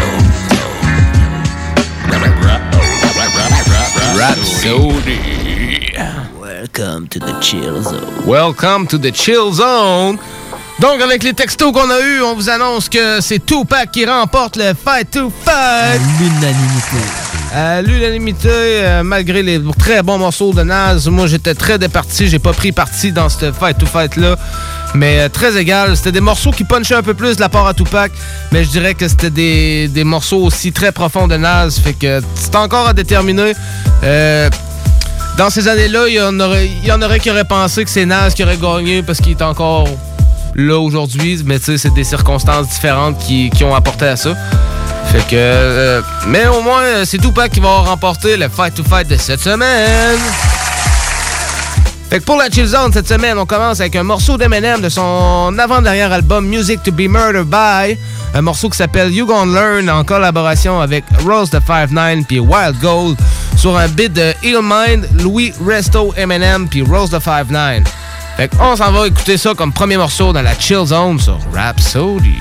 Rhapsody. Welcome to the chill zone. Welcome to the chill zone. Donc, avec les textos qu'on a eus, on vous annonce que c'est Tupac qui remporte le Fight to Fight. L'unanimité. À l'unanimité, euh, malgré les très bons morceaux de Nas, moi j'étais très départi, j'ai pas pris parti dans ce Fight to Fight là, mais euh, très égal. C'était des morceaux qui punchaient un peu plus de la part à Tupac, mais je dirais que c'était des, des morceaux aussi très profonds de Nas, fait que c'est encore à déterminer. Euh, dans ces années-là, il y en aurait, il y en aurait qui auraient pensé que c'est Nas qui aurait gagné parce qu'il est encore là aujourd'hui, mais tu sais, c'est des circonstances différentes qui, qui ont apporté à ça. Fait que... Euh, mais au moins, c'est Tupac qui va remporter le Fight to Fight de cette semaine. Fait que pour la Chill Zone, cette semaine, on commence avec un morceau d'Eminem de son avant-dernier album Music to be Murdered by. Un morceau qui s'appelle You Gon' Learn en collaboration avec Rose the five nine puis Wild Gold sur un beat de Illmind, Louis Resto, Eminem puis Rose the five nine. Fait qu'on s'en va écouter ça comme premier morceau dans la Chill Zone sur Rhapsody.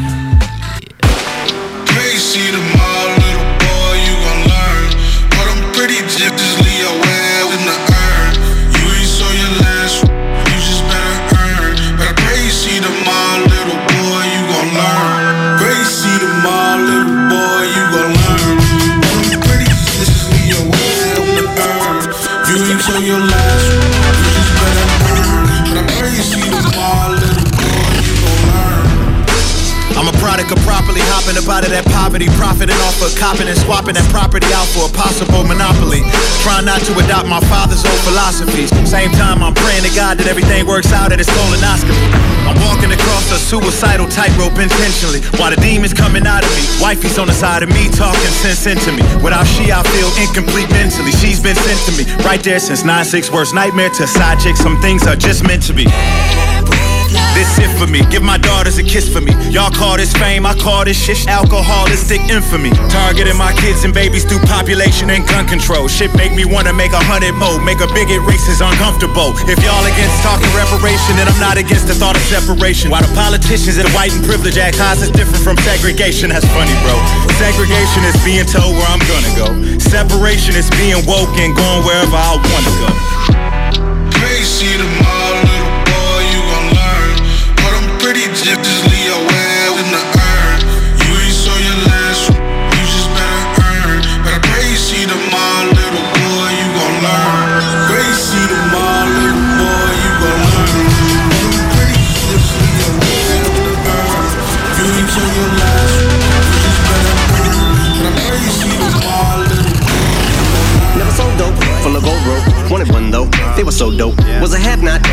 See tomorrow, little boy, you gon' learn. But I'm pretty jigglessly aware in the earn. You ain't saw your last, you just better earn. But I pray you see tomorrow, little boy, you gon' learn. Pray you see tomorrow, little boy, you gon' learn. But I'm pretty jigglessly aware in the earn. You ain't saw your last, you just better earn. But I pray you see tomorrow, little boy, you gon' learn. I'm a product of properly hopping up out of that poverty, profiting off of copping and swapping that property out for a possible monopoly. Trying not to adopt my father's old philosophies. Same time I'm praying to God that everything works out at his colonoscopy. I'm walking across a suicidal tightrope intentionally, while the demons coming out of me. Wifey's on the side of me, talking sense into me. Without she, I feel incomplete mentally. She's been sent to me, right there since nine six worst nightmare to side chick. Some things are just meant to be. This it for me, give my daughters a kiss for me. Y'all call this fame, I call this shit alcoholistic infamy. Targeting my kids and babies through population and gun control. Shit make me wanna make a hundred more, make a bigot racist uncomfortable. If y'all against talking reparation, then I'm not against the thought of separation. While the politicians and white and privilege act high is different from segregation, that's funny, bro. Segregation is being told where I'm gonna go. Separation is being woke and going wherever I wanna go. Pray see tomorrow, little boy, you gon' learn. But I'm pretty jigglessly aware in the earn. You ain't saw your last, you just better earn. But I pray you see tomorrow, little boy, you gon' learn. Pray you see tomorrow, little boy, you gon' learn. But I'm pretty jigglessly aware in the earn. You ain't saw your last, you just better earn. But I pray you see tomorrow, little boy, you gon' learn. Never so dope, full of gold rope. Wanted one though, they were so dope. Was a have not, cause my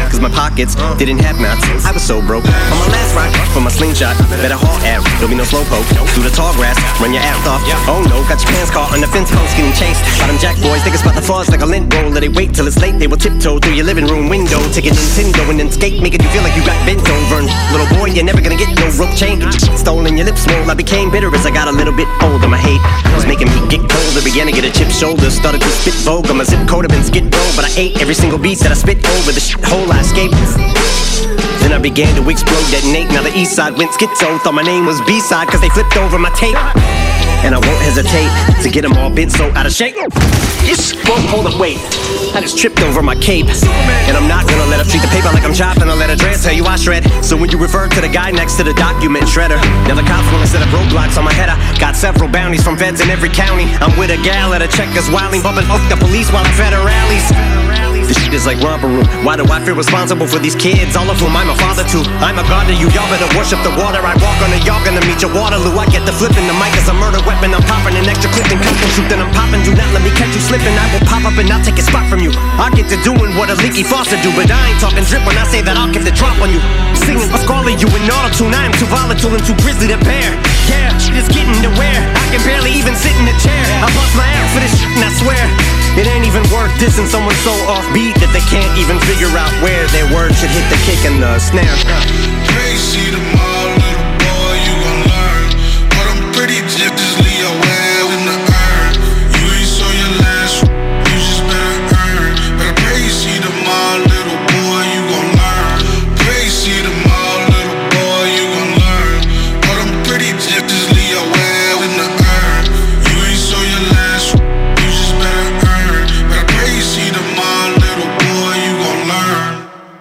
pockets didn't have knots. I was so broke. On my last ride for my slingshot, better haul out. There'll be no slowpoke. Through the tall grass, run your ass off. Oh no, got your pants caught on the fence post, getting chased. By them jack boys, think it's about the fuzz like a lint roller. They wait till it's late, they will tiptoe through your living room window, take a Nintendo and then skate, making you feel like you got bent over. And little boy, you're never gonna get no rope chain. Stolen your lips swole. I became bitter as I got a little bit older. My hate was making me get colder. Began to get a chip shoulder. Started to spit vulgar. My zip code have been skid row, but I ate every single beat that I spit over. The shit hole I escaped. Then I began to explode, detonate. Now the east side went schizo. Thought my name was B-side cause they flipped over my tape. And I won't hesitate to get them all bent so out of shape. Yes, won't hold up, wait. I just tripped over my cape. And I'm not gonna let her treat the paper like I'm chopping. I'll let her dress, tell you I shred. So when you refer to the guy next to the document shredder, now the cops wanna set up roadblocks on my head. I got several bounties from feds in every county. I'm with a gal at a Checkers wilding, bumping off the police while I'm fed her rallies. This shit is like romper room. Why do I feel responsible for these kids? All of whom I'm a father to. I'm a god to you, y'all better worship the water I walk on. Y'all gonna meet your Waterloo. I get the flipping, the mic is a murder weapon. I'm popping an extra clip and custom shoot. Then I'm popping, do not let me catch you slipping. I will pop up and I'll take a spot from you. I get to doing what a leaky faucet do, but I ain't talking drip when I say that I'll get the drop on you. Singing, calling you in auto-tune. I am too volatile and too grizzly to bear. Yeah, shit is getting to wear. I can barely even sit in a chair. I bust my ass for this shit and I swear it ain't even worth dissing someone so offbeat that they can't even figure out where their words should hit the kick and the snare. Crazy tomorrow, little boy, you gon' learn. But I'm pretty digitally aware in the earn. You ain't saw your last, you just better earn. But crazy tomorrow, little boy, you gon' learn. Crazy tomorrow, little boy, you gon' learn. But I'm pretty digitally aware in the earn. You ain't saw your last, you just better earn. But crazy tomorrow, little boy, you gon' learn.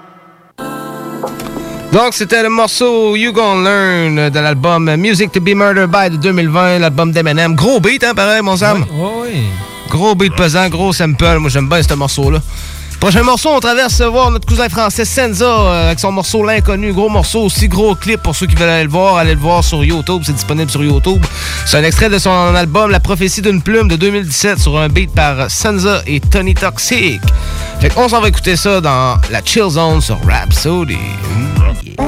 Donc, c'était le morceau You Gon' Learn de l'album Music to be Murdered by de deux mille vingt, l'album d'Eminem. Gros beat, hein, pareil, mon Sam? Oui, oui. Gros beat pesant, gros sample. Moi, j'aime bien ce morceau-là. Prochain morceau, on traverse voir notre cousin français Senza euh, avec son morceau L'Inconnu. Gros morceau aussi, gros clip pour ceux qui veulent aller le voir. Allez le voir sur YouTube, c'est disponible sur YouTube. C'est un extrait de son album La Prophétie d'une plume de deux mille dix-sept sur un beat par Senza et Tony Toxic. Fait qu'on s'en va écouter ça dans la Chill Zone sur Rhapsody. Yeah.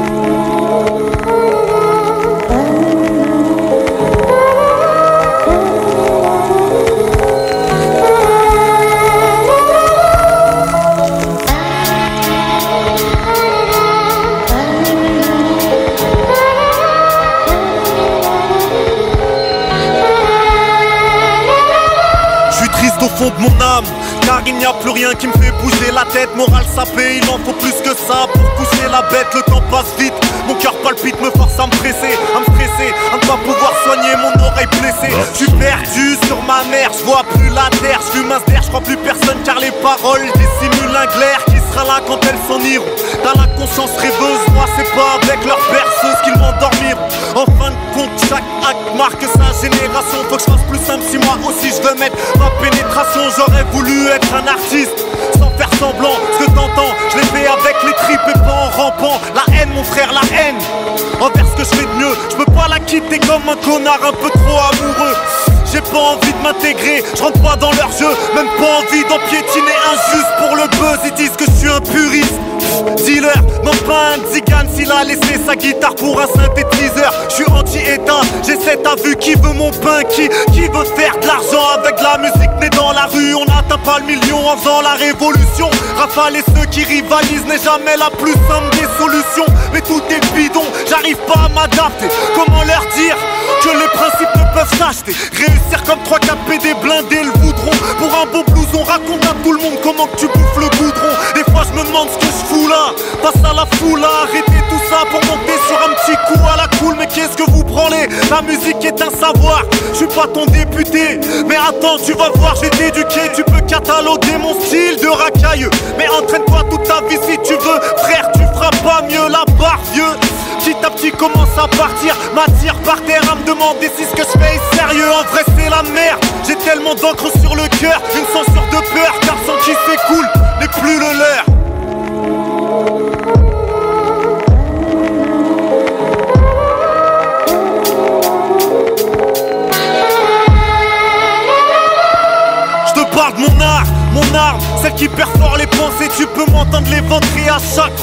Au fond de mon âme, car il n'y a plus rien qui me fait bouger la tête. Morale sapée, il en faut plus que ça pour pousser la bête. Le temps passe vite, mon cœur palpite, me force à me presser, à me stresser, à ne pas pouvoir soigner mon oreille blessée. Je suis perdu sur ma mère, je vois plus la terre. Je fume un ster, je crois plus personne car les paroles dissimulent un glaire qui sera là quand elles s'en iront. Dans la conscience rêveuse, moi c'est pas avec leur berceuse qu'ils m'endormiront. En fin de compte, chaque acte marque sa génération. Faut que je fasse plus simple si moi aussi je veux mettre ma pénétration. J'aurais voulu être un artiste sans faire semblant. Ce que t'entends, je l'ai fait avec les tripes et pas en rampant. La haine, mon frère, la haine envers ce que je fais de mieux. Je peux pas la quitter comme un connard un peu trop amoureux. J'ai pas envie de m'intégrer, je rentre pas dans leur jeu. Même pas envie d'en piétiner un juste pour le buzz. Ils disent que je suis un puriste. Dealer, non pas un zigane s'il a laissé sa guitare pour un synthétiseur. Je suis anti-état, j'ai cette vue qui veut mon pain, qui, qui veut faire de l'argent avec de la musique née dans la rue. On n'atteint pas le million en faisant la révolution. Rafale et ceux qui rivalisent n'est jamais la plus simple des solutions. Mais tout est bidon, j'arrive pas à m'adapter. Comment leur dire que les principes ne peuvent s'acheter? Réussir comme trois quatre P D blindés le voudront. Pour un beau blouson, raconte à tout le monde comment que tu bouffes le goudron. Des fois je me demande ce que je fous là. Passe à la foule, arrêtez tout ça pour monter sur un petit coup à la cool. Mais qu'est-ce que vous branlez? La musique est un savoir. Je suis pas ton député, mais attends, tu vas voir, je vais t'éduquer. Tu peux cataloguer mon style de racailleux, mais entraîne-toi toute ta vie si tu veux. Frère, tu feras pas mieux la barre, vieux. Petit à petit commence à partir, m'attire par terre à me demander si ce que je fais est sérieux. En vrai c'est la merde, j'ai tellement d'encre sur le cœur. Une censure de peur, car le sang qui s'écoule n'est plus le leur. Je te parle de mon art, mon arme, celle qui perfore les pensées. Tu peux m'entendre l'éventrer à chaque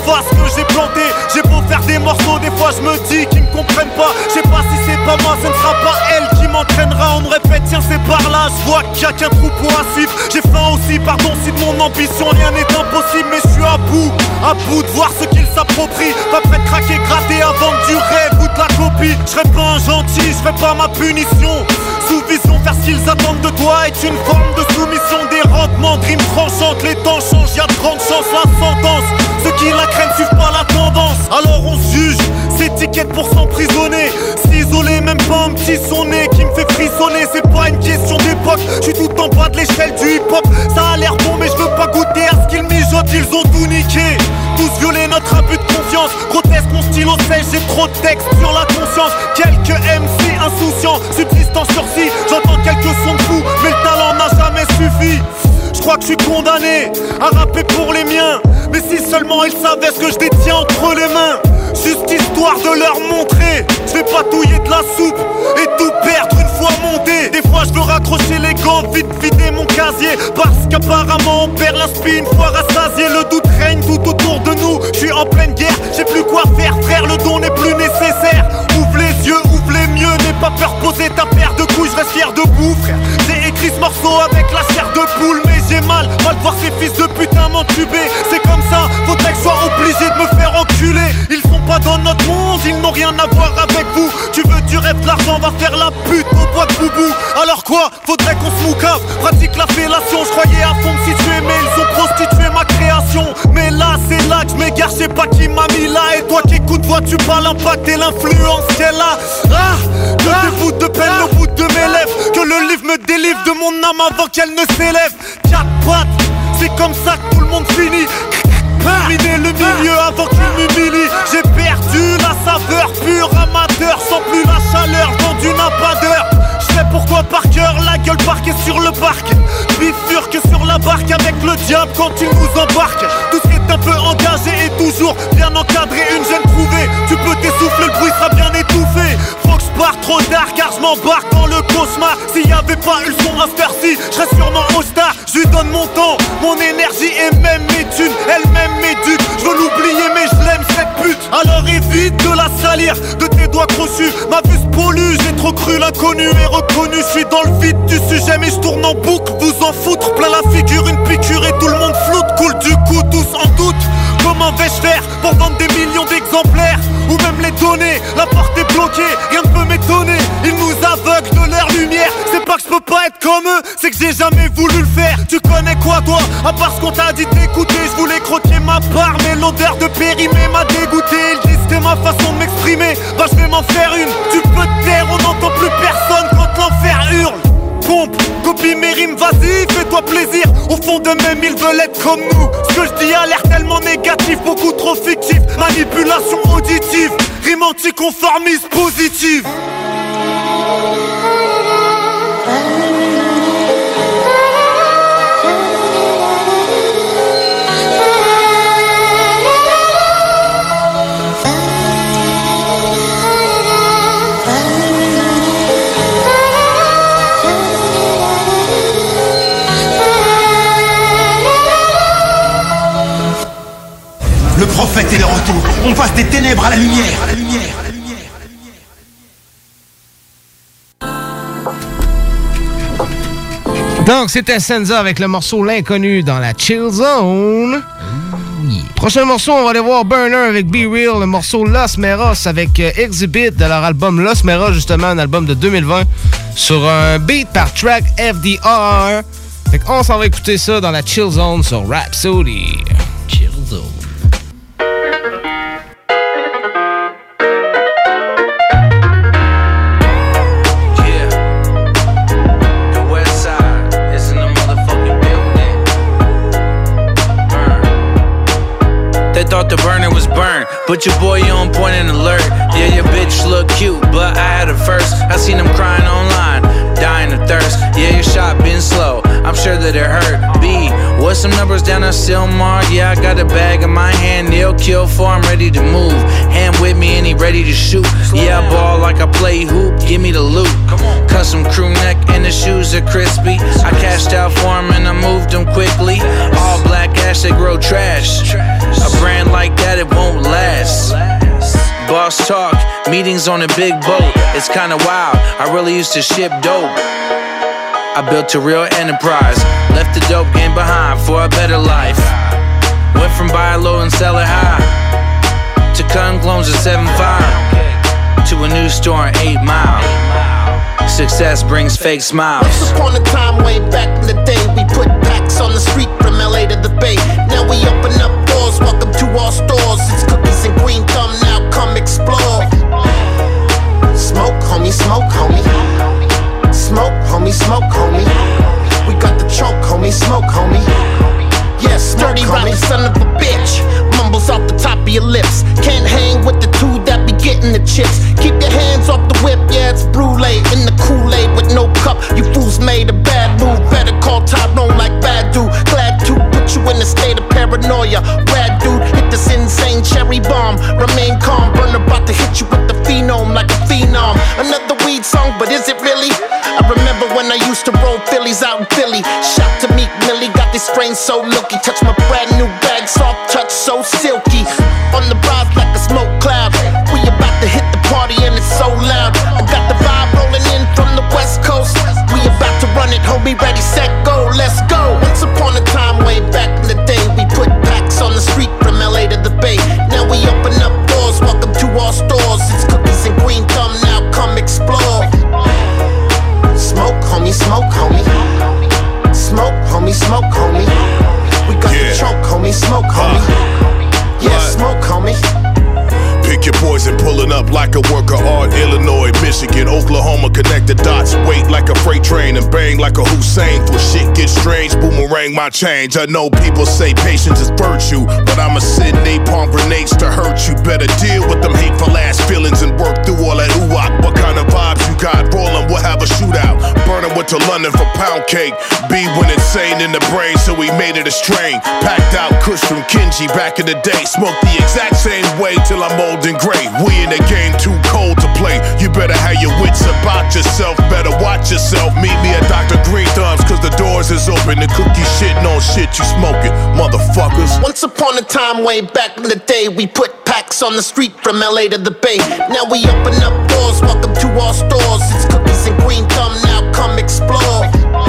efface ce que j'ai planté. J'ai beau faire des morceaux, des fois je me dis qu'ils me comprennent pas. Je sais pas si c'est pas moi, ce ne sera pas elle qui m'entraînera. On me répète tiens c'est par là, je vois qu'il y a qu'un troupeau à suivre. J'ai faim aussi, pardon si de mon ambition rien n'est impossible. Mais je suis à bout, à bout de voir ce qu'ils s'approprient. Pas prêt de craquer, gratter avant du rêve ou de la copie. Je serai pas un gentil, je ferai pas ma punition. Sous vision, faire ce qu'ils attendent de toi est une forme de soumission. Des rendements, de rimes tranchantes, les temps changent, y'a de grandes chances, la sentence. Ceux qui la craignent suivent pas la tendance. Alors on se juge, c'est étiquette pour s'emprisonner. S'isoler, même pas un petit sonnet qui me fait frissonner. C'est pas une question d'époque, je suis tout en bas de l'échelle du hip-hop. Ça a l'air bon mais je veux pas goûter à ce qu'ils mijotent. Ils ont tout niqué, tous violé notre abus de confiance. Grotesque, mon stylo sèche, j'ai trop de texte sur la conscience. Quelques M C insouciants, subsistant sursis. J'entends quelques sons de fous, mais le talent n'a jamais suffi. Je crois que je suis condamné à rapper pour les miens. Mais si seulement ils savaient ce que je détiens entre les mains. Juste histoire de leur montrer. Je vais pas touiller de la soupe et tout perdre une fois monté. Des fois je veux raccrocher les gants, vite vider mon casier. Parce qu'apparemment on perd l'inspi une fois rassasié. Le doute règne tout autour de nous. Je suis en pleine guerre, j'ai plus quoi faire frère. Le don n'est plus nécessaire. Ouvre les yeux, ouvre les mieux. N'aie pas peur, poser ta paire de couilles. Je reste fier debout frère. J'ai écrit ce morceau avec la chair de poule. Mais j'ai mal, mal de voir ces fils de putain m'entuber. C'est comme ça, faudrait que je sois obligé de me faire enculer. Ils sont pas dans notre monde, ils n'ont rien à voir avec vous. Tu veux du rêve, de l'argent, va faire la pute au bois de boubou. Alors quoi, faudrait qu'on se moucave, pratique la fellation. Je croyais à fond me situer, mais ils ont prostitué ma création. Mais là, c'est là que je m'égare, je sais pas qui m'a mis là. Et toi qui écoutes, vois-tu pas l'impact et l'influence qu'elle a. Ah, que ah, des bouts de peine ah, au bout de mes lèvres. Que le livre me délivre de mon âme avant qu'elle ne s'élève. Quatre pattes, c'est comme ça que tout le monde finit. Terminer le milieu avant qu'il m'humilie. J'ai perdu la saveur pure, amateur, sans plus la chaleur vendu n'a pas d'heure. Je sais pourquoi par cœur, la gueule parquée sur le parc. Bifurque que sur la barque avec le diable quand il nous embarque. Tout ce qui est un peu engagé et toujours bien encadré, une gêne trouvée. Tu peux t'essouffler, le bruit sera bien étouffé. Faut que je parte trop tard car je m'embarque dans le cauchemar. S'il y avait pas eu le son à cette heure-ci, je serais sûrement au star. Je lui donne mon temps, mon énergie et même mes thunes. Elle-même m'éduque, je veux l'oublier mais je l'aime cette pute. Alors évite de la salir, de tes doigts crochus. Ma vue se pollue, j'ai trop cru l'inconnu et reconnu. Je suis dans le vide du sujet mais je tourne en boucle. Vous en foutre, plein la figure, une piqûre et tout le monde floute. Coule du coup, tous en doute. Comment vais-je faire pour vendre des millions d'exemplaires ou même les donner? La porte est bloquée, rien ne peut m'étonner. Ils nous aveuglent de leur lumière. C'est pas que je peux pas être comme eux, c'est que j'ai jamais voulu le faire. Tu connais quoi toi, à part ce qu'on t'a dit d'écouter? Je voulais croquer ma part mais l'odeur de périmé m'a dégoûté. Ils disent que ma façon de m'exprimer, bah je vais m'en faire une. Tu peux te taire, on n'entend plus personne quand l'enfer hurle. Pompe, copie mes rimes, vas-y, fais-toi plaisir. Au fond d'eux-mêmes, ils veulent être comme nous. Ce que je dis a l'air tellement négatif, beaucoup trop fictif. Manipulation auditive, rime anticonformiste positive. Le prophète est de retour. On passe des ténèbres à la lumière. À la lumière. Donc, c'était Senza avec le morceau L'Inconnu dans la Chill Zone. Prochain morceau, on va aller voir Burner avec Be Real, le morceau Los Meros avec euh, Exhibit de leur album Los Meros, justement, un album de deux mille vingt, sur un beat par Track F D R. Fait qu'on s'en va écouter ça dans la Chill Zone sur Rhapsody. Chill Zone. Thought the burner was burned, but your boy on point and alert. Yeah, your bitch look cute, but I had her first. I seen him crying online. dying of thirst. Yeah, your shot been slow, I'm sure that it hurt. B, what's some numbers down on Silmar? Yeah, I got a bag in my hand, they'll kill for, I'm ready to move. Hand with me and he ready to shoot. Yeah, I ball like I play hoop, give me the loot. Custom crew neck and the shoes are crispy. I cashed out for him and I moved him quickly. All black ash, they grow trash. A brand like that, it won't last. Boss talk, meetings on a big boat. It's kinda wild, I really used to ship dope. I built a real enterprise, left the dope game behind for a better life. Went from buy low and sell it high, to cutting clones at seven five, to a new store in eight mile. Success brings fake smiles. Once upon a time, way back in the day, we put packs on the street from L A to the Bay. Now we open up doors, welcome to our stores. It's cookies and green thumb, now come explore. Smoke, homie, smoke, homie. Smoke, homie, smoke, homie. We got the choke, homie, smoke, homie. Yeah, smoke, homie. Son of a bitch, mumbles off the top of your lips. Can't hang with the two that be getting the chips. Keep your hands off the whip, yeah, it's brulee in the Kool-Aid with no cup. You fools made a bad move, better call Tyrone like bad dude. Glad to put you in a state of paranoia. Rad dude, hit this insane cherry bomb. Remain calm, burn about to hit you with the phenome like a phenom. Another weed song, but is it really? I remember when I used to roll Phillies out in Philly. Shout to Meek Millie, got this strain so looky. Touch my brand new bag, soft touch so silky. On the rise like a smoke cloud. We about to hit the party and it's so loud. I got the vibe rolling in from the west coast. We about to run it, homie, ready, set, go, let's go. Once upon a time, way back in the day, we put packs on the street from L A to the Bay. Now we open up doors, welcome to our stores. It's cookies and green thumb, now come explore. Smoke, homie, smoke, homie. Smoke, homie, smoke, homie. We got yeah. the choke, homie, smoke, homie. Uh, yeah, smoke, homie. Pick your poison, pulling up like a work of art. Illinois, Michigan, Oklahoma, connect the dots. Wait like a freight train and bang like a Hussein. For shit gets strange, boomerang my change. I know people say patience is virtue, but I'ma send napalm grenades to hurt you. Better deal with them hateful ass feelings and work through all that ooh-wop. What kind of vibes you got? Rollin', we'll have a shootout. Burnin' went to London for pound cake. B went insane in the brain, so we made it a strain. Packed out Kush from Kenji back in the day. Smoked the exact same way till I'm old and gray. We in the game too cold to play. You better have your wits about yourself. Better watch yourself. Meet me at Doctor Green Thumbs, cause the doors is open. The cookie shitting on shit you smoking, motherfuckers. Once upon a time, way back in the day, we put packs on the street from L A to the Bay. Now we open up doors, welcome to our stores. It's cookies and green thumb, now come explore.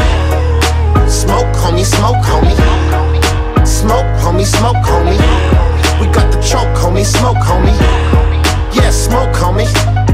Smoke, homie, smoke, homie. Smoke, homie, smoke, homie. We got the choke, homie, smoke, homie. Yeah, smoke, homie.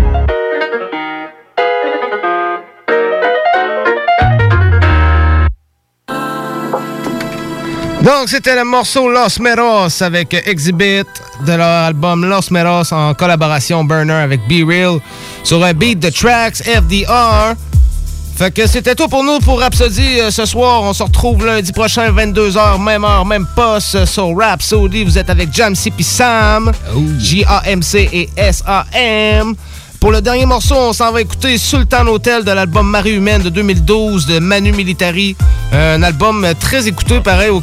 Donc, c'était le morceau Los Meros avec Exhibit de leur album Los Meros en collaboration Burner avec Be Real sur un beat de Tracks F D R. Fait que c'était tout pour nous pour Rhapsody euh, ce soir. On se retrouve lundi prochain, vingt-deux heures, même heure, même poste sur Rhapsody. Vous êtes avec Jamsey pis Sam, oh. J A M C et S A M. Pour le dernier morceau, on s'en va écouter Sultan Hotel de l'album Marée Humaine de deux mille douze de Manu Militari. Un album très écouté, pareil, au